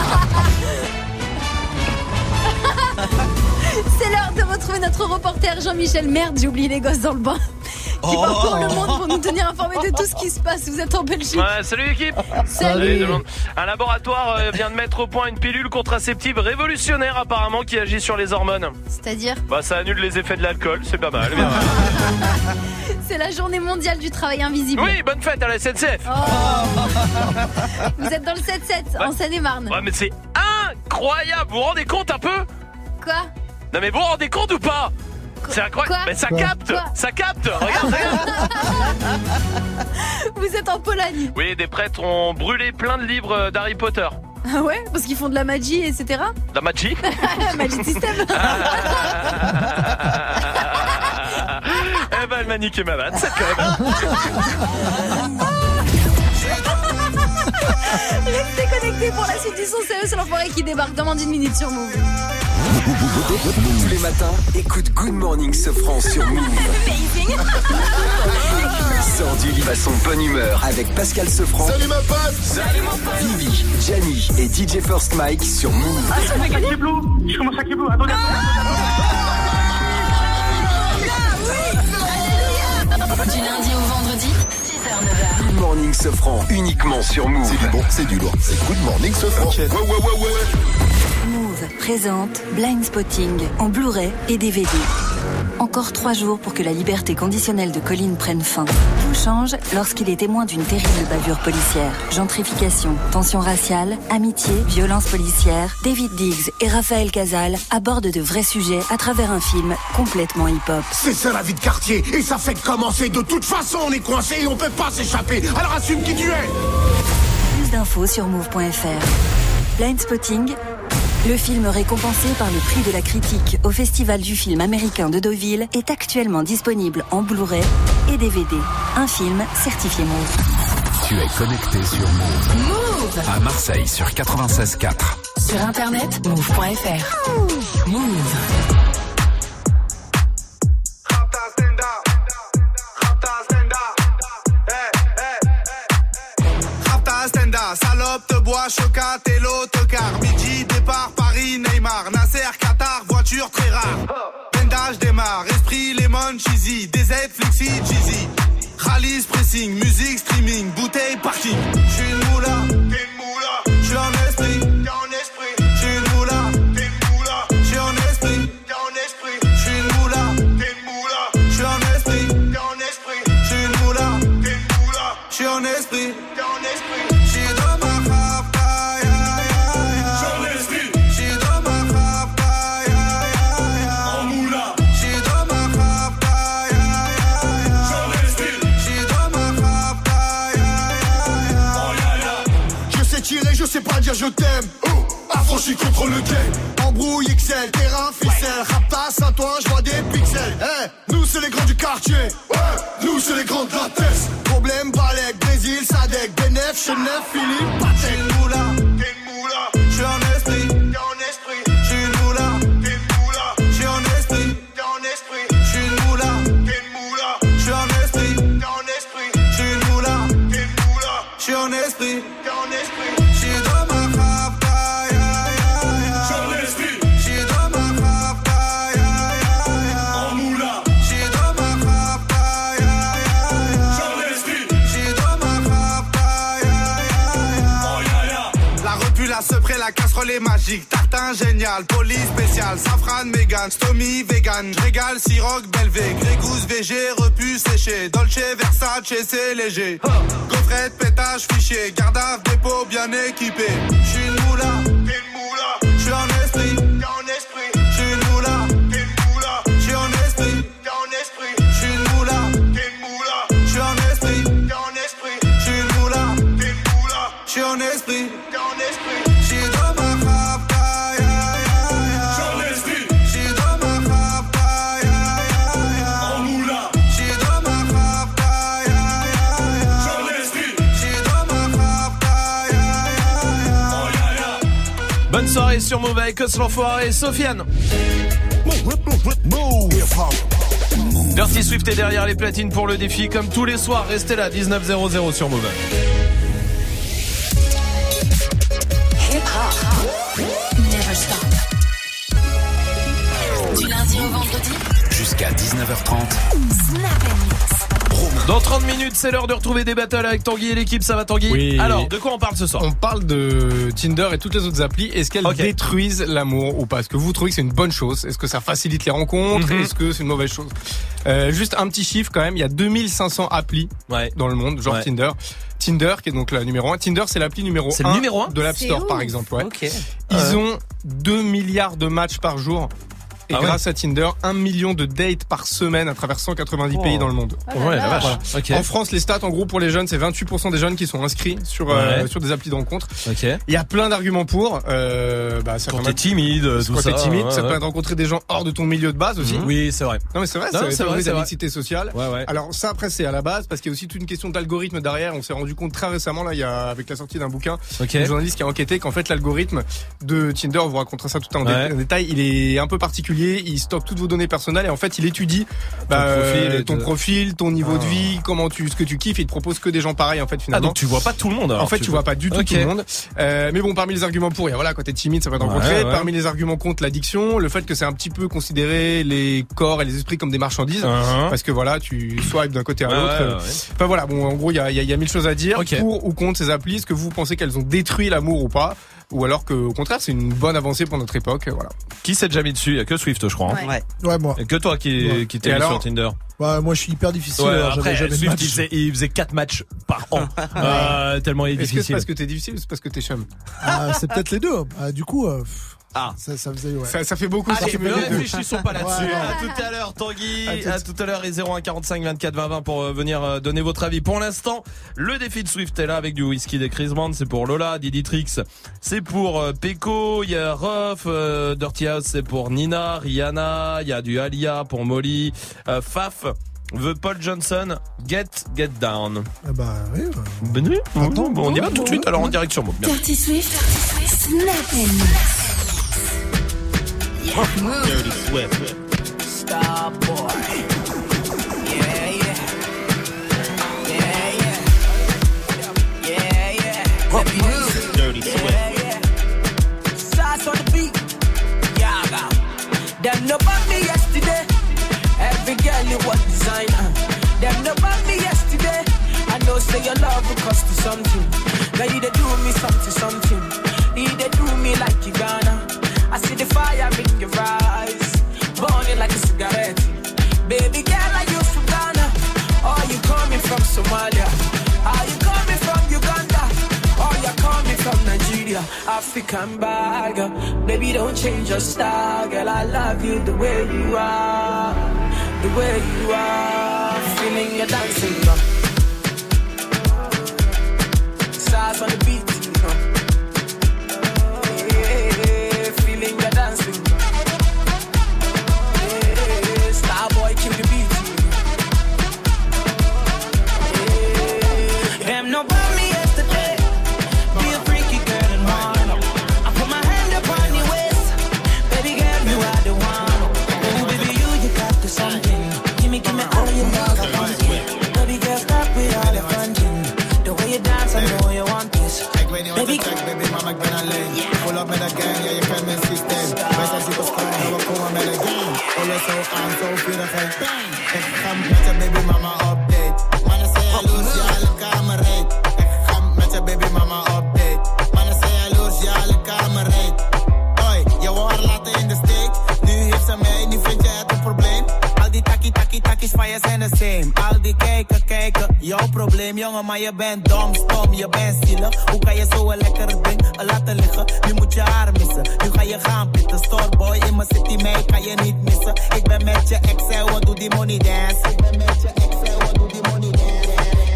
C'est l'heure de retrouver notre reporter Jean-Michel. Merde, j'ai oublié les gosses dans le bain. Qui parcourt le monde pour nous tenir informés de tout ce qui se passe. Vous êtes en Belgique. Ouais, salut l'équipe. Salut. Un laboratoire vient de mettre au point une pilule contraceptive révolutionnaire apparemment qui agit sur les hormones. C'est-à-dire ? Bah ça annule les effets de l'alcool, c'est pas mal. C'est la journée mondiale du travail invisible. Oui, bonne fête à la SNCF. Vous êtes dans le 7-7 en Seine-et-Marne. Ouais mais c'est incroyable, vous vous rendez compte un peu ? Quoi ? Non mais vous vous rendez compte ou pas ? C'est incroyable. Mais ça capte. Ça capte. Regarde. Vous êtes en Pologne. Oui, des prêtres ont brûlé plein de livres d'Harry Potter. Ah ouais, parce qu'ils font de la magie, etc. La magie. Magie système. Eh ben, elle m'a niqué ma vanne, c'est quand même. Restez connectés pour la suite du son. C'est l'enfoiré qui débarque dans moins d'une minute sur Move. Tous les matins, écoute Good Morning Sofran sur Move. Sors du lit à son bonne humeur avec Pascal Sofran. Salut ma pote. Salut mon pote. Vivi, Gianni et DJ First Mike sur Move. Ah, ça fait gagner Blue. Je commence à Kibou. Attendez. Du lundi au vendredi, 6h-9h. Good Morning Sofran, uniquement sur Move. C'est du bon, c'est du lourd. C'est Good Morning Sofran. Okay. Ouais. Move présente Blind Spotting en Blu-ray et DVD. Encore 3 jours pour que la liberté conditionnelle de Colin prenne fin. Tout change lorsqu'il est témoin d'une terrible bavure policière. Gentrification, tension raciale, amitié, violence policière. David Diggs et Raphaël Casal abordent de vrais sujets à travers un film complètement hip-hop. C'est ça la vie de quartier et ça fait commencer. De toute façon on est coincé et on peut pas s'échapper. Alors assume qui tu es. Plus d'infos sur move.fr. Blind Spotting, le film récompensé par le prix de la critique au Festival du film américain de Deauville, est actuellement disponible en Blu-ray et DVD. Un film certifié Move. Tu es connecté sur Move. Move. À Marseille sur 96.4. Sur internet, move.fr. Move. Salope, te bois, chocat et l'autocar. Midi, départ, Paris, Neymar. Nasser, Qatar, voiture très rare. Bendage démarre, esprit, lemon, cheesy. DZ, flexi, cheesy. Rallye, pressing, musique, streaming. Bouteille, parking. J'suis une moula, t'es une moula. J'suis en esprit, t'es en esprit. J'suis une moula, t'es une moula. J'suis en esprit, t'es en esprit. J'suis une moula, t'es une moula. J'suis en esprit, t'es en esprit. J'suis une moula, t'es une moula. J'suis en esprit, t'es en esprit. Je sais pas dire je t'aime, affranchi contre le game. Embrouille XL, terrain, ficelle. Rapta, Saint-Ouen, je vois des pixels. Nous c'est les grands du quartier, nous c'est les grands de la tête. Problème, Balek, Brésil, Sadek, Benef, Chenef, Philippe, Patek. J'suis une moula, t'es une moula. J'suis en esprit, t'es en esprit. J'suis une moula, t'es une moula. J'suis en esprit, t'es en esprit. J'suis une moula, t'es une moula. J'suis en esprit, t'es en esprit. J'suis une moula, t'es une moula. J'suis en esprit, t'es en esprit. La casserole est magique, tartin génial, police spécial, safran, mégan, stomy, vegan, régale, siroc, belvé, grégousse, VG, repu, séché, Dolce, Versace, c'est léger, gaufrette, pétage, fichier, garde à dépôt bien équipé, j'suis une moula, t'es une moula, j'suis en esprit, t'es en esprit, j'suis une moula, t'es une moula, j'suis en esprit, t'es en esprit, j'suis une moula, t'es une moula, j'suis en esprit, t'es en esprit, j'suis une moula, t'es une moula, j'suis en esprit, t'es en esprit. Bonne soirée sur Move avec Os l'enfoiré et Sofiane. Dirty Swift est derrière les platines pour le défi. Comme tous les soirs, restez là, 19:00 sur Move. Never stop. Du lundi au vendredi, Jusqu'à 19h30. Snap & Mix. Dans 30 minutes, c'est l'heure de retrouver des battles avec Tanguy et l'équipe. Ça va, Tanguy? Oui. Alors, de quoi on parle ce soir? On parle de Tinder et toutes les autres applis. Est-ce qu'elles détruisent l'amour ou pas? Est-ce que vous trouvez que c'est une bonne chose? Est-ce que ça facilite les rencontres? Est-ce que c'est une mauvaise chose? Juste un petit chiffre quand même. Il y a 2500 applis dans le monde, genre Tinder. Tinder, qui est donc la numéro 1. Tinder, c'est l'appli numéro 1 de l'App Store, par exemple. Ouais. Ils ont 2 milliards de matchs par jour. Et grâce à Tinder, 1 million de dates par semaine à travers 190 pays dans le monde. Ouais, la vache. Voilà. Okay. En France, les stats, en gros, pour les jeunes, c'est 28% des jeunes qui sont inscrits sur des applis de rencontre. Il y a plein d'arguments pour. Quand t'es timide, tout ça. Quand t'es timide, ça te permet de rencontrer des gens hors de ton milieu de base aussi. Oui, c'est vrai. Non, mais c'est vrai, c'est vrai, la mixité sociale. Ouais. Alors ça, après, c'est à la base, parce qu'il y a aussi toute une question d'algorithme derrière. On s'est rendu compte très récemment, là, il y a, avec la sortie d'un bouquin, un journaliste qui a enquêté qu'en fait, l'algorithme de Tinder, on vous racontera ça tout en détail, il est un peu particulier. Il stocke toutes vos données personnelles et en fait, il étudie ton profil, ton niveau de vie, ce que tu kiffes. Il te propose que des gens pareils, en fait, finalement. Ah, donc tu vois pas tout le monde, alors. En fait, tu vois pas du tout tout le monde. Mais bon, parmi les arguments pour, il y a, voilà, quand t'es timide, ça va te rencontrer. Parmi les arguments contre, l'addiction, le fait que c'est un petit peu considéré les corps et les esprits comme des marchandises. Parce que voilà, tu swipes d'un côté à l'autre. Enfin voilà, bon, en gros, il y a 1000 choses à dire. Pour ou contre ces applis. Est-ce que vous pensez qu'elles ont détruit l'amour ou pas? Ou alors qu'au contraire, c'est une bonne avancée pour notre époque, voilà. Qui s'est déjà mis dessus? Il y a que Swift, je crois. Ouais, moi. Et que toi qui t'es mis sur Tinder. Ouais, moi je suis hyper difficile. Après, Swift, il faisait 4 matchs par an. Tellement il est difficile. Est-ce que c'est parce que t'es difficile ou c'est parce que t'es chum? C'est peut-être les deux. Du coup, ça faisait, ça fait beaucoup. Allez, ne réfléchissons pas là-dessus. À tout à l'heure, Tanguy. À tout à l'heure, et 01 45 24 20 20 pour venir donner votre avis. Pour l'instant, le défi de Swift est là avec du whisky des Chris Brown. C'est pour Lola, Diditrix. C'est pour Peko. Il y a Ruff, Dirty House. C'est pour Nina, Rihanna. Il y a du Alia pour Molly, Faf. The Paul Johnson, Get Down. Oui. On y va tout de suite. Alors en direct sur Move. Dirty Swift, Snap & Mix. Dirty Swift. Star boy. Dirty Swift. Sauce on the beat. Yaga. Them no bought me yesterday. Every girl you was designer. Them no bought me yesterday. I know say your love will cost you something. Now you they do me something. You they do me like you gonna. I see the fire in your eyes, burning like a cigarette. Baby girl, are you from Ghana? Or you coming from Somalia? Are you coming from Uganda? Or you coming from Nigeria? African bag, baby don't change your style, girl. I love you the way you are, the way you are. Feeling your dancing, stars on the beat. Baby mama, ik ben alleen. Pull up met een gang, ja je kent mijn systeem. Wij zijn superstar, en we komen met een gang. Alles zo aan, zo vierigheid. Ik ga met je baby mama update. Mannen zijn jaloers, ja alle kamer reed. Ik ga met je baby mama update. Mannen zijn jaloers, ja alle kamer reed. Hoi, je wou haar laten in de steek. Nu heeft ze mij, nu vind je het een probleem. Al die takkies van je zijn de same. Al die kijken, jouw probleem jongen, maar je bent dom, stom, je bent zielig. Hoe kan je zo een lekker ding laten liggen? Nu moet je haar missen, nu ga je gaan pitten. Storeboy in mijn city, mij kan je niet missen. Ik ben met je ex, en wat doe die money dance? Ik ben met je ex, en wat doe die money dance?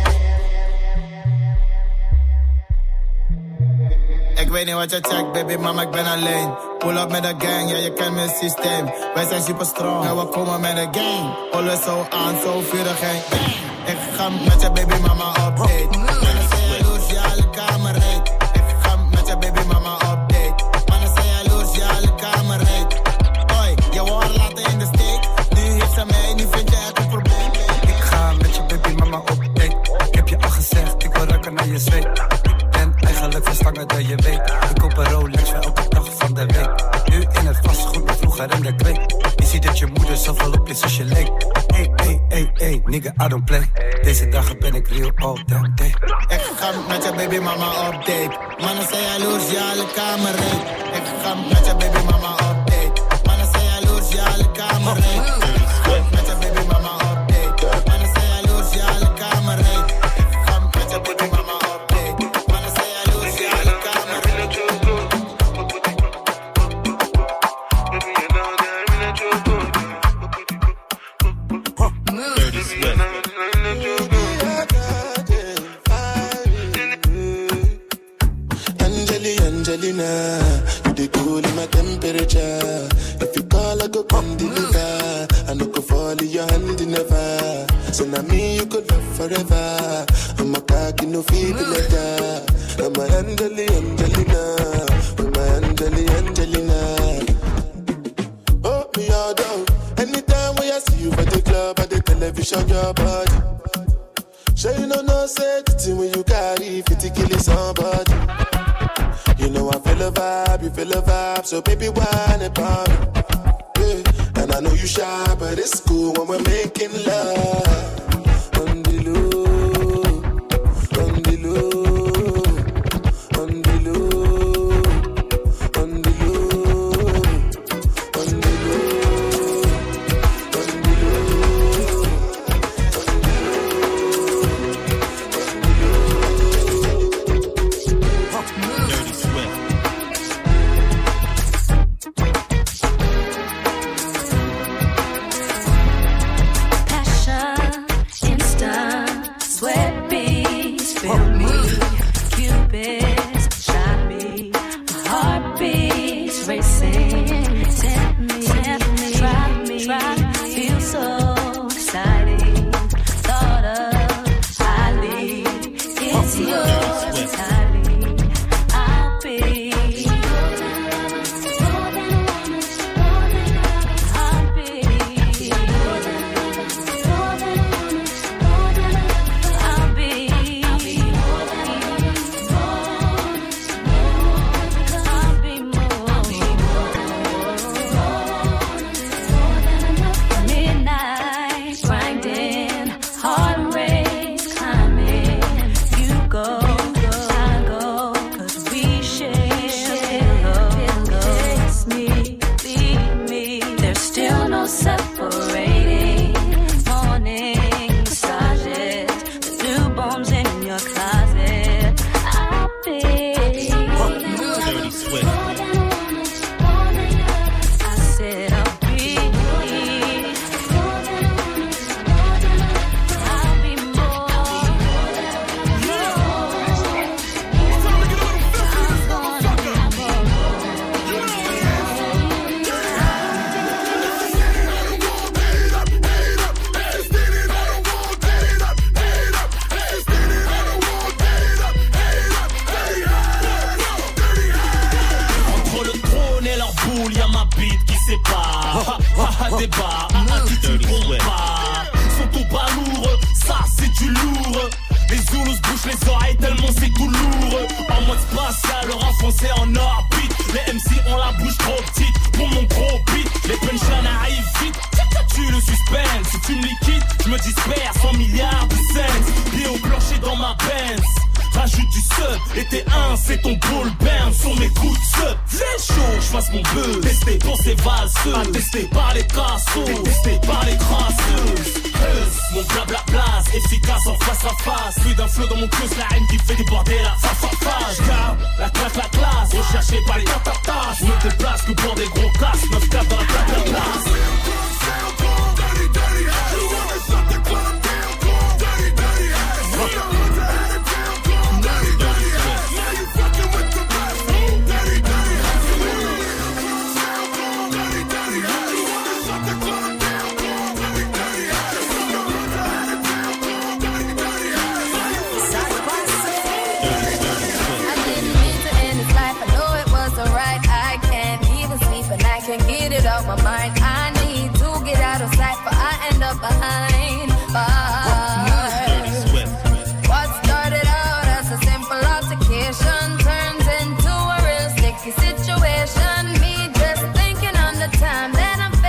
Ik weet niet wat je checkt, baby, mama, ik ben alleen. Pull up met een gang, ja, je kent mijn systeem. Wij zijn super strong, en we komen met een gang. Alles zo aan, zo vurig en bang. Ik ga met je baby mama update. Mannen zijn jaloers, ja, alle kamer reed. Ik ga met je baby mama update. Mannen zijn jaloers, ja, alle kamer reed. Hoi, je wou haar laten in de steek. Nu heeft ze mij, nu vind je het een probleem. Ik ga met je baby mama update. Ik heb je al gezegd, ik wil ruiken naar je zweet. Ik ben eigenlijk verstangen dat je weet. Ik koop een Rolex voor elke flick. Je ziet dat je moeder zoveel op je zoals je leek. Hey, nigga, I don't play. Deze dagen ben ik real all damn day. Ik ga met je baby mama op date. Mannen zijn jaloers, ja, alle kamer reed. Ik ga met je baby mama op date. Mannen zijn jaloers, ja, alle kamer reed. Ik ga met je baby mama op date. Mannen zijn jaloers, ja, alle kamer reed. Ik ga met je baby mama op date. Mannen zijn jaloers, ja, alle kamer reed. Dirty Swift. Angelina, you the cool in my temperature. If you call, I go come deliver. I no go fall in your hand never. So now me you could love forever. I'm a cocky no feeble letter. I'm a Angelina, I'm a Angelina. Oh me all down. Anytime when I see you for the club or the television, your body. Sure you know say the thing when you carry 50 kill somebody. You know I feel a vibe, you feel a vibe, so baby whine about me. Yeah. And I know you shy, but it's cool when we're making love. On the low, on the low, on the low, on the low, on the low, on the low. Dirty Swift. Passion, instant, sweat beats, fill me, Cupid's shot me, my heart beats racing, tempt me, try me, feel so exciting, thought of highly, it's yours entirely, I'll be. Midnight grinding, heart rate climbing. You go, I go, 'cause we share pillow. Kiss me, leave me. There's still no separating. Morning massages, the newborns in your closet. I'll be. Dirty Swift. I said I'll be. I'll be more. Entre le trône et leur boule, y'a ma bite qui sépare. Débat, qui tu comprends pas. Sont tout bas lourd, ça c'est du lourd. Les Zoulous se bouchent les oreilles tellement c'est tout lourd. En mode spatial, le rap français en orbite. Les MC ont la bouche trop petite pour mon gros beat. Les punchlines arrivent vite, tu le suspense. Si tu me liquides, je me disperse 100 milliards de cents. Pieds au plancher dans ma Benz. Rajoute du sub, et t'es un, c'est ton ball burn sur mes coups de sub. C'est chaud, j'fasse mon buzz. Testé pour ces valseuses, attesté par les cassos, détesté par les crasseuses. Mon blabla efficace en face à face. Plus d'un flot dans mon cœur, la haine qui fait déborder la face. Car la classe, recherché par les tatatas. Je me déplace que pour des gros casses, 9-4 dans la classe. My mind, I need to get out of sight, but I end up behind bars. What started out as a simple altercation turns into a real sticky situation. Me just thinking on the time that I'm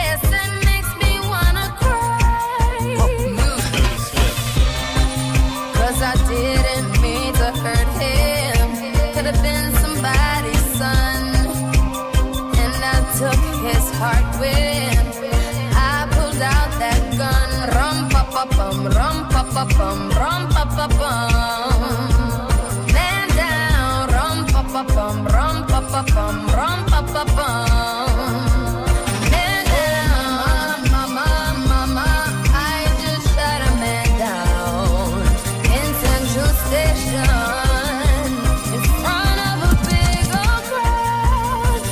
pa pum, rum pa pa pum. Man down, rum pa pa pum, rum pa pa pum, rum pa pa pum. Man down, mama, mama, I just shot a man down in Central Station in front of a big old crowd.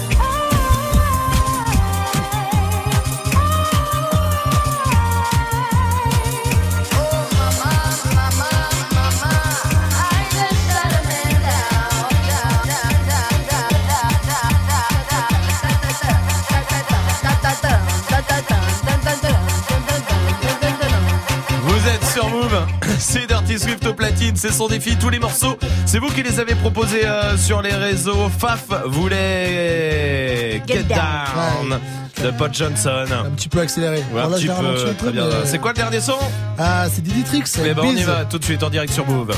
Vous êtes sur Move, c'est Dirty Swift au platine, c'est son défi, tous les morceaux, c'est vous qui les avez proposés sur les réseaux. Faf voulait Get Down de Pod Johnson. Un petit peu accéléré. Ouais, un petit peu, très bien. Mais... C'est quoi le dernier son? Ah, c'est Diddy Tricks. Mais ben on y va tout de suite en direct sur Move.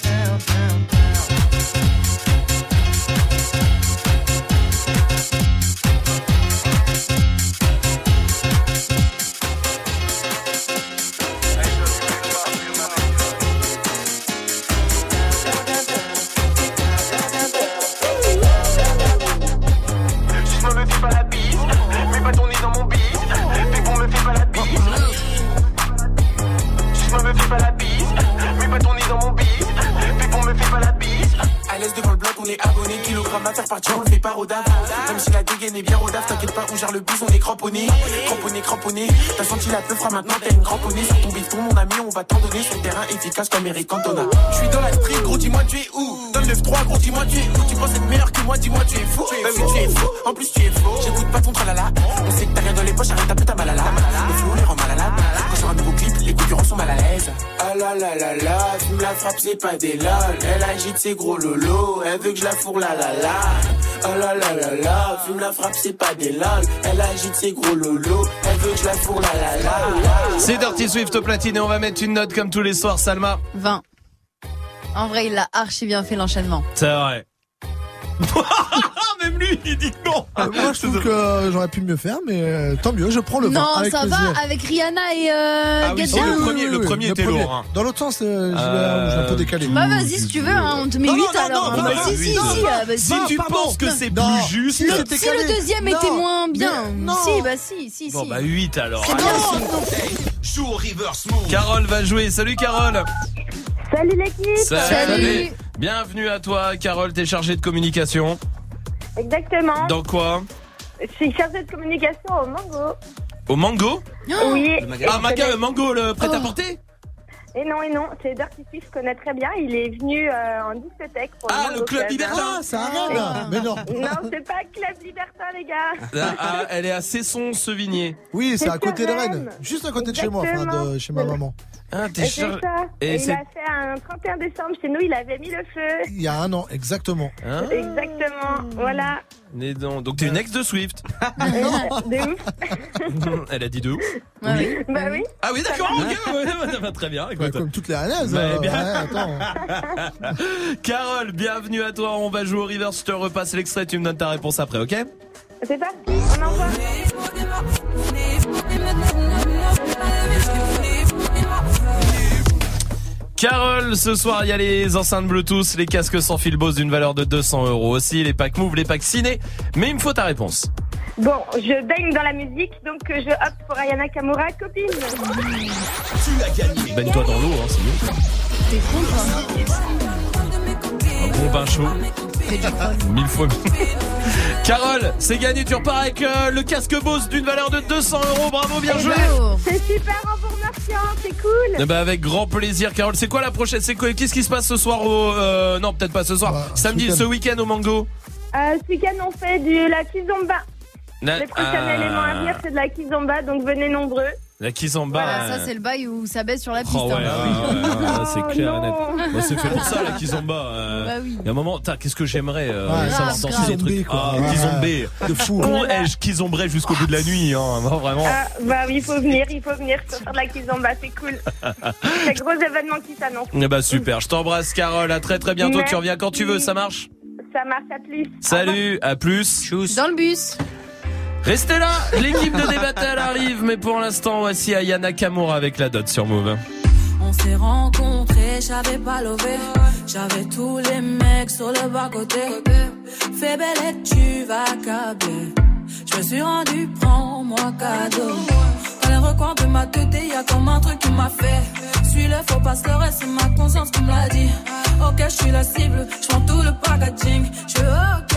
Même si la dégaine est bien rodave, t'inquiète pas, on gère le bus, on est cramponné. Cramponné, t'as senti la peu fera maintenant, t'as une cramponnée. Sur ton bifton, mon ami, on va t'en donner. Sur le terrain efficace comme Eric Cantona. J'suis dans la street, gros, dis-moi tu es où? Dans le 9-3, gros, dis-moi tu es où? Tu penses être meilleur que moi, dis-moi tu es fou. Bah oui, tu es fou, en plus tu es faux. J'écoute pas ton tralala, on sait que t'as rien dans les poches, arrête ta putain malala. Le flow les rend mal à la. Quand sur un nouveau clip, les concurrents sont mal à l'aise. Ah la la la la, fume la frappe, c'est pas des lol. Elle agite ses gros lolos, elle veut que je la fourre la la la. Oh la la la la, fume la frappe, c'est pas des lol. Elle agite ses gros lolos, elle veut que je la fourre la la la. C'est Dirty Swift au platine et on va mettre une note comme tous les soirs, Salma. 20. En vrai, il a archi bien fait l'enchaînement. C'est vrai. Même lui, il dit que non. Moi, je trouve que j'aurais pu mieux faire, mais tant mieux, je prends le 20. Non, avec ça plaisir. va avec Rihanna et Get oui, Down. le premier était lourd. Hein. Dans l'autre sens, j'ai un peu décalé. Bah vas-y si tu veux, hein, on te met 8 alors. non, Si, si tu penses que c'est plus juste. Si le deuxième était moins bien. Si. Bon bah 8 alors. C'est bien. Joue au reverse move. Carole va jouer. Salut Carole. Salut l'équipe. Salut. Bienvenue à toi Carole, t'es chargée de communication. Exactement. Dans quoi? Je suis chargée de communication au Mango. Au Mango? Oui. Mango, le prêt-à-porter? Et non, c'est Dirty Swift, je connais très bien. Il est venu en discothèque pour le Club Libertin. Ah, ça arrive. Mais non. Non, c'est pas Club Libertin, les gars. Elle est à Cesson-Sevigné. Oui, c'est à côté de Rennes. Juste à côté de chez moi, enfin de chez ma maman. Ah, t'es chargé. Et il a fait un 31 décembre chez nous, il avait mis le feu. Il y a un an, exactement. Exactement, voilà. Donc t'es une ex de Swift. De ouf. Elle a dit de ouf. Bah oui. Ah oui, d'accord, ok, ça va très bien. Bah, comme toutes les Rennaises. Attends. Carole, bienvenue à toi. On va jouer au reverse. Je te repasse l'extrait. Tu me donnes ta réponse après, ok? C'est parti, on envoie. Carole, ce soir il y a les enceintes Bluetooth, les casques sans fil Bose d'une valeur de 200 € aussi, les packs Move, les packs Ciné. Mais il me faut ta réponse. Bon, je baigne dans la musique, donc je opte pour Ayana Kamura, copine. Tu as gagné. Baigne-toi dans l'eau, hein, c'est mieux. T'es con, toi. Un bon bain chaud. 1000 fois mieux. Carole, c'est gagné, tu repars avec le casque Bose d'une valeur de 200 €. Bravo, bien joué. C'est super, en vous remerciant, c'est cool. Avec grand plaisir, Carole. C'est quoi la prochaine? Qu'est-ce qui se passe ce soir non, peut-être pas ce soir. Samedi, ce week-end au Mango. Ce week-end, on fait de la kizomba. Le prochain élément à venir, c'est de la kizomba, donc venez nombreux. La kizomba. Voilà, ça c'est le bail où ça baisse sur la piste. Oh ouais, c'est clair et net. Moi, c'est fait pour ça la kizomba. Bah oui. Il y a un moment, qu'est-ce que j'aimerais savoir danser des Kizombé, trucs. quoi. Kizombé. De fou. Comment ai-je kizombré jusqu'au bout de la nuit, hein, vraiment. Bah oui, il faut venir, faut faire de la kizomba, c'est cool. C'est un gros événement qui s'annonce. Super, je t'embrasse Carole, à très très bientôt. Tu reviens quand tu veux, ça marche? Ça marche, à plus. Salut, à plus. Dans le bus. Restez là, l'équipe de Débattel arrive, mais pour l'instant, voici Ayana Kamura avec la dot sur Move. On s'est rencontrés, j'avais pas levé. J'avais tous les mecs sur le bas-côté. Fais belle et tu vas câbler. Je me suis rendu, prends-moi cadeau. Dans les recoins de ma tête, y'a comme un truc qui m'a fait. Suis-le, faut pas se leurrer, c'est ma conscience qui me l'a dit. Ok, je suis la cible, je prends tout le packaging. Je suis ok.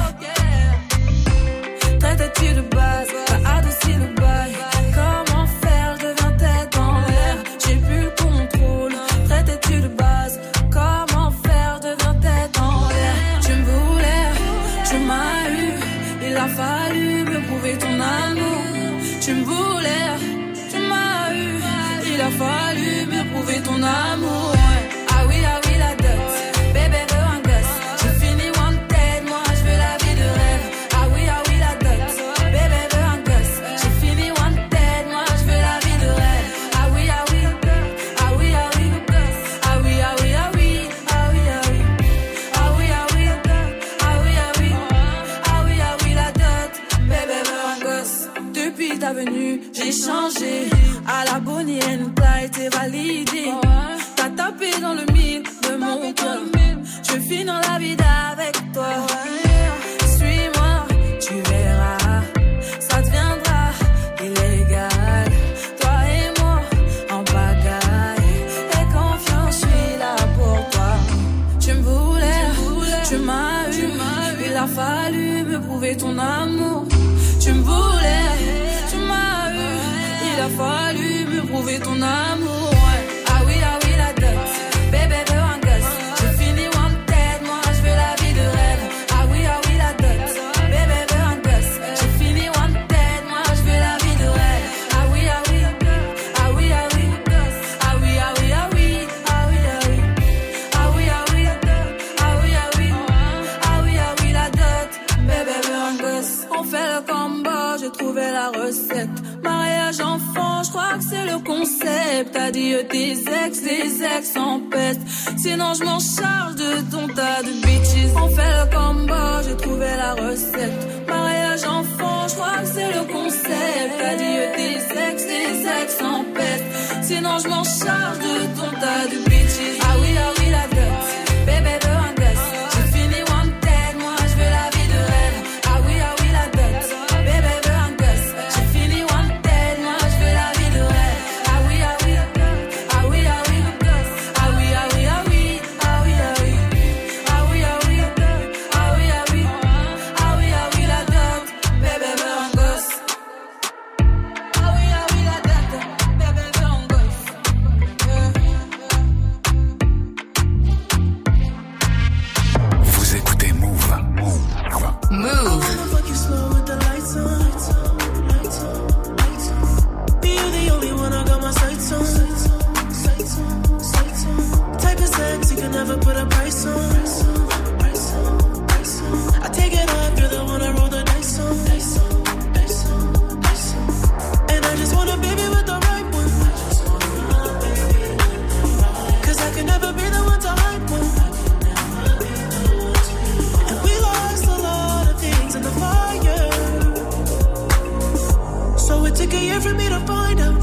Traite-tu de base, t'as adouci le bail. Comment faire, je deviens tête en l'air. J'ai plus le contrôle. Traite-tu de base, comment faire, je deviens tête en l'air. Tu me voulais, tu m'as eu. Il a fallu me prouver ton amour. Tu me voulais, tu m'as eu. Il a fallu me prouver ton amour. Ah oui, la dot. Bébé veut un gosse. J'ai fini wanted, moi je veux la vie de rêve. Ah oui, la dot. Bébé veut un gosse. J'ai fini wanted, moi je veux la vie de rêve. Ah oui, ah oui, ah oui, ah oui, ah oui, ah oui, ah oui, ah oui, ah oui, ah oui, ah oui, ah oui, ah oui, ah oui, ah oui, la dot. Bébé veut un gosse. Depuis ta venue, j'ai changé. À la Bonnie and Clyde, t'es validé. T'as tapé dans le mille de mon cœur. Je vais finir la vie avec toi. Suis-moi, tu verras. Ça deviendra illégal. Toi et moi, en pagaille. Et confiance, je suis là pour toi. Tu me voulais, tu m'as eu. Il a fallu me prouver ton amour. Tu me voulais, tu m'as eu. Il a fallu me prouver ton amour. Ah oui, la dot. Bébé veut un gosse. J'ai fini wanted, moi je veux la vie de rêve. Ah oui, la dot. Bébé veut un gosse. J'ai fini wanted, moi je veux la vie de rêve. Ah oui, ah oui, ah oui, ah oui, ah oui, ah oui, ah oui, ah oui, ah oui, ah oui, ah oui, ah oui, ah oui, ah oui, la dot. Bébé veut un gosse. On fait le combo, j'ai trouvé la recette. Mariage enfant, je crois que c'est le concept. Adieu tes ex en peste. Sinon je m'en charge de ton tas de bitches. On fait le combo, j'ai trouvé la recette. Mariage enfant, je crois que c'est le concept. Adieu tes ex en peste. Sinon je m'en charge de ton tas de bitches. Ah oui, la dot. Bébé veut un gosse. J'ai fini wanted, moi je veux la vie de rêve. Ah oui, la dot. Bébé veut un gosse. J'ai fini wanted, moi je veux la vie de rêve. Ah oui, ah oui, ah oui, ah oui, ah oui, ah oui, ah oui, ah oui, ah oui, ah oui, ah oui, ah oui, ah oui, ah oui, ah oui, la dot. Bébé veut un gosse. Ah oui, la dot. Bébé veut un gosse. Vous écoutez Move. Move. Be you the only one I got my sights on. Type of sex you can never put a price on. I take it off, you're the one I roll the dice on. And I just want a baby with the right one. Cause I can never be the one to hype one. And we lost a lot of things in the fire. So it took a year for me to find out.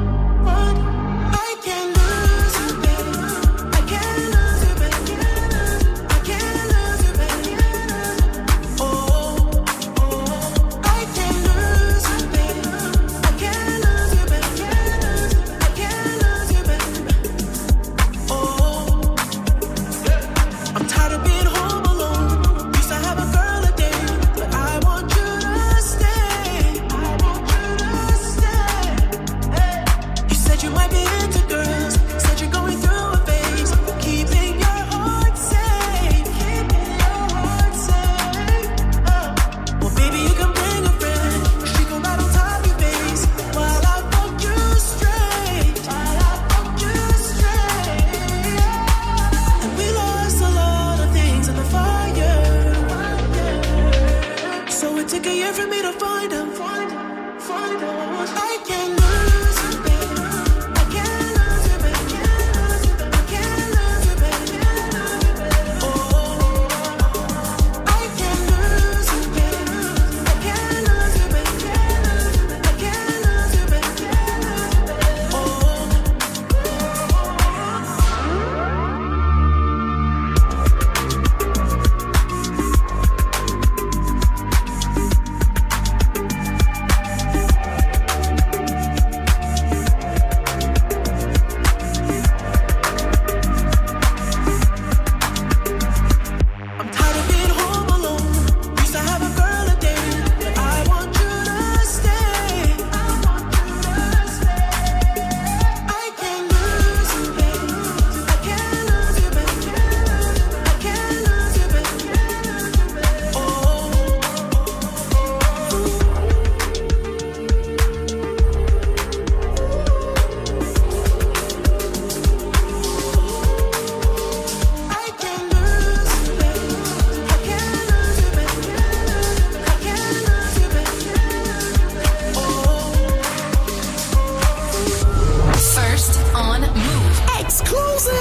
I can't lose you, baby. I can't lose you, baby. I can't lose you, baby. Oh, I can't lose you, baby. I can't lose you, baby. I can't lose you, baby. Oh, I'm tired of being home alone. Used to have a girl a day, but I want you to stay. I want you to stay. Hey. You said you might be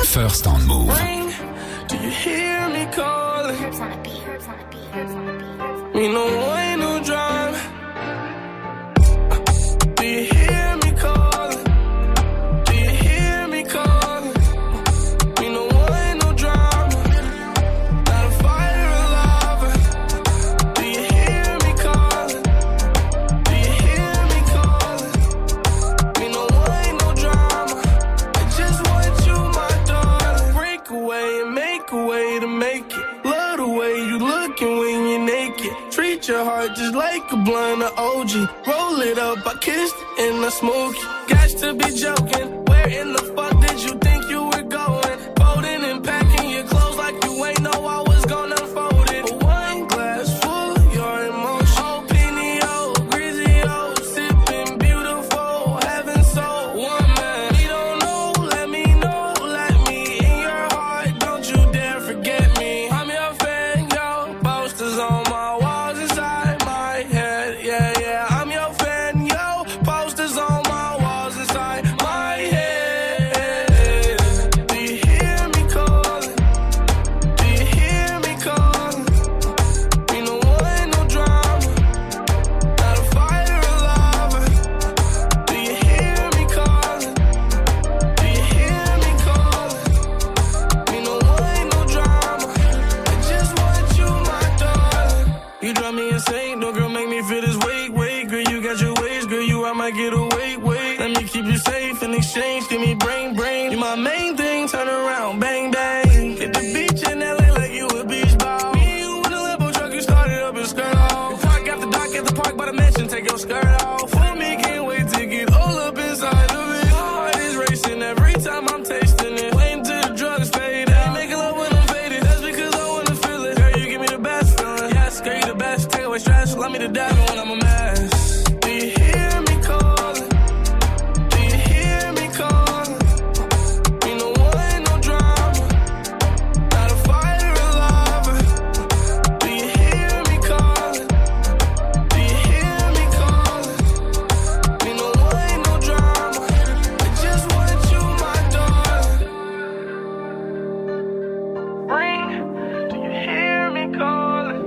First on Move. Do you hear me calling? Me no way, no drive. Do you hear me calling? Do you hear me calling? Me no way, no drama. Not a fire alive. Do you hear me calling? Do you hear me calling? Me no way, no drama. I just want you, my darling. Break away and make a way to make it. Love the way you looking when you're naked. Treat your heart just like a blunt of OG. Roll it up, I kissed it and I smoke it. Got to be joking. Where in the fuck did you think you were going? Folding and packing your clothes like you ain't know I was gonna fold it. But one glass full of your emotion. Opinio, Grizio, sipping beautiful, heaven so one man. We don't know, let me know, let me in your heart. Don't you dare forget me. I'm your fan, yo. Posters on my walls inside my head. Yeah, yeah. I'm your fan, yo. Posters on my walls inside my head. Do you hear me calling? Do you hear me calling? Me no one, no drama. Not a fire alive. Do you hear me calling? Do you hear me calling? Me no one, no drama. I just want you, my darling. You drive me insane, no girl make me feel this weight. Girl, you got your ways, girl, you I might get away. Let me keep you safe in exchange, give me brain. You my main thing, turn around, bang, bang. Hit the beach in LA like you a beach ball. Me and you in a Lambo truck, you started up and skirt off. Park after dark at the park by the mansion, take your skirt off. For me, can't wait to get all up inside of it. My heart is racing every time I'm tasting it. Waiting till the drugs fade out. Making love when I'm faded, that's because I wanna feel it. Girl, you give me the best feeling. Yes, girl, you the best. Take away stress, love me to death when I'm a mess. Do you hear me calling? Do you hear me calling? Me no one, no drama. Not a fire alive. Do you hear me calling? Do you hear me calling? Me no one, no drama. I just want you, my darling. Ring. Do you hear me calling?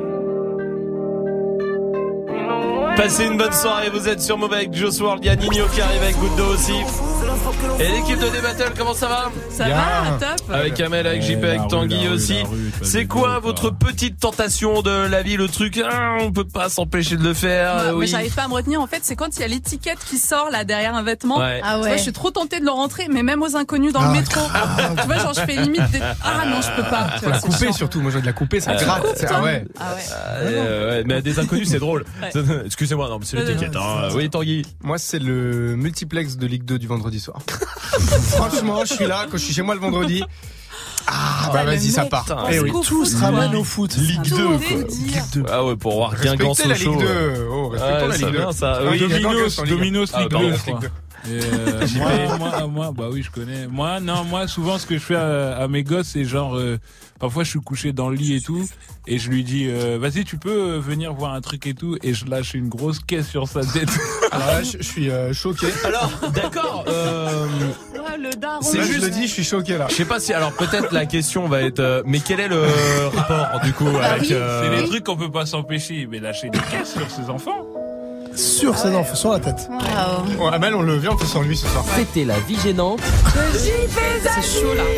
Me no one. Passez une bonne soirée, vous êtes sur Move avec Joss World, il y a Nino qui arrive avec Goutte d'eau aussi. Et l'équipe de D-Battle, comment ça va? Ça va, top. Avec Amel, avec JP, avec Tanguy aussi. C'est quoi votre petite tentation de la vie, le truc on peut pas s'empêcher de le faire? Ouais, Oui. mais j'arrive pas à me retenir. En fait, c'est quand il y a l'étiquette qui sort là derrière un vêtement. Ouais. Tu vois, je suis trop tentée de le rentrer, mais même aux inconnus dans le métro. Tu vois, genre je fais limite des... Ah non, je peux pas. Tu Faut vois, la c'est couper chiant. surtout. Moi, je dois de la couper, ça Tu gratte. coupes, toi Ouais. Ah ouais. Ouais, mais des inconnus, c'est drôle. Excusez-moi, non, mais c'est l'étiquette. Hein. Oui, Tanguy. Moi, c'est le multiplex de Ligue 2 du vendredi soir. Franchement, je suis là, quand je suis chez moi le vendredi. Ah, bah vas-y, ça part. Eh oui, tout se ramène au foot. Ligue 2, quoi. Ligue 2. Ah ouais, pour voir Guingamp Respectez la Sochaux. Ligue 2. Oh, respectons la Ligue 2. Bien, ça. Oui, Dominos, Ligue 2, je crois. JP. Moi, bah oui, je connais. Moi, souvent, ce que je fais à mes gosses, c'est genre, parfois, je suis couché dans le lit et tout, et je lui dis, vas-y, tu peux venir voir un truc et tout, et je lâche une grosse caisse sur sa tête. Alors là, je suis choqué. Alors, d'accord. Le daron. C'est juste, je le dis, je suis choqué là. Je sais pas si, alors peut-être la question va être, mais quel est le rapport du coup avec C'est des trucs qu'on peut pas s'empêcher, mais lâcher des caisses sur ses enfants. Sur ses enfants, sur la tête. Bon, Amel, on le vient, on fait sans lui ce soir. C'était la vie gênante. C'est chaud là.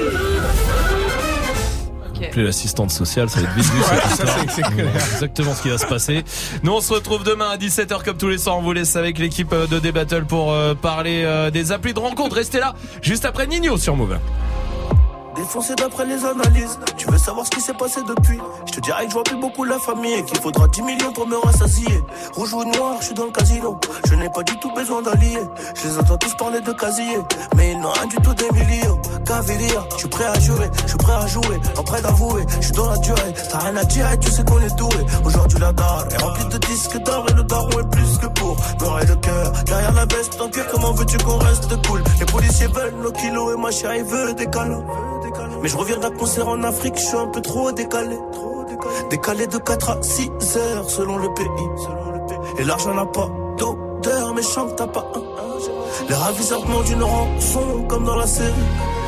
Plus l'assistante sociale, ça va être vite vu cette histoire. C'est clair. Exactement ce qui va se passer. Nous on se retrouve demain à 17h comme tous les soirs. On vous laisse avec l'équipe de D-Battle pour parler des applis de rencontre. Restez là juste après Nino sur Move. Défoncé d'après les analyses. Tu veux savoir ce qui s'est passé depuis? Je te dirais que je vois plus beaucoup la famille et qu'il faudra 10 millions pour me rassasier. Rouge ou noir, je suis dans le casino. Je n'ai pas du tout besoin d'alliés. Je les entends tous parler de casier, mais ils n'ont rien du tout des millions. Caviria, je suis prêt à jurer, je suis prêt à jouer, pas prêt d'avouer. Je suis dans la durée, t'as rien à dire et tu sais qu'on est doué. Aujourd'hui la dalle est remplie de disques d'or et le daron est plus que pour beurrer le cœur. Derrière la veste en cuir, comment veux-tu qu'on reste cool? Les policiers veulent nos kilos et ma chérie veut des câlins. Mais je reviens d'un concert en Afrique, je suis un peu trop décalé. Décalé de 4 à 6 heures selon le pays. Et l'argent n'a pas d'odeur, mais chante t'as pas un. Les ravisseurs demandent une rançon comme dans la série.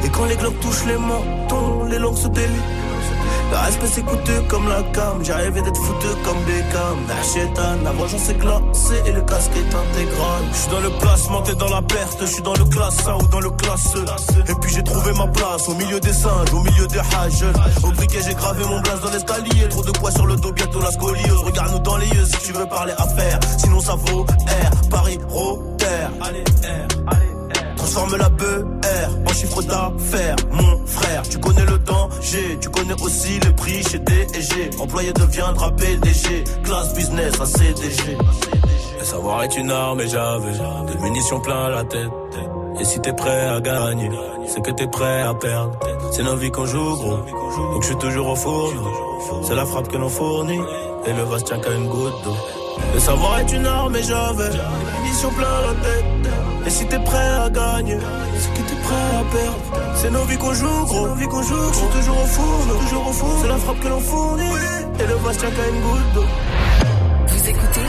Et quand les globes touchent les mentons, les langues se délient. Le respect c'est coûteux comme la cam. J'ai rêvé d'être foutu comme Beckham. Nachétan, la vengeance est glacée et le casque est intégral. J'suis dans le placement, t'es dans la perte. J'suis dans le classe A ou dans le classe E. Et puis j'ai trouvé ma place au milieu des singes, au milieu des hages. Au briquet j'ai gravé mon blaze dans l'escalier. Trop de poids sur le dos, bientôt la scoliose. Regarde-nous dans les yeux si tu veux parler affaires. Sinon ça vaut R, Paris, Rotter. Allez R, allez. Transforme la BR en chiffre d'affaires. Mon frère, tu connais le danger. Tu connais aussi le prix chez D&G. Employé deviendra PDG. Classe business à CDG. Le savoir est une arme et j'avais des munitions plein la tête. Et si t'es prêt à gagner, c'est que t'es prêt à perdre. C'est nos vies qu'on joue gros, donc je suis toujours au four. C'est la frappe que l'on fournit, et le vase tient qu'à une goutte d'eau. Le savoir est une arme et j'avais des munitions plein la tête. Et si t'es prêt à gagner, c'est que t'es prêt à perdre. C'est nos vies qu'on joue gros, je suis toujours au four, c'est la frappe que l'on fournit, et le vase tient qu'à une goutte d'eau. Vous écoutez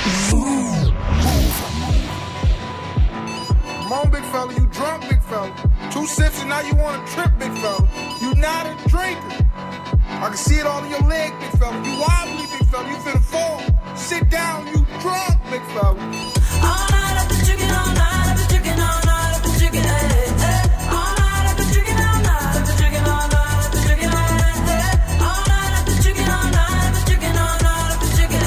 Come on, big fella, you drunk, big fella. 2 sips and now you want to trip, big fella. You not a drinker. I can see it all in your leg, big fella. You wobbly, big fella. You finna fall. Sit down, you drunk, big fella. All night I've been drinking, all night I've been drinking, all night I've been drinking, all night I've been drinking, all night I've been drinking, all night I've been drinking, all night I've been drinking, all night I've been drinking, all night I've been drinking,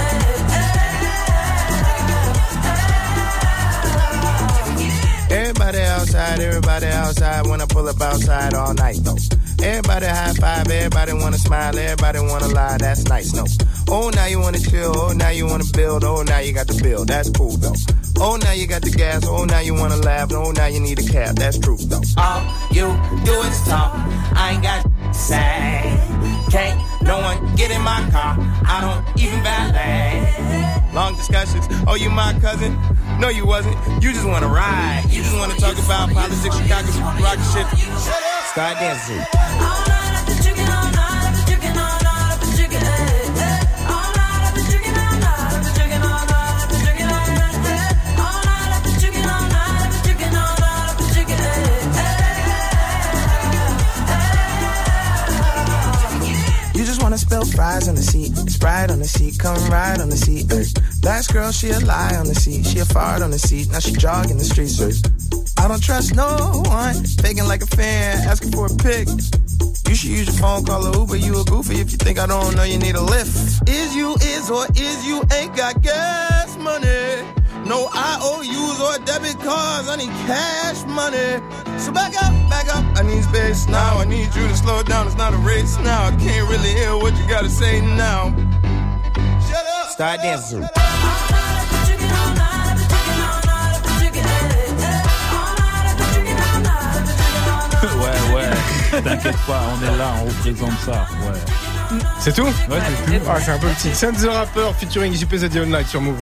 Everybody outside, when I pull up outside all night though. Everybody high five, everybody wanna smile, everybody wanna lie, that's nice, no. Oh, now you wanna chill, oh, now you wanna build, oh, now you got the bill, that's cool though. Oh, now you got the gas, oh, now you wanna laugh, oh, now you need a cab, that's true though. All you do is talk, I ain't got to say. Can't no one get in my car, I don't even valet. Long discussions, oh, you my cousin? No, you wasn't, you just wanna ride. You just wanna talk about politics, Chicago, rock shit. Start dancing. all night I've been drinking, all night I've been drinking, all night I've been drinking, all night I've been drinking, all night I've been drinking, all night I've been drinking, all night I've been drinking, all night I've been drinking, all night I've been drinking, You just wanna spill fries on the seat, Sprite on the seat, come ride on the seat. Last girl, she a lie on the seat, she a fart on the seat, now she jogging the streets. I don't trust no one, faking like a fan, asking for a pic. You should use your phone, call a Uber, you a goofy if you think I don't know you need a lift. Is you is or is you ain't got gas money? No IOUs or debit cards, I need cash money. So back up, I need space now. I need you to slow down, it's not a race now. I can't really hear what you gotta say now. Shut up. Start dancing. Ouais, t'inquiète pas, on est là, on représente ça, ouais. C'est tout? Ouais, c'est tout. Ah, c'est un peu petit. Sense the Rapper featuring JP The Online sur Move.